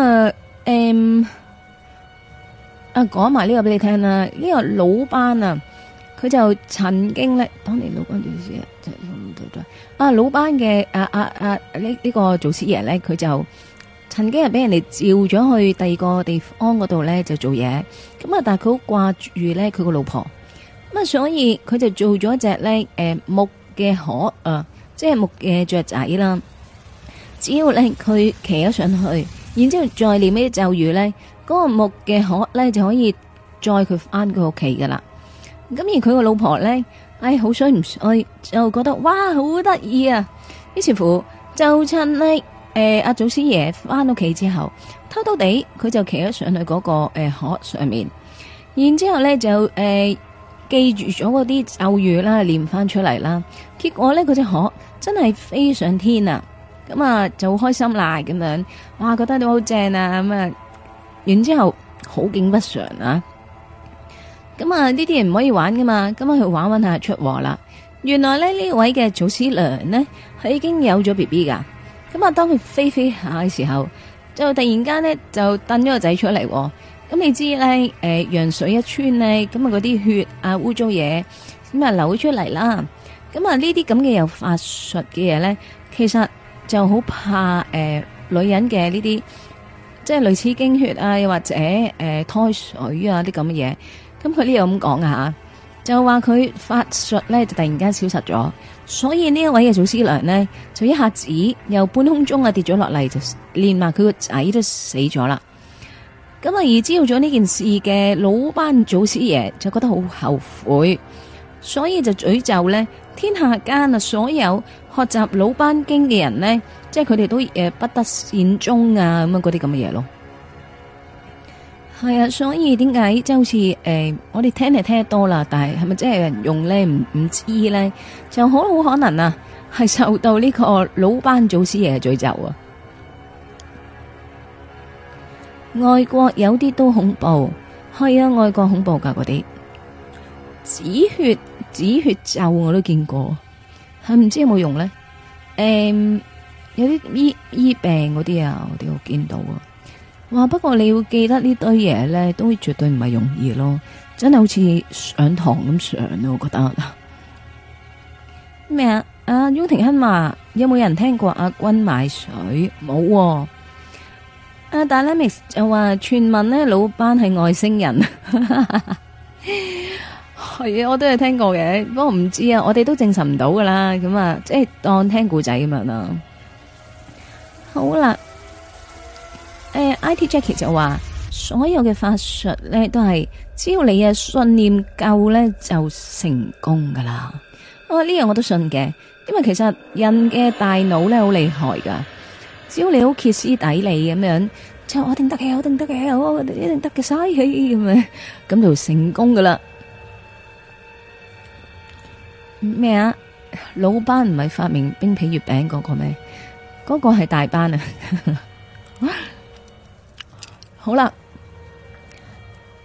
講埋呢個俾你聽啦，呢個魯班啊，佢就曾經咧，當年魯班做師爺，魯班嘅呢個祖師爺咧，佢就曾經係俾人哋召咗去第二個地方嗰度咧就做嘢，咁啊，但係佢好掛住咧佢個老婆，咁啊，所以佢就做咗一隻咧木嘅殼啊，即係木嘅雀仔啦，只要咧佢騎咗上去，然之後再念呢啲咒語咧。嗰個木嘅殼咧就可以載佢翻佢屋企噶啦，咁而佢個老婆咧，好衰唔衰，就覺得哇好得意啊，於是乎就趁呢阿祖師爺翻屋企之後，偷偷地佢就騎咗上去嗰個殼上面，然之後咧就記住咗嗰啲咒語啦，念翻出嚟啦，結果咧嗰隻殼真係飛上天啊，咁啊就好開心啦咁樣，哇覺得都好正啊咁啊！然之後好景不常啊！咁啊呢啲人唔可以玩噶嘛，咁啊去玩下出禍啦。原來咧呢位嘅祖師娘呢，係已經有咗 BB 噶。咁啊當佢飛下嘅時候，就突然間呢，就掟咗個仔出嚟。咁你知咧羊水一穿呢，咁啊嗰啲血啊污糟嘢咁啊流出嚟啦。咁啊呢啲咁嘅有法術嘅嘢咧，其實就好怕女人嘅呢啲。即係類似經血啊，又或者胎水啊啲咁嘅嘢，咁佢呢度咁講啊，就話佢法術咧就突然間消失咗，所以呢一位嘅祖師娘呢，就一下子由半空中啊跌咗落嚟，就連埋佢個仔都死咗啦。咁啊而知道咗呢件事嘅魯班祖師爺就覺得好後悔，所以就詛咒呢天下間啊所有學習魯班經嘅人呢。即係佢哋都不得善終啊咁啊嗰啲咁嘅嘢咯，係啊，所以點解即係好似我哋聽係聽得多啦，但係係咪真係有人用咧唔知咧，就好可能啊係受到呢個魯班祖師爺嘅詛咒啊。外國有啲都恐怖，係啊，外國恐怖噶嗰啲止血咒我都見過，係唔知有冇用咧？有啲醫病嗰啲啊，我哋我見到啊。哇！不過你要記得呢堆嘢咧，都絕對唔係容易咯，真係好似上堂咁上啊！我覺得咩啊？阿雍廷亨話有冇人聽過阿君買水？冇啊。阿 Dynamics 就話傳聞咧，魯班係外星人。係啊，我都係聽過嘅，不過唔知啊，我哋都證實唔到噶啦。咁啊，即係當聽故仔咁樣啦。好啦，IT Jackie 就話所有嘅法術咧都係只要你嘅信念夠咧就成功噶啦。呢樣我都信嘅，因為其實人嘅大腦咧好厲害噶，只要你好歇斯底里咁樣，就我一定得嘅，我一定得嘅，我一定得嘅，嘥氣咁樣，咁就成功噶啦。咩啊？魯班唔係發明冰皮月餅嗰個咩？嗰個係大班啊！好啦，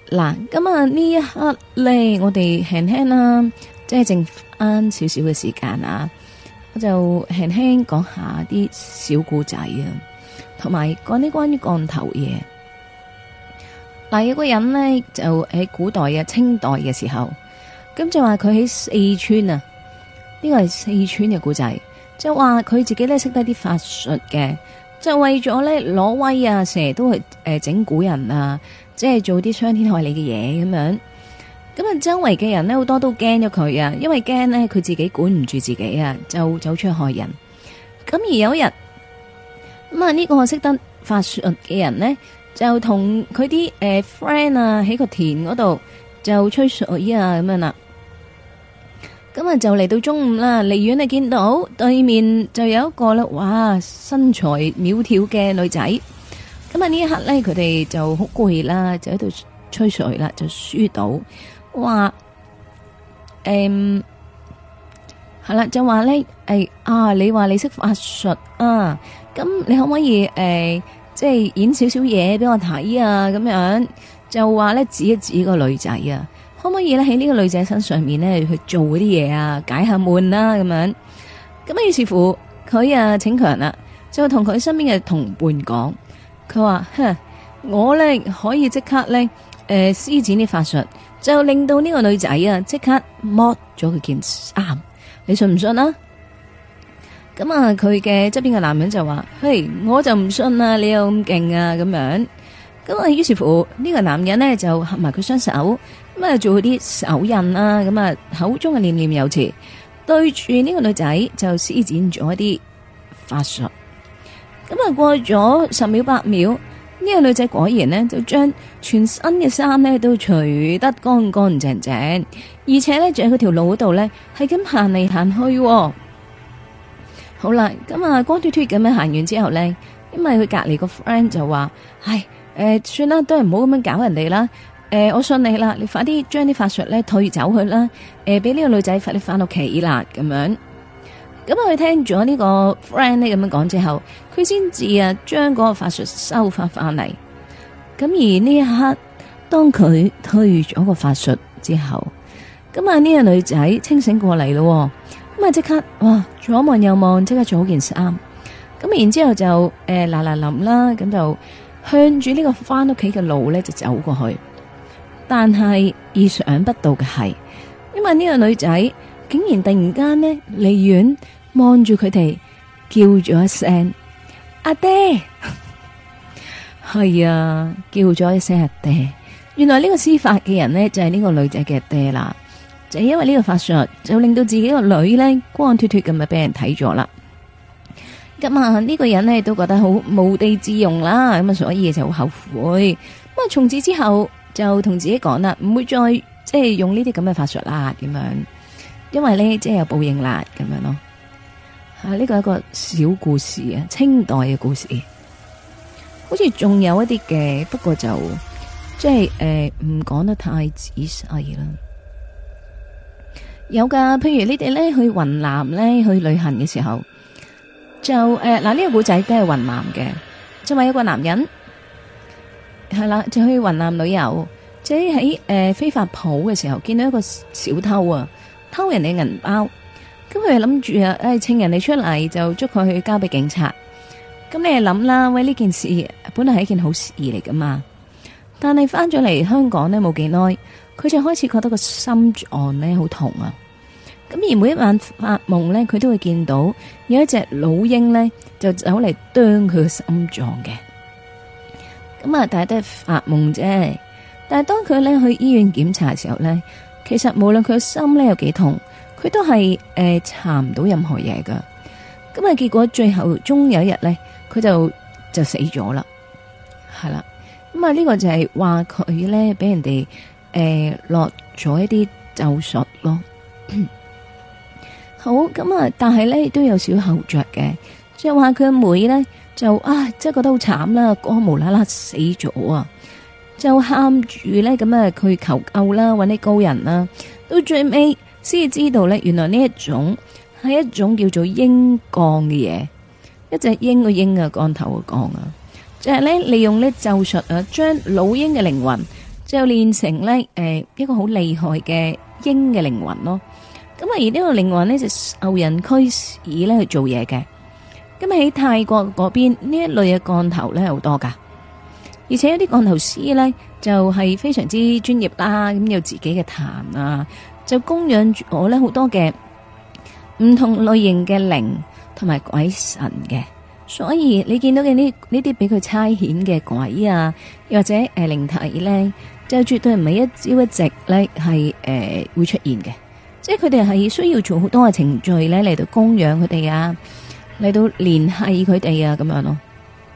嗱，咁啊呢一刻咧，我哋輕輕啦，即係剩翻少少嘅時間啊，我就輕輕講下啲小故仔啊，同埋講啲關於降頭嘢。嗱，有個人咧就喺古代啊，清代嘅時候，咁就話佢喺四川啊，呢個係四川嘅故仔，就話佢自己咧識得啲法術嘅，就為咗咧攞威啊，成日都係整蠱人啊。即係做啲傷天害理嘅嘢咁樣，咁啊周圍嘅人咧好多都驚咗佢啊，因為驚咧佢自己管唔住自己啊，就走出去害人。咁而有一日，咁啊呢個識得法術嘅人咧，就同佢啲friend 啊喺個田嗰度就吹水啊咁樣啦。咁啊就嚟到中午啦，離遠你見到對面就有一個啦，哇身材苗條嘅女仔。咁啊呢一刻咧，佢哋就好攰啦，就喺度吹水啦，就輸到話係啦，就話咧你話你識法術啊，咁你可唔可以即係演少少嘢俾我睇啊？咁樣就話咧指一指個女仔啊，可唔可以咧喺呢個女仔身上面咧去做嗰啲嘢啊，解下悶啦咁樣。咁啊於是乎佢啊逞強啦，就同佢身邊嘅同伴講。佢話：我咧可以即刻咧，施展啲法術，就令到呢個女仔啊，即刻剝咗佢件衫。你信唔信啊？咁啊，佢嘅側邊嘅男人就話：嘿，我就唔信啊！你有咁勁啊！咁樣。咁啊，於是乎呢個男人呢，就合埋佢雙手，咁啊做啲手印啦，咁啊口中嘅念念有詞，對住呢個女仔就施展咗一啲法術。咁啊，過咗10秒8秒，呢個女仔果然呢，就將全身嘅衫呢都除得乾乾淨淨，而且呢，就喺佢條路嗰度呢，係咁行嚟行去。好啦，咁啊光脫脫咁樣行完之後呢，因為佢隔籬個 friend 就話：唉，算啦，都係唔好咁樣搞人哋啦。我信你啦，你快啲將啲法術呢退走佢啦。俾呢個女仔快啲翻屋企啦，咁樣。咁佢聽咗呢個 friend 呢咁樣講之後，佢先至啊將嗰個法術收翻翻嚟。咁而呢一刻，當佢退咗個法術之後，咁啊呢個女仔清醒過嚟咯。咁啊即刻哇左望右望，即刻做好件衫。咁然之後就嗱嗱臨啦，咁就向住呢個翻屋企嘅路咧就走過去。但係意想不到嘅係，因為呢個女仔竟然突然間呢離遠望住佢哋，叫咗一聲阿爹。係啊，叫咗一聲阿爹。原來呢個施法嘅人呢，就係呢個女仔嘅爹啦。就因為呢個法術，就令到自己個女呢光脫脫咁咪俾人睇咗啦。咁啊呢個人呢，都覺得好無地自容啦，咁啊所以就好後悔。咁啊從此之後就同自己講啦，唔會再即係用呢啲咁嘅法術啦，咁樣，因為呢，即係有報應啦，咁樣咯。呢個係一個小故事啊，清代嘅故事，好似仲有一啲嘅，不過就即係唔講得太仔細啦。有噶，譬如你哋咧去雲南咧去旅行嘅時候，就嗱呢個古仔都係雲南嘅，就話有個男人係啦，就去雲南旅遊，即係喺非法鋪嘅時候見到一個小偷啊，偷人哋銀包，咁佢諗住啊，請人哋出嚟就捉佢去交俾警察。咁你係諗啦，喂，呢件事本來係一件好事嚟噶嘛，但係翻咗嚟香港呢冇幾耐，佢就開始覺得個心臟呢好痛啊！咁而每一晚發夢呢，佢都會見到有一隻老鷹呢，就走嚟啄佢個心臟嘅。咁啊，但係都係發夢啫。但係當佢呢去醫院檢查嘅時候呢，其實無論佢個心呢有幾痛，佢都係查唔到任何嘢噶。咁啊，結果最後終有一日呢，佢就死咗啦，係啦。咁啊，呢個就係話佢呢俾人哋落咗一啲咒術咯。好，咁啊，但係咧都有少後着嘅，即係話佢阿妹咧就即係覺得好慘啦，哥無啦啦死咗啊，就喊住咧咁啊，佢求救啦，搵啲高人啦，到最尾先知道咧，原來呢一種係一種叫做鷹降嘅嘢，一隻鷹個鷹啊，降頭個降啊，就係咧利用呢咒術啊，將老鷹嘅靈魂就練成咧一個好厲害嘅鷹嘅靈魂咯。咁啊而呢個靈魂呢，就受人驅使咧去做嘢嘅。咁喺泰國嗰邊呢一類嘅降頭咧好多噶，而且有啲降頭師咧就係非常之專業啦，咁有自己嘅壇啊，就供養住我咧好多嘅唔同類型嘅靈同埋鬼神嘅。所以你見到嘅呢啲俾佢差遣嘅鬼啊，又或者靈體咧，就絕對唔係一朝一夕咧係會出現嘅，即係佢哋係需要做好多嘅程序咧嚟到供養佢哋啊，嚟到聯繫佢哋啊咁樣咯。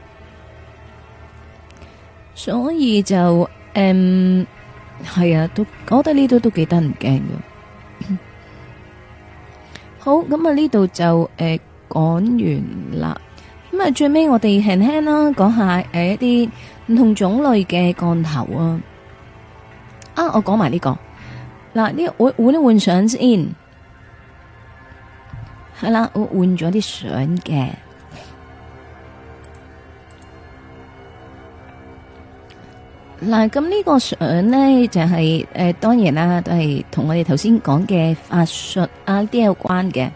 所以就係啊，我覺得呢度都幾得人驚嘅。好，咁啊呢度就講完啦。咁啊，最尾我哋輕輕啦，講下一啲唔同種類嘅降頭啊。我講埋呢個嗱，呢我換相先，係啦，我換咗啲相嘅。嗱，咁呢個相咧就係當然啦，都係同我哋頭先講嘅法術啊啲有關嘅。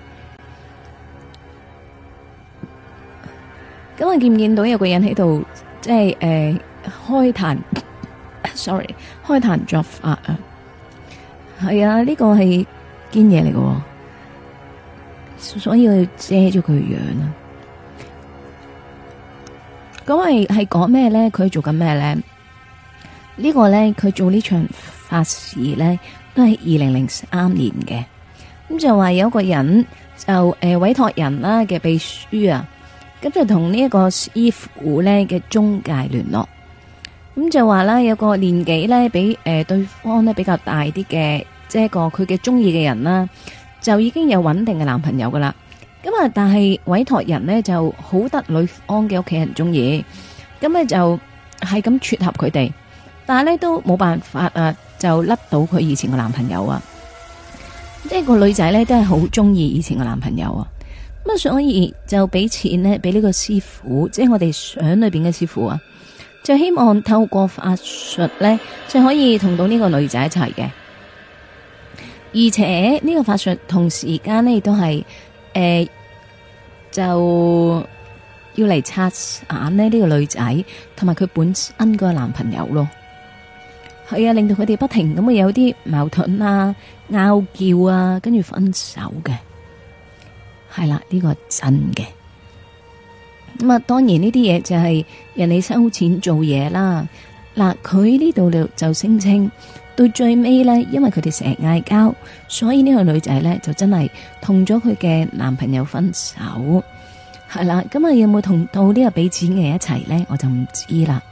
咁我見唔見到有個人喺度，即係開壇，sorry， 開壇作法啊？係啊，呢個係堅嘢嚟嘅，所以我要遮咗佢樣啊。咁係講咩咧？佢做緊咩咧？呢個咧，佢做呢場法事咧，都係2003年嘅。咁就話有個人就委託人啦嘅秘書啊。咁就同呢一個師傅咧嘅中介聯絡，咁就話啦，有個年紀咧比對方咧比較大啲嘅，即係個佢嘅中意嘅人啦，就已經有穩定嘅男朋友噶啦。咁啊，但係委託人呢就好得女方嘅屋企人中意，咁咧就係咁撮合佢哋，但係咧都冇辦法啊，就甩到佢以前嘅男朋友啊。即係個女仔咧都係好中意以前嘅男朋友啊。咁所以就俾錢呢，俾呢個師傅，即係我哋相裏邊嘅師傅啊，就希望透過法術呢，就可以同到呢個女仔一齊嘅。而且呢個法術同時間呢，亦都係就要嚟拆散呢個女仔同埋佢本身個男朋友咯。係啊，令到佢哋不停咁有啲矛盾啊、拗撬啊，跟住分手嘅。係啦，呢個係真嘅。咁啊，當然呢啲嘢就係人哋收錢做嘢啦。嗱，佢呢度就聲稱到最尾呢，因為佢哋成日嗌交，所以呢個女仔呢就真係同咗佢嘅男朋友分手。係啦，咁啊有冇同到呢個俾錢嘅人一齊呢？我就唔知啦。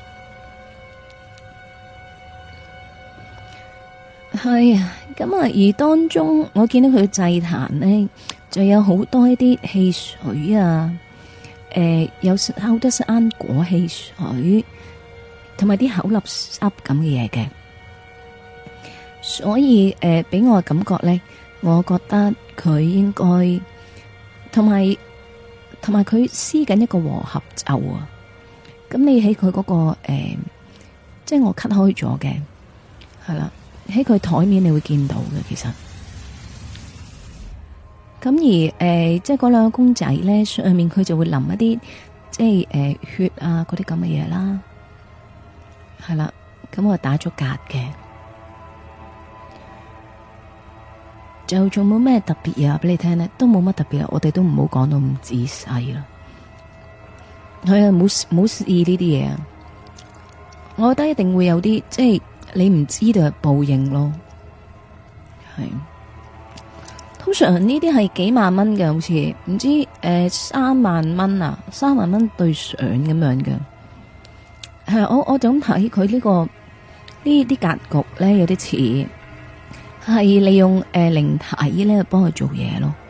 係啊，咁啊，而當中我見到佢祭壇呢，就有好多一啲汽水啊，有好多生果汽水，同埋啲口立濕咁嘅嘢嘅，所以俾我嘅感覺咧，我覺得佢應該同埋佢施緊一個和合咒啊。咁你喺佢嗰個即係我 cut 開咗嘅，係啦，喺佢台面你會見到嘅，其實。咁而即係嗰兩個公仔咧，上面佢就會淋一啲即係血啊嗰啲咁嘅嘢啦，係啦，咁我打咗格嘅，就仲冇咩特別嘢俾你聽咧，都冇乜特別，我哋都唔好講到咁仔細啦。係啊，冇試呢啲嘢啊，我覺得一定會有啲即係你唔知道嘅報應咯，係。通常呢啲係幾萬蚊嘅，好似唔知3萬蚊啊，3萬蚊對相咁樣嘅。係我就咁睇佢呢個呢啲格局咧，有啲似係利用靈體咧幫佢做嘢咯。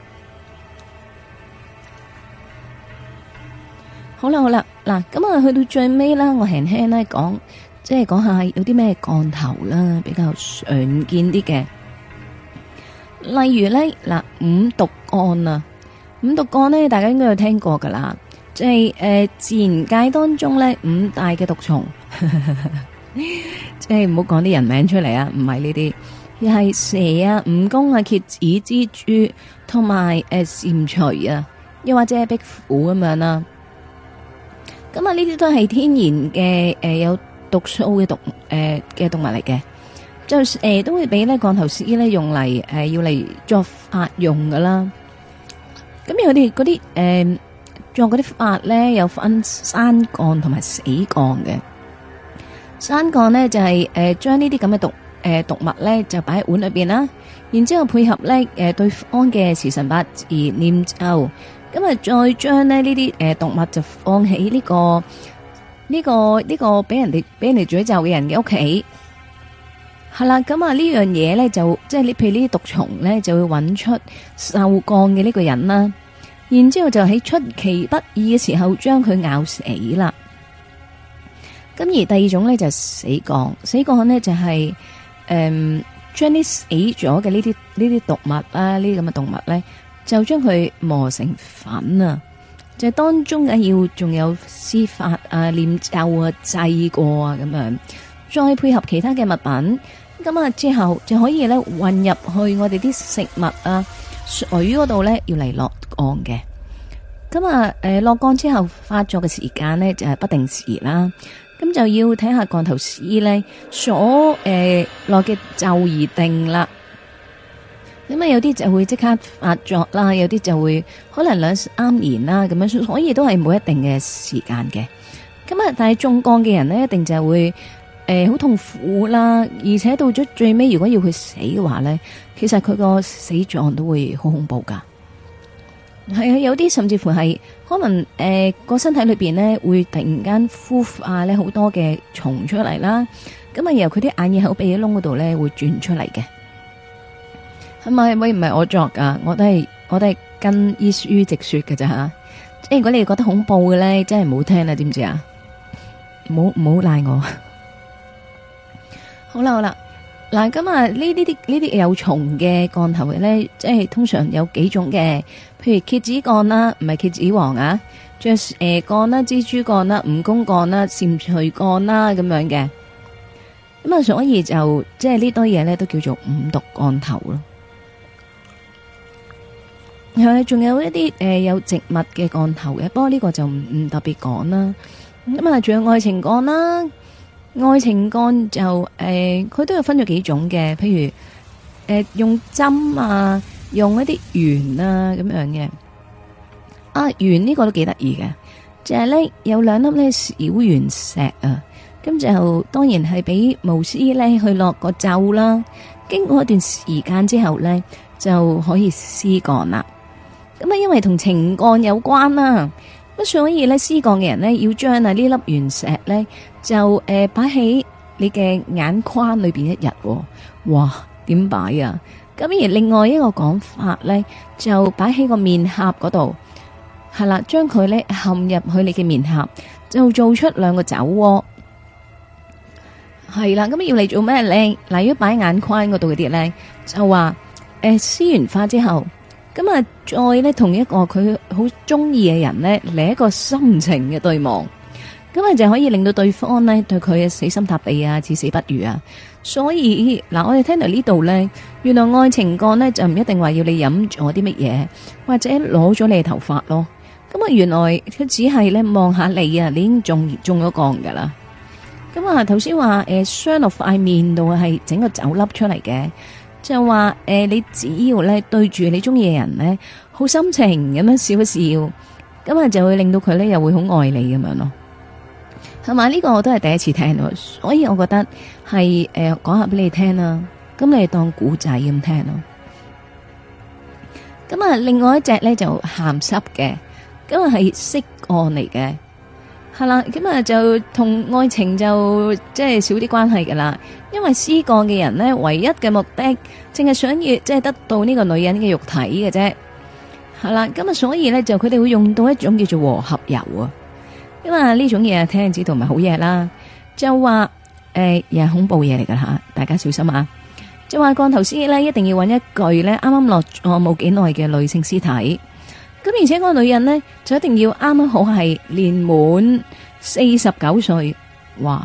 好啦，嗱，咁啊去到最尾啦，我輕輕咧講，即係講下有啲咩降頭啦，比較常見啲嘅。例如咧，嗱，五毒降啊，五毒降咧，大家應該有聽過噶啦，即係自然界當中咧5大嘅毒蟲， 即係唔好講啲人名出嚟啊，唔係呢啲，而係蛇啊、蜈蚣啊、蠍子、蜘蛛同埋蟾蜍啊，又或者係壁虎咁樣啦。咁啊，呢啲都係天然嘅有毒素嘅嘅動物嚟嘅，就都會俾咧降頭師咧用嚟要嚟作法用噶啦。咁佢哋嗰啲做嗰啲法咧有分生降同埋死降嘅。生降咧就係將呢啲咁嘅毒物咧就擺喺碗裏邊啦，然之後配合咧對方嘅時辰八字念咒，咁啊再將咧呢啲毒物就放喺呢個俾人哋詛咒嘅人嘅屋企。係啦，咁啊呢樣嘢咧就即係你譬如呢啲毒蟲咧就會揾出受降嘅呢個人啦，然之後就喺出其不意嘅時候將佢咬死啦。咁而第二種咧就係死降，死降咧就係將啲死咗嘅呢啲毒物啦，呢啲咁嘅動物咧就將佢磨成粉啊，就係當中嘅要仲有施法啊、念咒啊、祭過啊咁樣，再配合其他嘅物品，咁啊之後就可以咧混入去我哋啲食物啊、水嗰度咧要嚟落降嘅。咁啊落降之後發作嘅時間咧就係不定時啦。咁就要睇下降頭師咧所落嘅咒而定啦。咁啊有啲就會即刻發作啦，有啲就會可能2-3年啦咁樣，所以都係冇一定嘅時間嘅。咁啊，但係中降嘅人咧，一定就會好痛苦啦，而且到咗最尾，如果要佢死嘅話咧，其實佢個死狀都會好恐怖噶。係啊，有啲甚至乎係可能個身體裏邊咧會突然間孵化咧好多嘅蟲出嚟啦，咁啊由佢啲眼耳口鼻嘅窿嗰度咧會轉出嚟嘅。係咪？喂，唔係我作噶，我都係跟醫書直說嘅咋吓。即係如果你哋覺得恐怖嘅咧，真係唔好聽啦，知唔知啊？唔好賴我。好啦，嗱，咁啊呢啲有蟲嘅降頭嘅咧，即係通常有幾種嘅，譬如蠍子降啦，唔係蠍子王啊，仲有蛇降啦、蜘蛛降啦、蜈蚣降啦、蟾蜍降啦咁樣嘅。咁啊，所以就即係呢堆嘢咧，都叫做五毒降頭咯。係，仲有一啲有植物嘅降頭嘅，不過呢個就唔特別講啦。咁啊，仲有愛情降啦。愛情降就佢都有分咗幾種嘅，譬如用針啊，用一啲圓啊咁樣嘅。啊，圓呢個都幾得意嘅，就係咧有2粒咧小圓石啊，咁就當然係俾巫師咧去落個咒啦。經過一段時間之後咧，就可以施降啦。咁啊，因為同情降有關啦。咁所以咧，施降嘅人咧，要將啊呢粒原石咧，就擺喺你嘅眼眶裏邊1日。哇，點擺啊？咁而另外一個講法咧，就擺喺個面頰嗰度，係啦，將佢咧陷入去你嘅面頰，就做出2個酒窩。係啦，咁要嚟做咩咧？例如擺眼眶嗰度嗰啲咧，就話施完法之後。咁啊，再咧同一個佢好中意嘅人咧嚟一個深情嘅對望，咁啊就可以令到對方咧對佢死心塌地啊，至死不渝啊。所以嗱，我哋聽到呢度咧，原來愛情降咧就唔一定話要你飲咗啲乜嘢，或者攞咗你嘅頭髮咯。咁啊，原來佢只係咧望下你啊，你已經中咗降噶啦。咁啊，頭先話傷落塊面度係整個酒粒出嚟嘅。就話你只要咧對住你中意嘅人咧，好深情咁樣笑一笑，咁啊就會令到佢咧又會好愛你咁樣咯。係嘛？呢個我都係第一次聽咯，所以我覺得係講下俾你聽啦。咁你當古仔咁聽咯。咁啊，另外一隻咧就鹹濕嘅，咁啊係色降嚟嘅。係啦，咁啊就同愛情就即係少啲關係噶啦，因為施降嘅人呢，唯一嘅目的淨係想要即係得到呢個女人嘅肉體嘅啫。係啦，咁啊所以呢，就佢哋會用到一種叫做和合油啊，因為呢種嘢聽知道唔係好嘢啦，就話又係恐怖嘢嚟噶吓，大家小心啊！就話降頭師呢，一定要揾一具呢啱啱落咗冇幾耐嘅女性屍體。咁而且嗰個女人呢，就一定要啱啱好係年滿49歲，哇！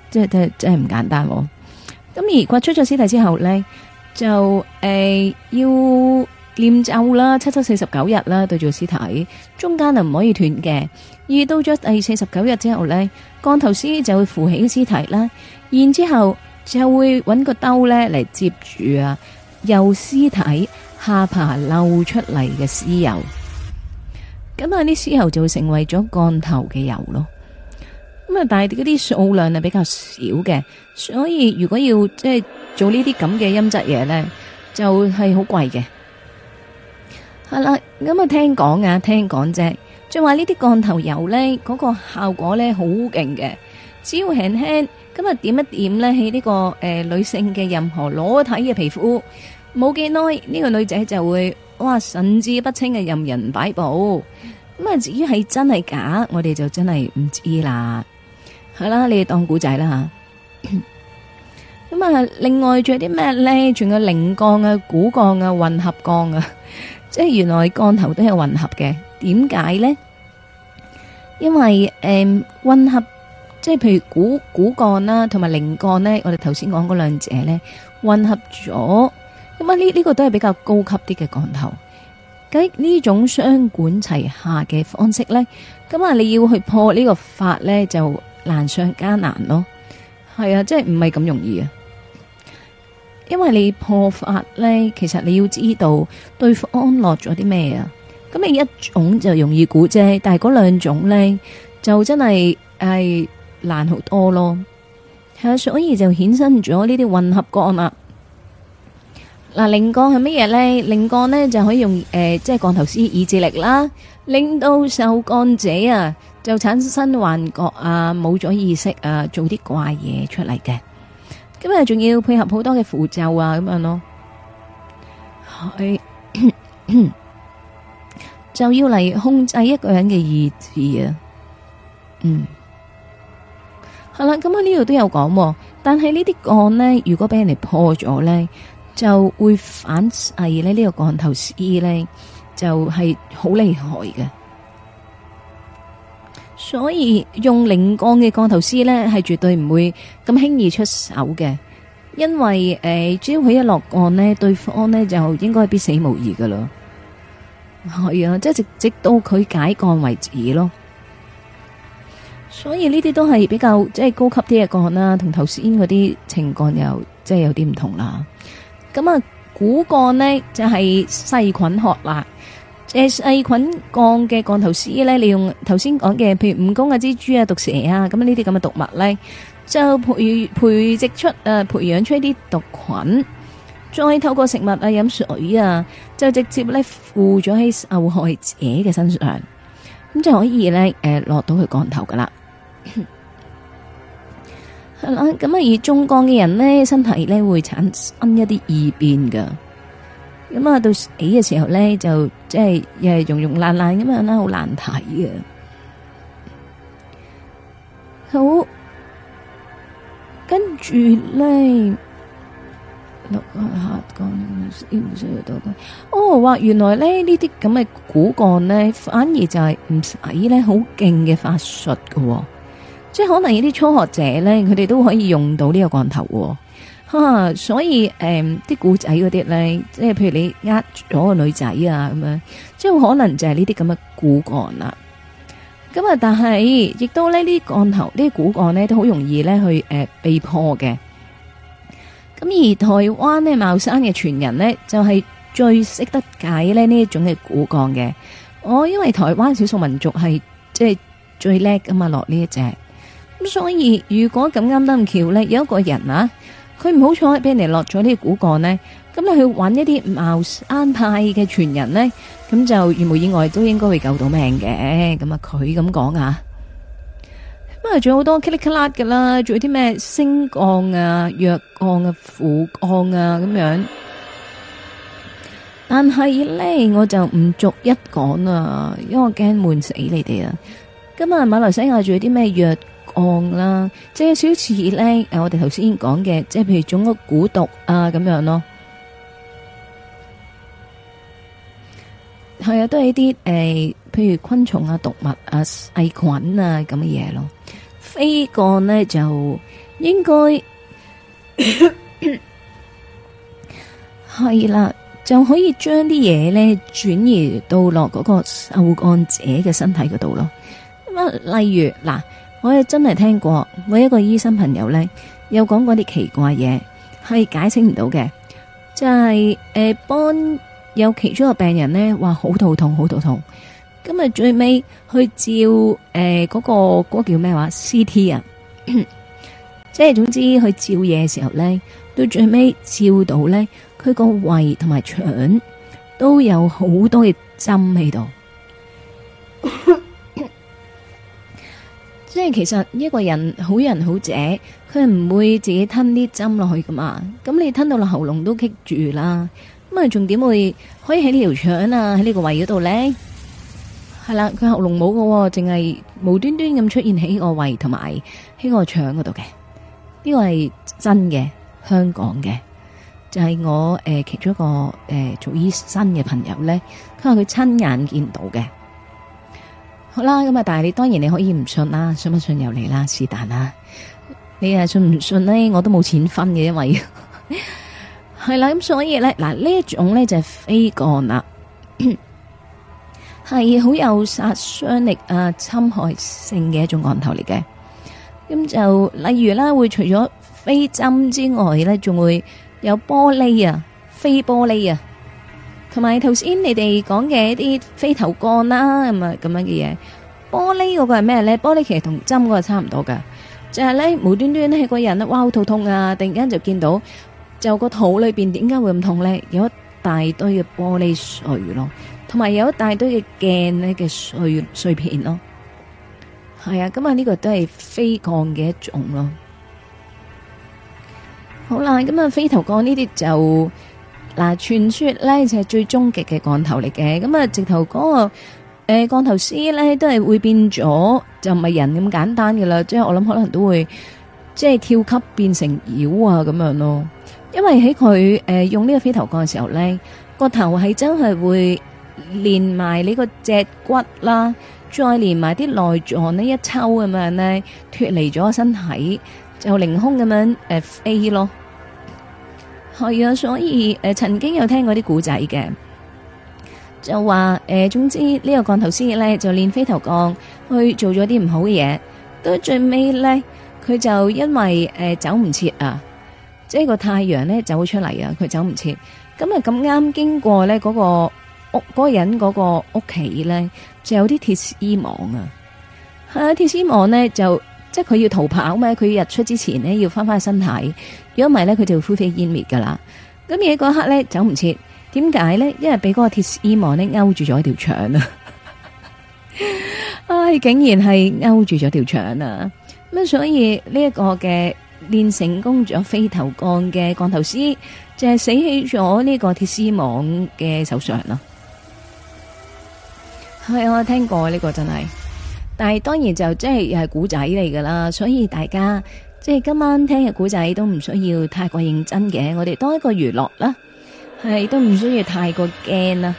即係真係唔簡單。咁而掘出咗屍體之後咧，就要念咒啦，7749日啦，對住屍體，中間就唔可以斷嘅。而到咗第49日之後咧，降頭師就會扶起屍體啦，然之後就會揾個兜咧嚟接住啊，由屍體下巴漏出嚟嘅屍油。咁啊，啲屍油就會成為咗降頭嘅油咯。咁啊，但係嗰啲數量係比較少嘅，所以如果要即係做呢啲咁嘅陰質嘢咧，就係好貴嘅。係啦，咁啊聽講啫，就話呢啲降頭油咧，嗰個效果咧好勁嘅，只要輕輕咁啊點一點咧喺呢個女性嘅任何裸體嘅皮膚，冇幾耐呢個女仔就會哇神志不清嘅任人擺布。咁啊至於係真係假，我哋就真係唔知啦。係啦，你哋當古仔啦吓。咁啊，另外仲有啲咩咧？仲有靈降啊、骨降啊、混合降啊。即係原來降頭都有混合嘅，點解咧？因為混合即係譬如骨降啦，同埋靈降咧，我哋頭先講嗰兩者咧混合咗，咁啊呢個都係比較高級啲嘅降頭。咁呢種雙管齊下嘅方式咧，咁啊你要去破呢個法咧就難上加難咯。係啊，即係唔係咁容易啊。因為你破法咧，其實你要知道對方落咗啲咩啊。咁你一種就容易估啫，但係嗰兩種咧就真係難好多咯。係啊，所以就衍生咗呢啲混合降啦。嗱，靈降係乜嘢咧？靈降咧就可以用即係降頭師意志力啦，令到受降者啊就產生幻覺啊，冇咗意識啊，做啲怪嘢出嚟嘅。咁啊，仲要配合好多嘅符咒啊，咁樣咯，係就要嚟控制一個人嘅意志啊。係啦，咁啊呢度都有講，但係呢啲降呢，如果俾人哋破咗呢，就會反噬咧呢個降頭師呢，就係好厲害嘅。所以用靈降嘅降頭師呢，係絕對唔會咁輕易出手嘅，因為只要佢一落降呢，對方呢就應該必死無疑噶啦。係啊，即係直到佢解降為止咯。所以呢啲都係比較即係高級啲嘅降啦，同頭先嗰啲情降又即係有啲唔同啦。咁啊，骨降呢就係細菌學啦。細菌降嘅降頭師咧，利用頭先講嘅，譬如蜈蚣啊、蜘蛛啊、毒蛇啊，咁呢啲咁嘅毒物咧，就培植出培養出一啲毒菌，再透過食物啊、飲水啊，就直接咧附咗喺受害者嘅身上，咁就可以咧落到去降頭噶啦。係啦，咁啊而中降嘅人咧，身體咧會產生一啲異變噶。咁啊，到死嘅時候咧，就即係又係溶溶爛爛咁樣啦，好難睇嘅。好，跟住咧，落下降唔需要多講。哦，話原來咧呢啲咁嘅骨降咧，反而就係唔使咧好勁嘅法術喎。即係可能有啲初學者咧，佢哋都可以用到呢個降頭。所以啲古仔嗰啲咧，即係譬如你呃咗個女仔啊咁樣，即係可能就係呢啲咁嘅骨降啦。咁啊，但係亦都呢啲降頭，呢啲骨降咧都好容易咧去被破嘅。咁而台灣咧茂山嘅傳人咧，就係最識得解咧呢一種嘅骨降嘅。因為台灣少數民族係即係最叻噶嘛，落呢一隻。咁所以如果咁啱得咁巧咧，有一個人啊。佢唔好彩俾人哋落咗呢個骨降呢，咁你去揾一啲茅山派嘅傳人呢，咁就如無意外都應該會救到命嘅。咁啊，佢咁講啊，咁啊，仲有好多噼里卡啦噶啦，仲有啲咩星降啊、藥降啊、符降啊咁樣。但係呢，我就唔逐一講啊，因為我驚悶死你哋啊。今日馬來西亞仲有啲咩藥降啦，即係少似咧，我哋頭先講嘅，即係譬如種個蠱毒啊咁樣咯，係啊，都係啲譬如昆蟲啊、毒物啊、細菌啊咁嘅嘢咯。 飛鋼呢，就應該係啦，就可以將啲嘢呢轉移到落嗰個受幹者嘅身體嗰度咯。咁啊，例如嗱，我係真係聽過，我一個醫生朋友呢，有講過啲奇怪嘢，係解釋唔到嘅，就係幫有其中一個病人呢話好肚痛，好肚痛。咁啊，最尾去照嗰個叫咩話 CT 啊，即係總之去照嘢嘅時候咧，到最尾照到咧，佢個胃同埋腸都有好多嘅針喺度。即係其實一個人好人好姐，佢唔會自己吞啲針落去噶嘛。咁你吞到落喉嚨都棘住啦，咁啊仲點會可以喺呢條腸啊喺呢個胃嗰度咧？係啦，佢喉嚨冇嘅，淨係無端端咁出現喺個胃同埋喺個腸嗰度嘅。呢個係真嘅，香港嘅，就係我其中一個做醫生嘅朋友咧，佢話佢親眼見到嘅。好啦，咁啊，但係你當然你可以唔信啦，信不信由你啦，是但啦。你信唔信咧？我都冇錢分嘅，因為係啦，咁所以咧，嗱呢一種咧就係飛鋼啦。係好有殺傷力啊、侵害性嘅一種鋼頭嚟嘅。咁就例如啦，會除咗飛針之外咧，仲會有玻璃啊、飛玻璃啊，同埋頭先你哋講嘅一啲飛頭鋼啦，咁啊咁樣嘅嘢。玻璃嗰個係咩咧？玻璃其實同針嗰個差唔多噶，就係咧無端端咧個人咧，哇好肚痛啊！突然間就見到就個肚裏邊點解會咁痛咧？有一大堆嘅玻璃碎咯。同埋有一大堆嘅鏡咧嘅碎片咯，係啊，咁啊呢個都係飛鋼嘅一種咯。好啦，咁啊飛頭鋼呢啲就嗱，傳說咧就係最終極嘅鋼頭嚟嘅。咁啊直頭嗰個鋼頭師咧都係會變咗，就唔係人咁簡單嘅啦。即係我諗可能都會即係跳級變成妖啊咁樣咯。因為喺佢用呢個飛頭鋼嘅時候咧，個頭係真係會連埋你個脊骨啦，再連埋啲內臟呢一抽咁樣呢，脫離咗身體，就凌空咁樣飛咯。係啊，所以曾經有聽過啲古仔嘅，就話總之呢個鋼頭師咧就練飛頭鋼去做咗啲唔好嘅嘢，到最尾咧佢就因為走唔切啊，即係個太陽咧走出嚟啊，佢走唔切，咁啊咁啱經過咧嗰個屋嗰個人嗰個屋企咧，就有啲鐵絲網啊。係啊，鐵絲網咧就即係佢要逃跑嘛，佢日出之前咧要翻翻身體，如果唔係咧佢就灰飛煙滅噶啦。咁而嗰刻咧走唔切，點解咧？因為俾嗰個鐵絲網咧勾住咗條腸啊！唉，竟然係勾住咗條腸啊！咁所以呢一個嘅練成功咗飛頭鋼嘅鋼頭師，就係死喺咗呢個鐵絲網嘅手上啦。係我聽過呢個真係，但係當然就即係又係古仔嚟噶啦，所以大家即係今晚聽嘅古仔都唔需要太過認真嘅，我哋當一個娛樂啦，係都唔需要太過驚啦。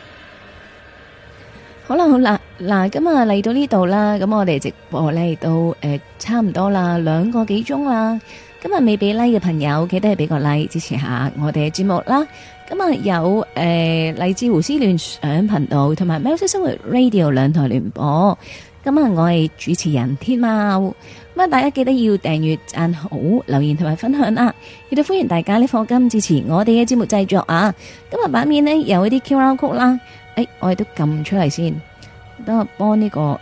好啦好啦，嗱咁啊嚟到呢度啦，咁我哋直播嚟到差唔多啦，2個幾鐘啦。今日未俾 like 嘅朋友，記得係俾個 like 支持下我哋嘅節目啦。咁啊有嚟自胡思亂想頻道同埋喵式生活 Radio 2台聯播。咁啊我係主持人天喵，咁啊大家記得要訂閱、讚好、留言同埋分享啦。亦都歡迎大家呢課金支持我哋嘅節目製作啊。今日版面呢，有一啲 QR code 啦，我哋都撳出嚟先，等我幫呢個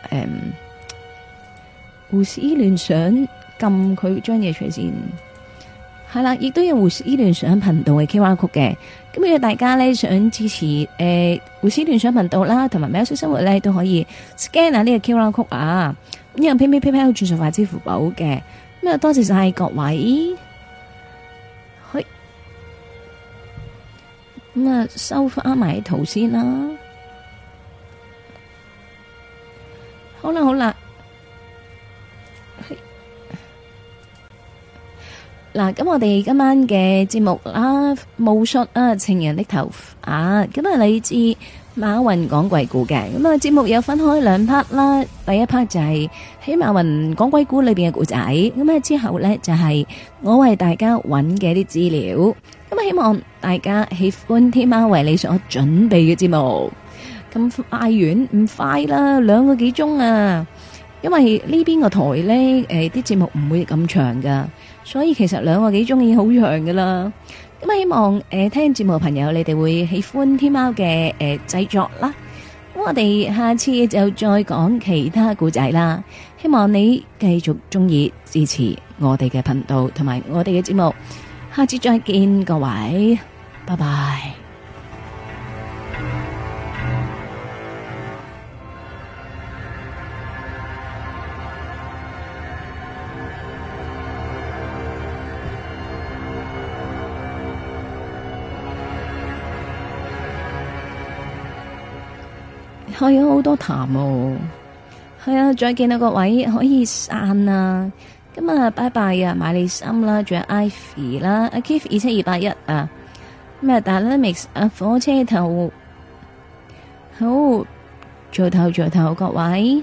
胡思亂想撳佢張嘢出嚟先。係啦，亦都有胡思亂想頻道嘅 QR code 嘅。咁如果大家咧想支持胡思亂想頻道啦，同埋喵式生活咧，都可以 scan 下呢個 QR code 啊。咁有 PayPal 轉數快支付寶嘅。咁啊多謝晒各位。去咁啊收翻埋圖先啦。好啦好啦。嗱，咁我哋今晚嘅節目啦，巫術啊，情人的頭髮，咁啊，嚟自馬雲講鬼故嘅。咁啊，節目有分開兩 part 啦。第一 part 就係喺馬雲講鬼故裏邊嘅故仔，咁啊之後呢，就係我為大家揾嘅啲資料。咁啊，希望大家喜歡天喵為你所準備嘅節目。咁快完唔快啦，2個幾鐘啊！因為呢邊個台呢，啲節目唔會咁長噶，所以其實2個幾鐘已經好長噶啦。咁啊，希望聽節目嘅朋友，你哋會喜歡天喵嘅製作啦。咁我哋下次就再講其他故仔啦。希望你繼續中意支持我哋嘅頻道同埋我哋嘅節目。下次再見，各位，拜拜。係有好多談喎，係啊，再見啊各位，可以散啊，咁啊拜拜啊，買你心啦，仲有 Ivy 啦，阿 Keith 27281啊，咁啊 Dynamics 啊，火車頭，好，做頭各位，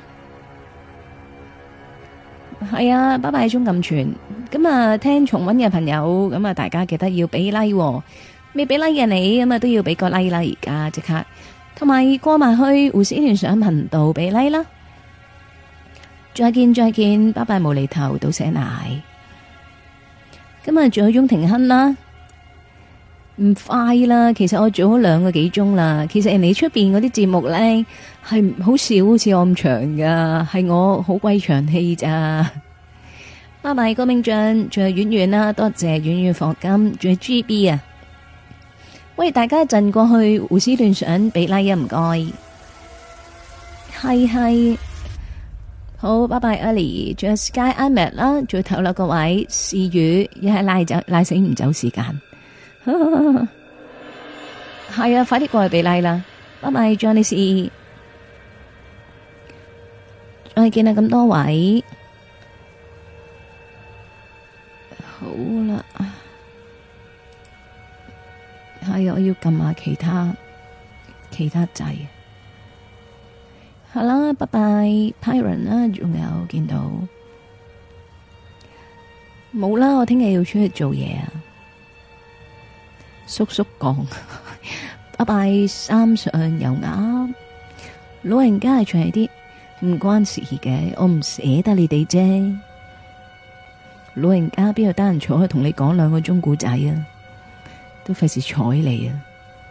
係啊，拜拜鍾錦全，咁啊聽重溫嘅朋友，咁啊大家記得要俾 like，未俾 like 嘅你咁啊都要俾個 like 啦，而家即刻。同埋過埋去胡思亂想頻道俾 like 啦，再見，拜拜無厘頭倒瀉奶。今日仲有翁庭亨啦，唔快啦，其實我做咗2個幾鐘啦。其實人哋出邊嗰啲節目咧係好少好似我咁長噶，係我好鬼長氣咋。拜拜郭明俊，仲有遠遠啦，多謝遠遠課金，仲有 GB 啊。喂，大家一陣過去胡思亂想俾 like 啊，唔該。係，好，拜拜 Ali， 仲有 Sky Ahmed 啦，仲有頭啦各位，是雨一係拉死唔走時間。係啊，快啲過去俾 like 啦，拜拜 Johnny C， 再見啊咁多位，好啦。係我要撳下其他掣。好啦，拜拜 Pyron 啦，仲有見到冇啦？我聽日要出去做嘢啊！叔叔講，拜拜三上油鴨，老人家係長啲，唔關事嘅，我唔捨得你哋啫。老人家邊度得閒坐去同你講2個鐘故仔啊？都費事睬你啊！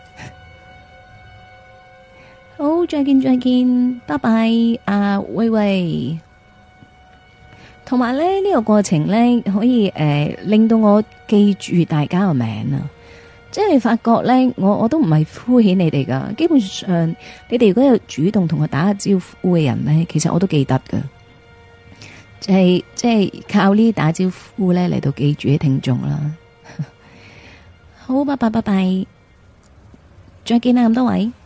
好，再見，拜拜，喂喂。同埋咧呢個過程咧可以令到我記住大家個名啊！即係發覺咧，我都唔係敷衍你哋噶，基本上你哋如果有主動同我打下招呼嘅人咧，其實我都記得噶。即係靠呢打招呼咧嚟到記住啲聽眾啦。好，拜拜，再見啦咁多位。